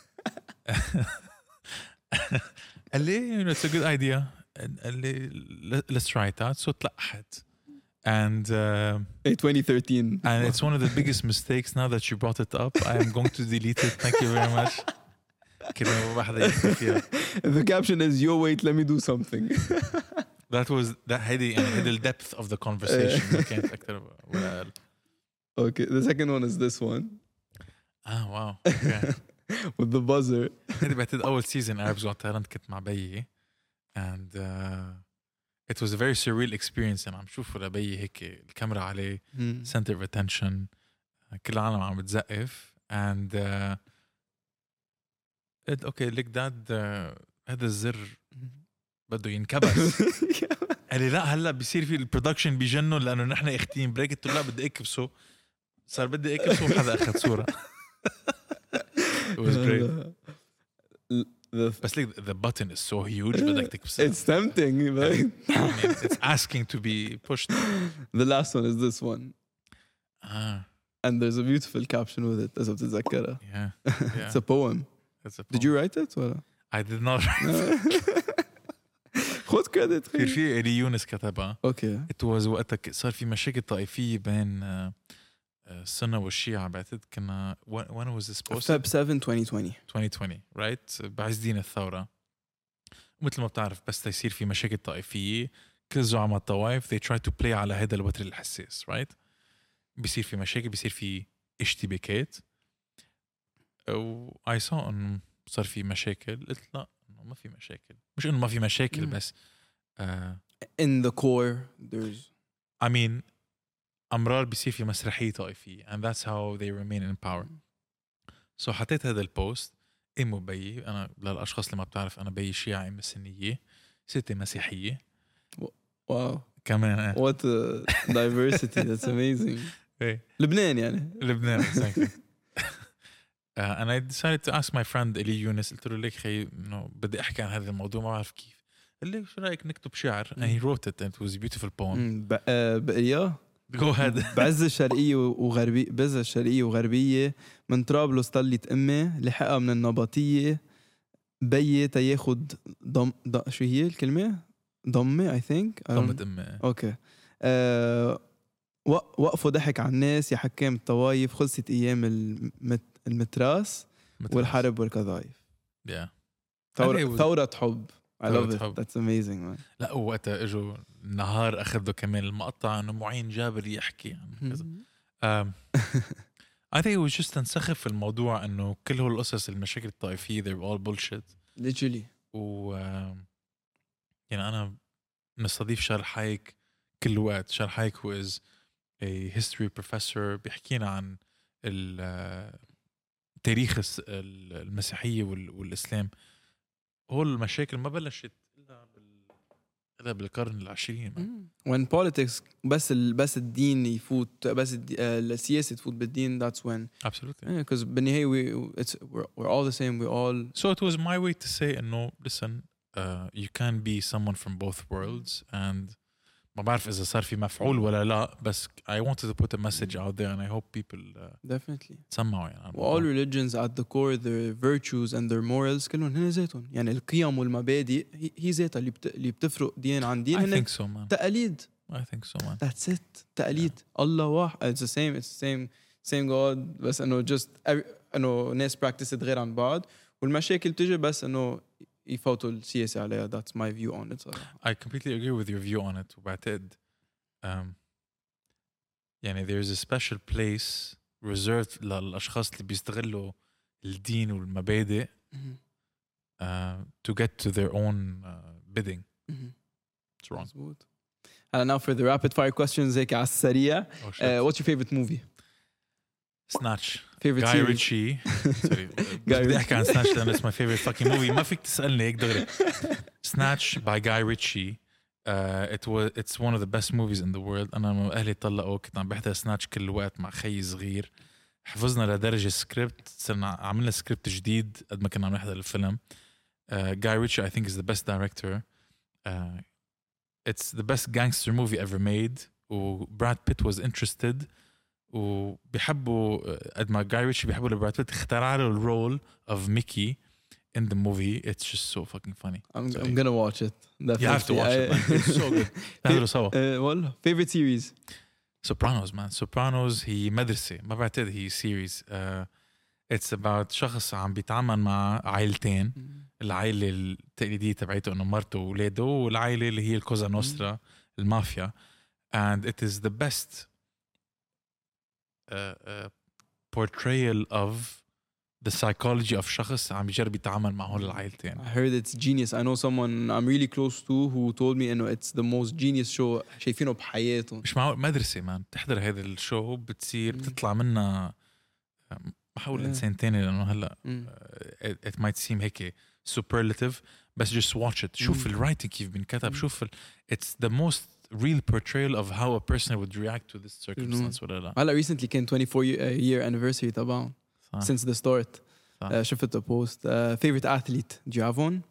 قال لي you know it's a good idea. قال لي let's try it out. So تلقحت. And 2013. and it's one of the biggest mistakes now that you brought it up. I am going to delete it. Thank you very much. كده واحدة يكتب فيها. The caption is yo wait let me do something. That was that هيدي يعني the depth of the conversation. ما كانت أكتر ولا أقل. Okay, the second one is this one. Wow. Okay. With the buzzer. هيدي بعتقد أول season Arabs Got Talent كنت مع بيي. And it was a very surreal experience. أنا عم شوف لبيي هيك الكاميرا عليه center of attention. كل العالم عم بتزقف. And okay look that هذا الزر بده ينكبس. قال لي لا هلا بيصير في البرودكشن بيجنوا لأنه نحن اختين بريك. قلت له لا بدي اكبسه. صار بدي اكبسه وحدا أخذ صورة. It was great. بس like the button is so huge بدك تكبسه. It's tempting, right? I mean, it's asking to be pushed. The last one is this one. And there's a beautiful caption with it. إذا بتتذكرها. Yeah. It's a poem. Did you write it? ولا؟ I did not write it. خد credit. كثير في إلي يونس كتبها. Okay. It was وقتها صار في مشاكل طائفية بين السنة والشيعة. بعتقد كنا when was this posted? Feb 7 2020. 2020 right بعز دين الثورة. مثل ما بتعرف بس يصير في مشاكل طائفية كل زعماء الطوائف they try to play على هذا الوتر الحساس right. بيصير في مشاكل بيصير في اشتباكات. و I saw إنه صار في مشاكل. قلت لا إنه ما في مشاكل. مش إنه ما في مشاكل بس In the core there's I mean أمرار بيصير في مسرحية طائفية and that's how they remain in power. So حطيت هذا البوست. أمو بيي أنا للأشخاص اللي ما بتعرف أنا بيي شيعي أم سنية ستي مسيحية. wow كمان what a diversity that's amazing. لبنان يعني لبنان exactly. And I decided to ask my friend إلي يونس. قلت له ليك خي إنه بدي أحكي عن هذا الموضوع ما بعرف كيف. قال لي شو رأيك نكتب شعر and he wrote it and it was a beautiful poem. بقية Go ahead. بعز الشرقية وغربية بعز الشرقية وغربية من طرابلس طلت أمي لحقها من النبطية بيي تياخد شو هي الكلمة ضمة I think ضمة أمي. أوكي وقفوا ضحك على الناس يا حكام الطوايف خلصت أيام المتراس والحرب والقذايف. Yeah. ثورة حب. I love it. حب. That's amazing man. لا وقتها اجوا نهار اخذوا كمان المقطع انه معين جابر يحكي عن كذا. I think it was just تنسخف في الموضوع انه كل هول القصص المشاكل الطائفية they're all bullshit. Literally. و يعني انا مستضيف شارل حايك كل وقت. شارل حايك who is a history professor بيحكينا عن تاريخ المسيحية والإسلام. هول المشاكل ما بلشت إلا بالقرن العشرين. When politics بس الدين يفوت بس السياسة تفوت بالدين that's when absolutely because بالنهاية we're all the same we all so it was my way to say no listen you can be someone from both worlds and ما بعرف إذا صار في مفعول ولا لا بس I wanted to put a message out there and I hope people definitely تسمعوا يعني. all religions at the core their virtues and their morals كلهم هن ذاتهم يعني القيم والمبادئ هي ذاتها اللي بتفرق دين عن دين. I think so man. تقاليد. I think so man. That's it. تقاليد. الله واحد. It's the same God بس إنه just إنه ناس practice غير عن بعض والمشاكل تيجي بس إنه يفوتوا السياسة عليها. That's my view on it صراحة. I completely agree with your view on it. وبعتقد يعني there's a special place reserved للأشخاص اللي بيستغلوا الدين والمبادئ to get to their own bidding. It's wrong. مظبوط. And now for the rapid fire questions هيك على السريع. Oh, shit. What's your favorite movie? Snatch. Favorite Guy series? Ritchie. Sorry. بدي احكي عن Snatch لأنه it's my favorite fucking movie. ما فيك تسألني هيك دغري. Snatch by Guy Ritchie. It's one of the best movies in the world. أنا لما أهلي طلقوا كنت عم بحضر Snatch كل وقت مع خيي صغير. حفظنا لدرجة سكريبت، صرنا عملنا سكريبت جديد قد ما كنا عم نحضر الفيلم. Guy Ritchie I think is the best director. It's the best gangster movie ever made. وبراد بيت was interested. وبيحبوا قد ما Guy Ritchie بيحبوا لبراد بيت اخترع له الرول of Mickey in the movie. It's just so fucking funny. I'm gonna watch it. Definitely. You have to watch it, man. It's so good. نحضره سوا. والله favorite series. Sopranos, man. Sopranos هي مدرسة. ما بعتقد هي series. It's about شخص عم بيتعامل مع عائلتين. العائلة التقليدية تبعيته إنه مرته وولاده، والعائلة اللي هي الكوزا نوسترا المافيا. And it is the best portrayal of the psychology of شخص عم بيجرب يتعامل مع هول العائلتين. I heard it's genius. I know someone I'm really close to who told me إنه it's the most genius show شايفينه بحياتهم. مش معقول مدرسة مان. تحضر هذا الشو بتصير بتطلع منها بحاول إنسان تاني لأنه هلا it might seem هيك superlative بس just watch it. شوف الwriting كيف بنكتب. شوف it's the most real portrayal of how a person would react to this circumstance ولا لا. هلا recently كان 24 year anniversary تبعهم since the start. شفت post. Favorite athlete? Do you have one?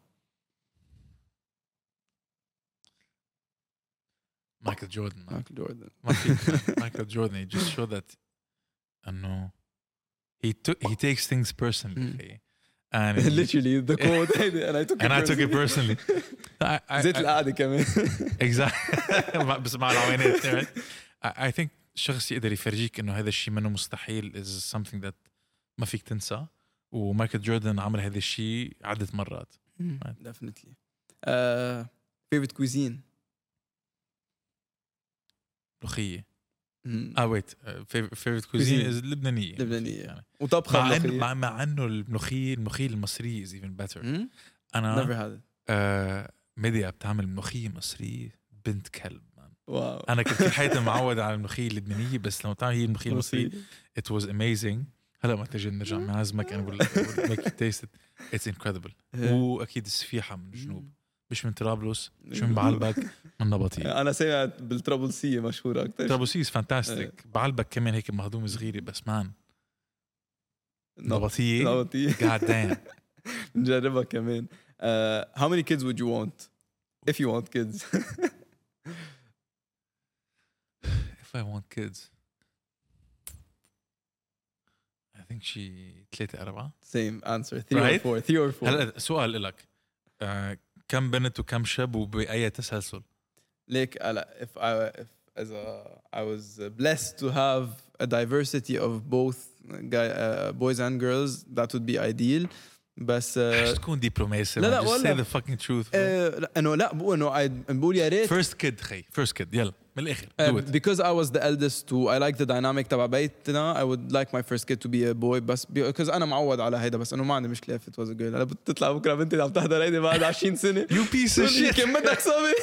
Michael Jordan. Man. Michael Jordan. Michael Jordan. He just showed that no, he takes things personally. And literally the quote and I took it personally. زيت القعدة كمان. Exactly. بس مع العوينات. I think شخص يقدر يفرجيك إنه هذا الشيء منه مستحيل is something that ما فيك تنسى. ومايكل جوردن عمل هذا الشيء عدة مرات. Definitely. Favorite cuisine? ملوخية. wait. Favorite cuisine is لبنانية. يعني. وطبخة مع إنه الملوخية المصرية is even better. أنا never had it. ميديا بتعمل ملوخية مصرية بنت كلب. واو. أنا كنت في حياتي معود على الملوخية اللبنانية بس لما تعمل هي الملوخية المصرية it was amazing. هلا ما تجي نرجع معازمك أنا make you taste it. It's incredible. وأكيد السفيحة من الجنوب مش من طرابلس مش من بعلبك من نبطية. أنا سمعت بالطرابلسية مشهورة أكتر. طرابلسية فانتاستيك. بعلبك كمان هيك مهضومة صغيرة بس مان نبطية god damn. نجربها كمان. How many kids would you want if you want kids? If I want kids I think she 3-4. Same answer. 3 or 4. هلا سؤال لك كم بنت وكم شاب وبأي تسلسل؟ Like if I was blessed to have a diversity of both boys and girls that would be ideal. بس تكون دبلوماسي. لا just say the fucking truth. انه لا بقول يا ريت first kid يلا من الاخر do it. Because I was the eldest too I like the dynamic تبع بيتنا. I would like my first kid to be a boy بس because انا معود على هيدا بس انه ما عندي مشكله if it was a girl. انا بتطلع بكره بنتي عم تحضر هيدي بعد 20 سنه you piece of shit كم بدك صبي.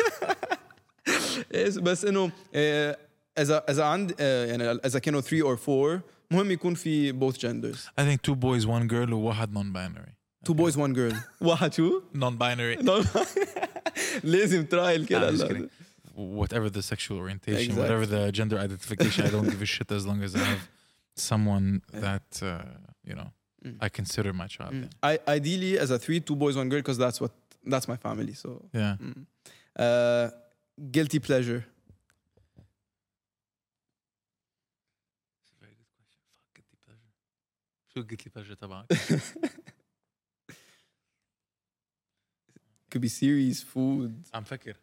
بس انه اذا عندي يعني اذا كانوا 3 or 4 مهم يكون في both genders. I think 2 boys 1 girl وواحد non-binary. 2 boys 1 girl. واحد شو؟ non-binary. لازم ترايل كده. Whatever the sexual orientation, Exactly. whatever the gender identification, I don't give a shit as long as I have someone that you know I consider my child. Ideally as a 3 2 boys 1 girl because that's my family. So yeah. Guilty pleasure. شو guilty pleasure تبعك؟ Could be series, food. عم فكر.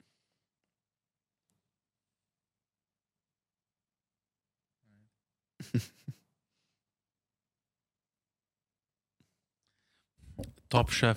Top Chef.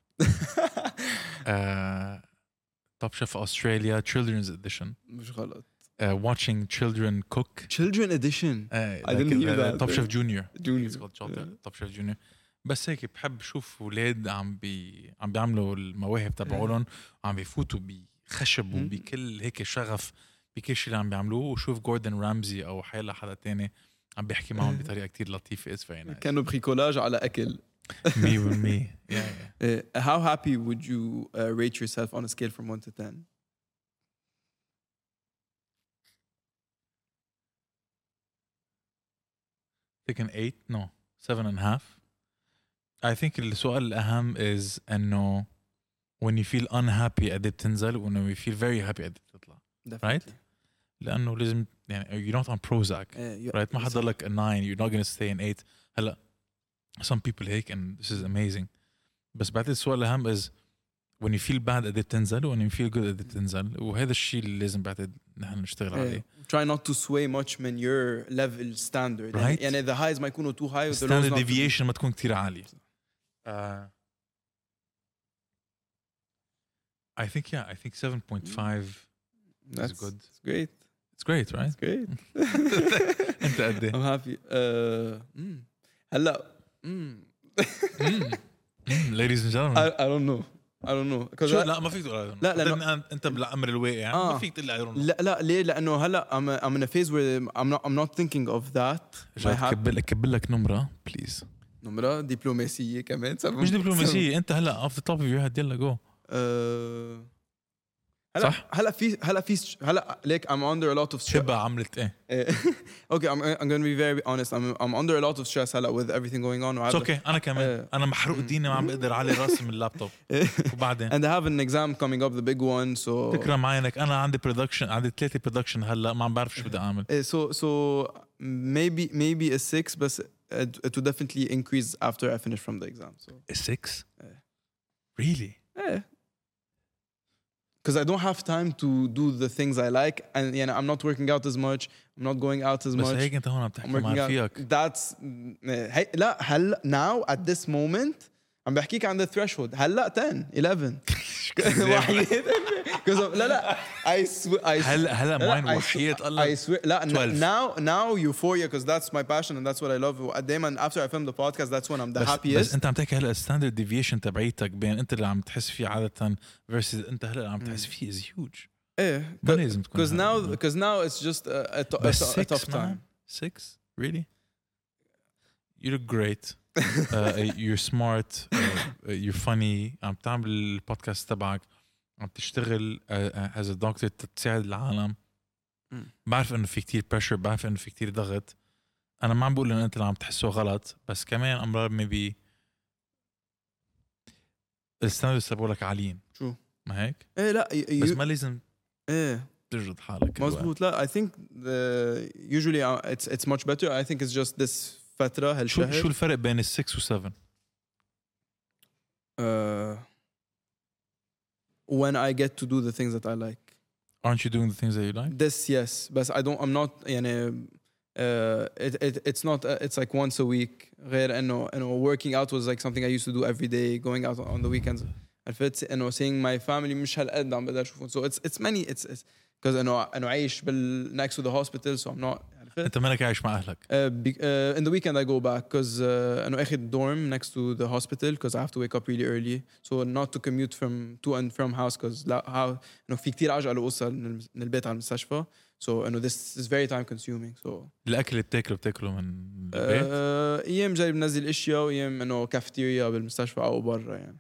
Top Chef Australia Children's Edition. مش غلط. Watching children cook. Children edition. I didn't hear that. Top Chef Junior. Junior. It's called Top Chef Junior. بس هيك بحب شوف اولاد عم بيعملوا المواهب تبعولن وعم بيفوتوا بخشب وبكل هيك شغف بكل شيء اللي عم بيعملوه وشوف جوردن رامزي او حيلا حدا تاني عم بيحكي معهم بطريقه كتير لطيفه. كانوا بريكولاج على اكل. 100% How happy would you rate yourself on a scale from 1 to 10? Take an 8 no 7.5. I think السؤال الأهم is إنه when you feel unhappy قد بتنزل و when you feel very happy قد بتطلع. Right? لأنه لازم يعني you're not on Prozac. Right? ما حضرلك a 9 you're not gonna stay an 8. هلا some people هيك and this is amazing. بس بعد السؤال الأهم is when you feel bad قد بتنزل و when you feel good قد بتنزل وهذا الشيء اللي لازم بعد نحن نشتغل عليه. Try not to sway much من your level standard. Right? يعني the highs ما يكونوا too high. Standard deviation ما تكون كتير عالية. I think 7.5 is good. It's great. It's great, right? It's great. أنت قد إيه؟ I'm happy. هلا. Ladies and gentlemen. I don't know. شو لا ما فيك تقول لا لأنه أنت بالأمر الواقع ما فيك تقول I don't know. لا ليه لأنه هلا I'm in a phase where I'm not thinking of that. كبل لك نمرة please. نمرة دبلوماسية كمان. مش دبلوماسية أنت هلا off the top of your head يلا go. صح هلا ليك I'm under a lot of stress. شبه عملت إيه؟ Okay, I'm going to be very honest. I'm under a lot of stress هلا with everything going on. It's okay. أنا كمان أنا محروق ديني ما عم بقدر على راسي من اللابتوب. وبعدين. And I have an exam coming up, the big one. So. تكرم عينك أنا عندي production عندي 3 production هلا ما عم بعرف شو بدي أعمل. So maybe a 6 بس it will definitely increase after I finish from the exam. So. A 6? Really? Yeah. Because I don't have time to do the things I like, and I'm not working out as much. I'm not going out as much. بس هيك أنت هون عم تحكي مع فيك. That's لا هلا now at this moment عم بحكيك عن the threshold. هلا 10 11 وحيد. لا I swear هلا معين وحيد الله. I swear لا now euphoria because that's my passion and that's what I love. دايما after I film the podcast that's when I'm the happiest. بس أنت عم تحكي هلا standard deviation تبعيتك بين أنت اللي عم تحس فيه عادة versus أنت هلا اللي عم تحس فيه is huge. إيه. ما لازم تكون. Because now it's just a tough time. 6 really? You look great. You're smart. You're funny. عم تعمل البودكاست تبعك. عم تشتغل as a doctor تساعد العالم. بعرف إنه في كتير pressure. بعرف إنه في كتير ضغط. أنا ما عم بقول إن أنت اللي عم تحسه غلط. بس كمان أمرار maybe الستاندرز تبعولك عاليين. شو؟ ما هيك؟ إيه لا. بس ما لازم. إيه. تجرد حالك. مزبوط. لا I think usually it's much better. I think it's just this فترة هالشهر. شو الفرق بين 6 و 7؟ When I get to do the things that I like. Aren't you doing the things that you like? This yes, but I'm not it's not it's like once a week. غير إنه working out was like something I used to do every day, going out on the weekends. عرفت إنه seeing my family مش هالقد عم بقدر أشوفهم. So it's many it's because إنه عايش next to the hospital, so I'm not. أنت مالك عايش مع أهلك؟ In the weekend I go back because أنا أخذ dorm next to the hospital because I have to wake up really early, so not to commute to and from house because لا إنه في كتير عجقة لأوصل من البيت على المستشفى, so إنه this is very time consuming. So الأكل اللي بتاكله من البيت؟ أيام جاي بنزل أشياء وأيام إنه كافتيريا بالمستشفى أو برا يعني.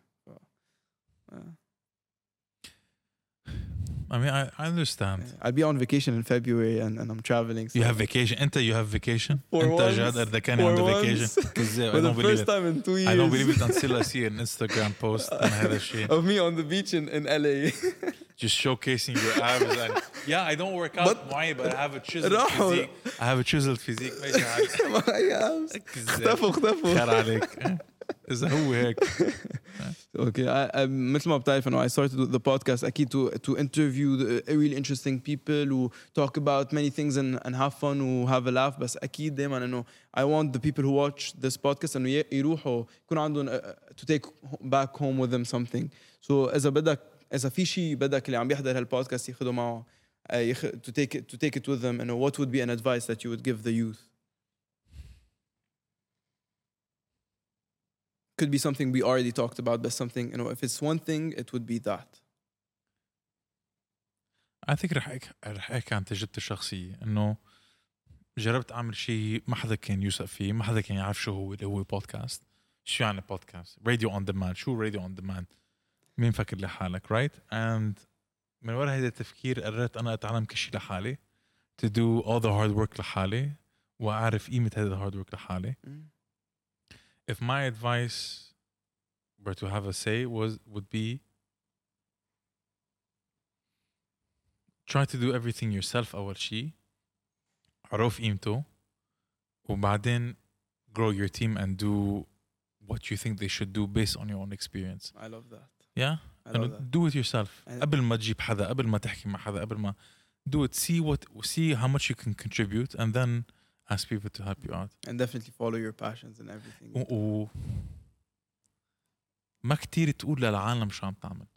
I mean, I understand. I'll be on vacation in February and I'm traveling. So. You have vacation. You have vacation. For once. جاد كان on the vacation. For the first time in 2 years. I don't believe it until I see an Instagram post on هذا الشيء. Of me on the beach in LA. Just showcasing your abs and yeah, I don't work out معي, but I have a chiseled physique. I have a chiseled physique. اختفوا. خير عليك. إذا هو هيك. Okay, مثل ما بتعرف إنه I started the podcast أكيد to interview really interesting people who talk about many things and have fun و have a laugh. بس أكيد دايما إنه I want the people who watch this podcast إنه يروحوا يكون عندهم to take back home with them something. So إذا في شيء بدك اللي عم بيحضر هالبودكاست ياخده معه to take it with them. إنه what would be an advice that you would give the youth? could be something we already talked about, but something, you know, if it's one thing, it would be that. I think رح احكي عن تجربتي الشخصية انه جربت اعمل شيء ما حدا كان يوثق فيه، ما حدا كان يعرف شو هو اللي هو بودكاست. شو يعني بودكاست؟ راديو اون ديماند. شو راديو اون ديماند؟ مين فكر لحالك رايت؟ اند من وراء هذا التفكير قررت انا اتعلم كل شيء لحالي to do all the hard work لحالي واعرف قيمة هذا الهارد ورك لحالي. If my advice were to have a say would be try to do everything yourself أول شيء، عرف قيمته، وبعدين grow your team and do what you think they should do based on your own experience. I love that. Yeah? I love that. Do it yourself. قبل ما تجيب حدا، قبل ما تحكي مع حدا، قبل ما do it. See how much you can contribute and then ask people to help you out. And definitely follow your passions and everything. ما كتير تقول للعالم شو عم تعمل.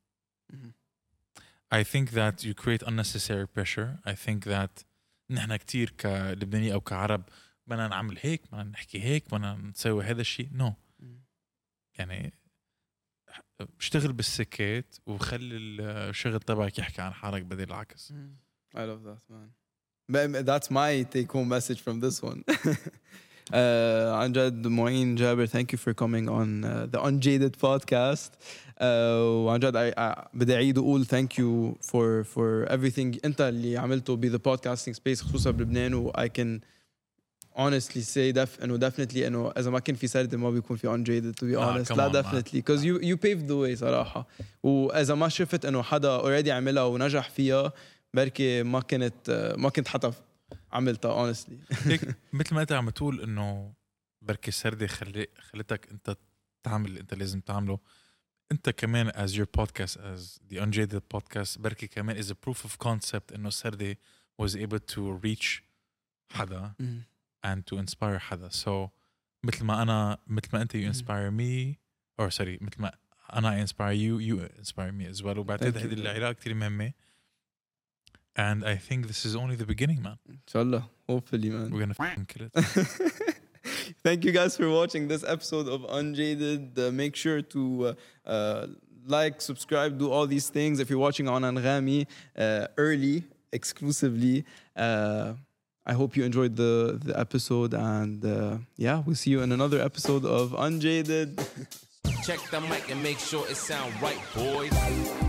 I think that you create unnecessary pressure. I think that نحن كتير كلبناني أو كعرب بدنا نعمل هيك، بدنا نحكي هيك، بدنا نسوي هذا الشيء. No. يعني اشتغل بالسكات وخلي الشغل تبعك يحكي عن حالك بدل العكس. I love that, man. But that's my take-home message from this one. عن جد معين جابر, thank you for coming on the Unjaded podcast. وعن جد بدي أعيد وأقول thank you for everything أنت اللي عملته ب the podcasting space خصوصا بلبنان. و I can honestly say إنه definitely إنه إذا ما كان في سردة ما بيكون في Unjaded to be honest. لا definitely because you paved the way صراحة. وإذا ما شفت إنه حدا already عملها ونجح فيها بركي ما كنت حتى عملتها honestly. هيك مثل ما انت عم تقول انه بركي السردة خلتك انت تعمل اللي انت لازم تعمله. انت كمان as your podcast as the Unjaded podcast بركي كمان is a proof of concept انه السردة was able to reach حدا and to inspire حدا. So مثل ما انت you inspire me or sorry مثل ما انا inspire you inspire me as well. وبعتقد هذه العلاقة كتير مهمة. And I think this is only the beginning, man. Inshallah, hopefully, man. We're gonna fucking kill it. Thank you guys for watching this episode of Unjaded. Make sure to like, subscribe, do all these things. If you're watching on Anghami early, exclusively, I hope you enjoyed the episode. And yeah, we'll see you in another episode of Unjaded. Check the mic and make sure it sound right, boys.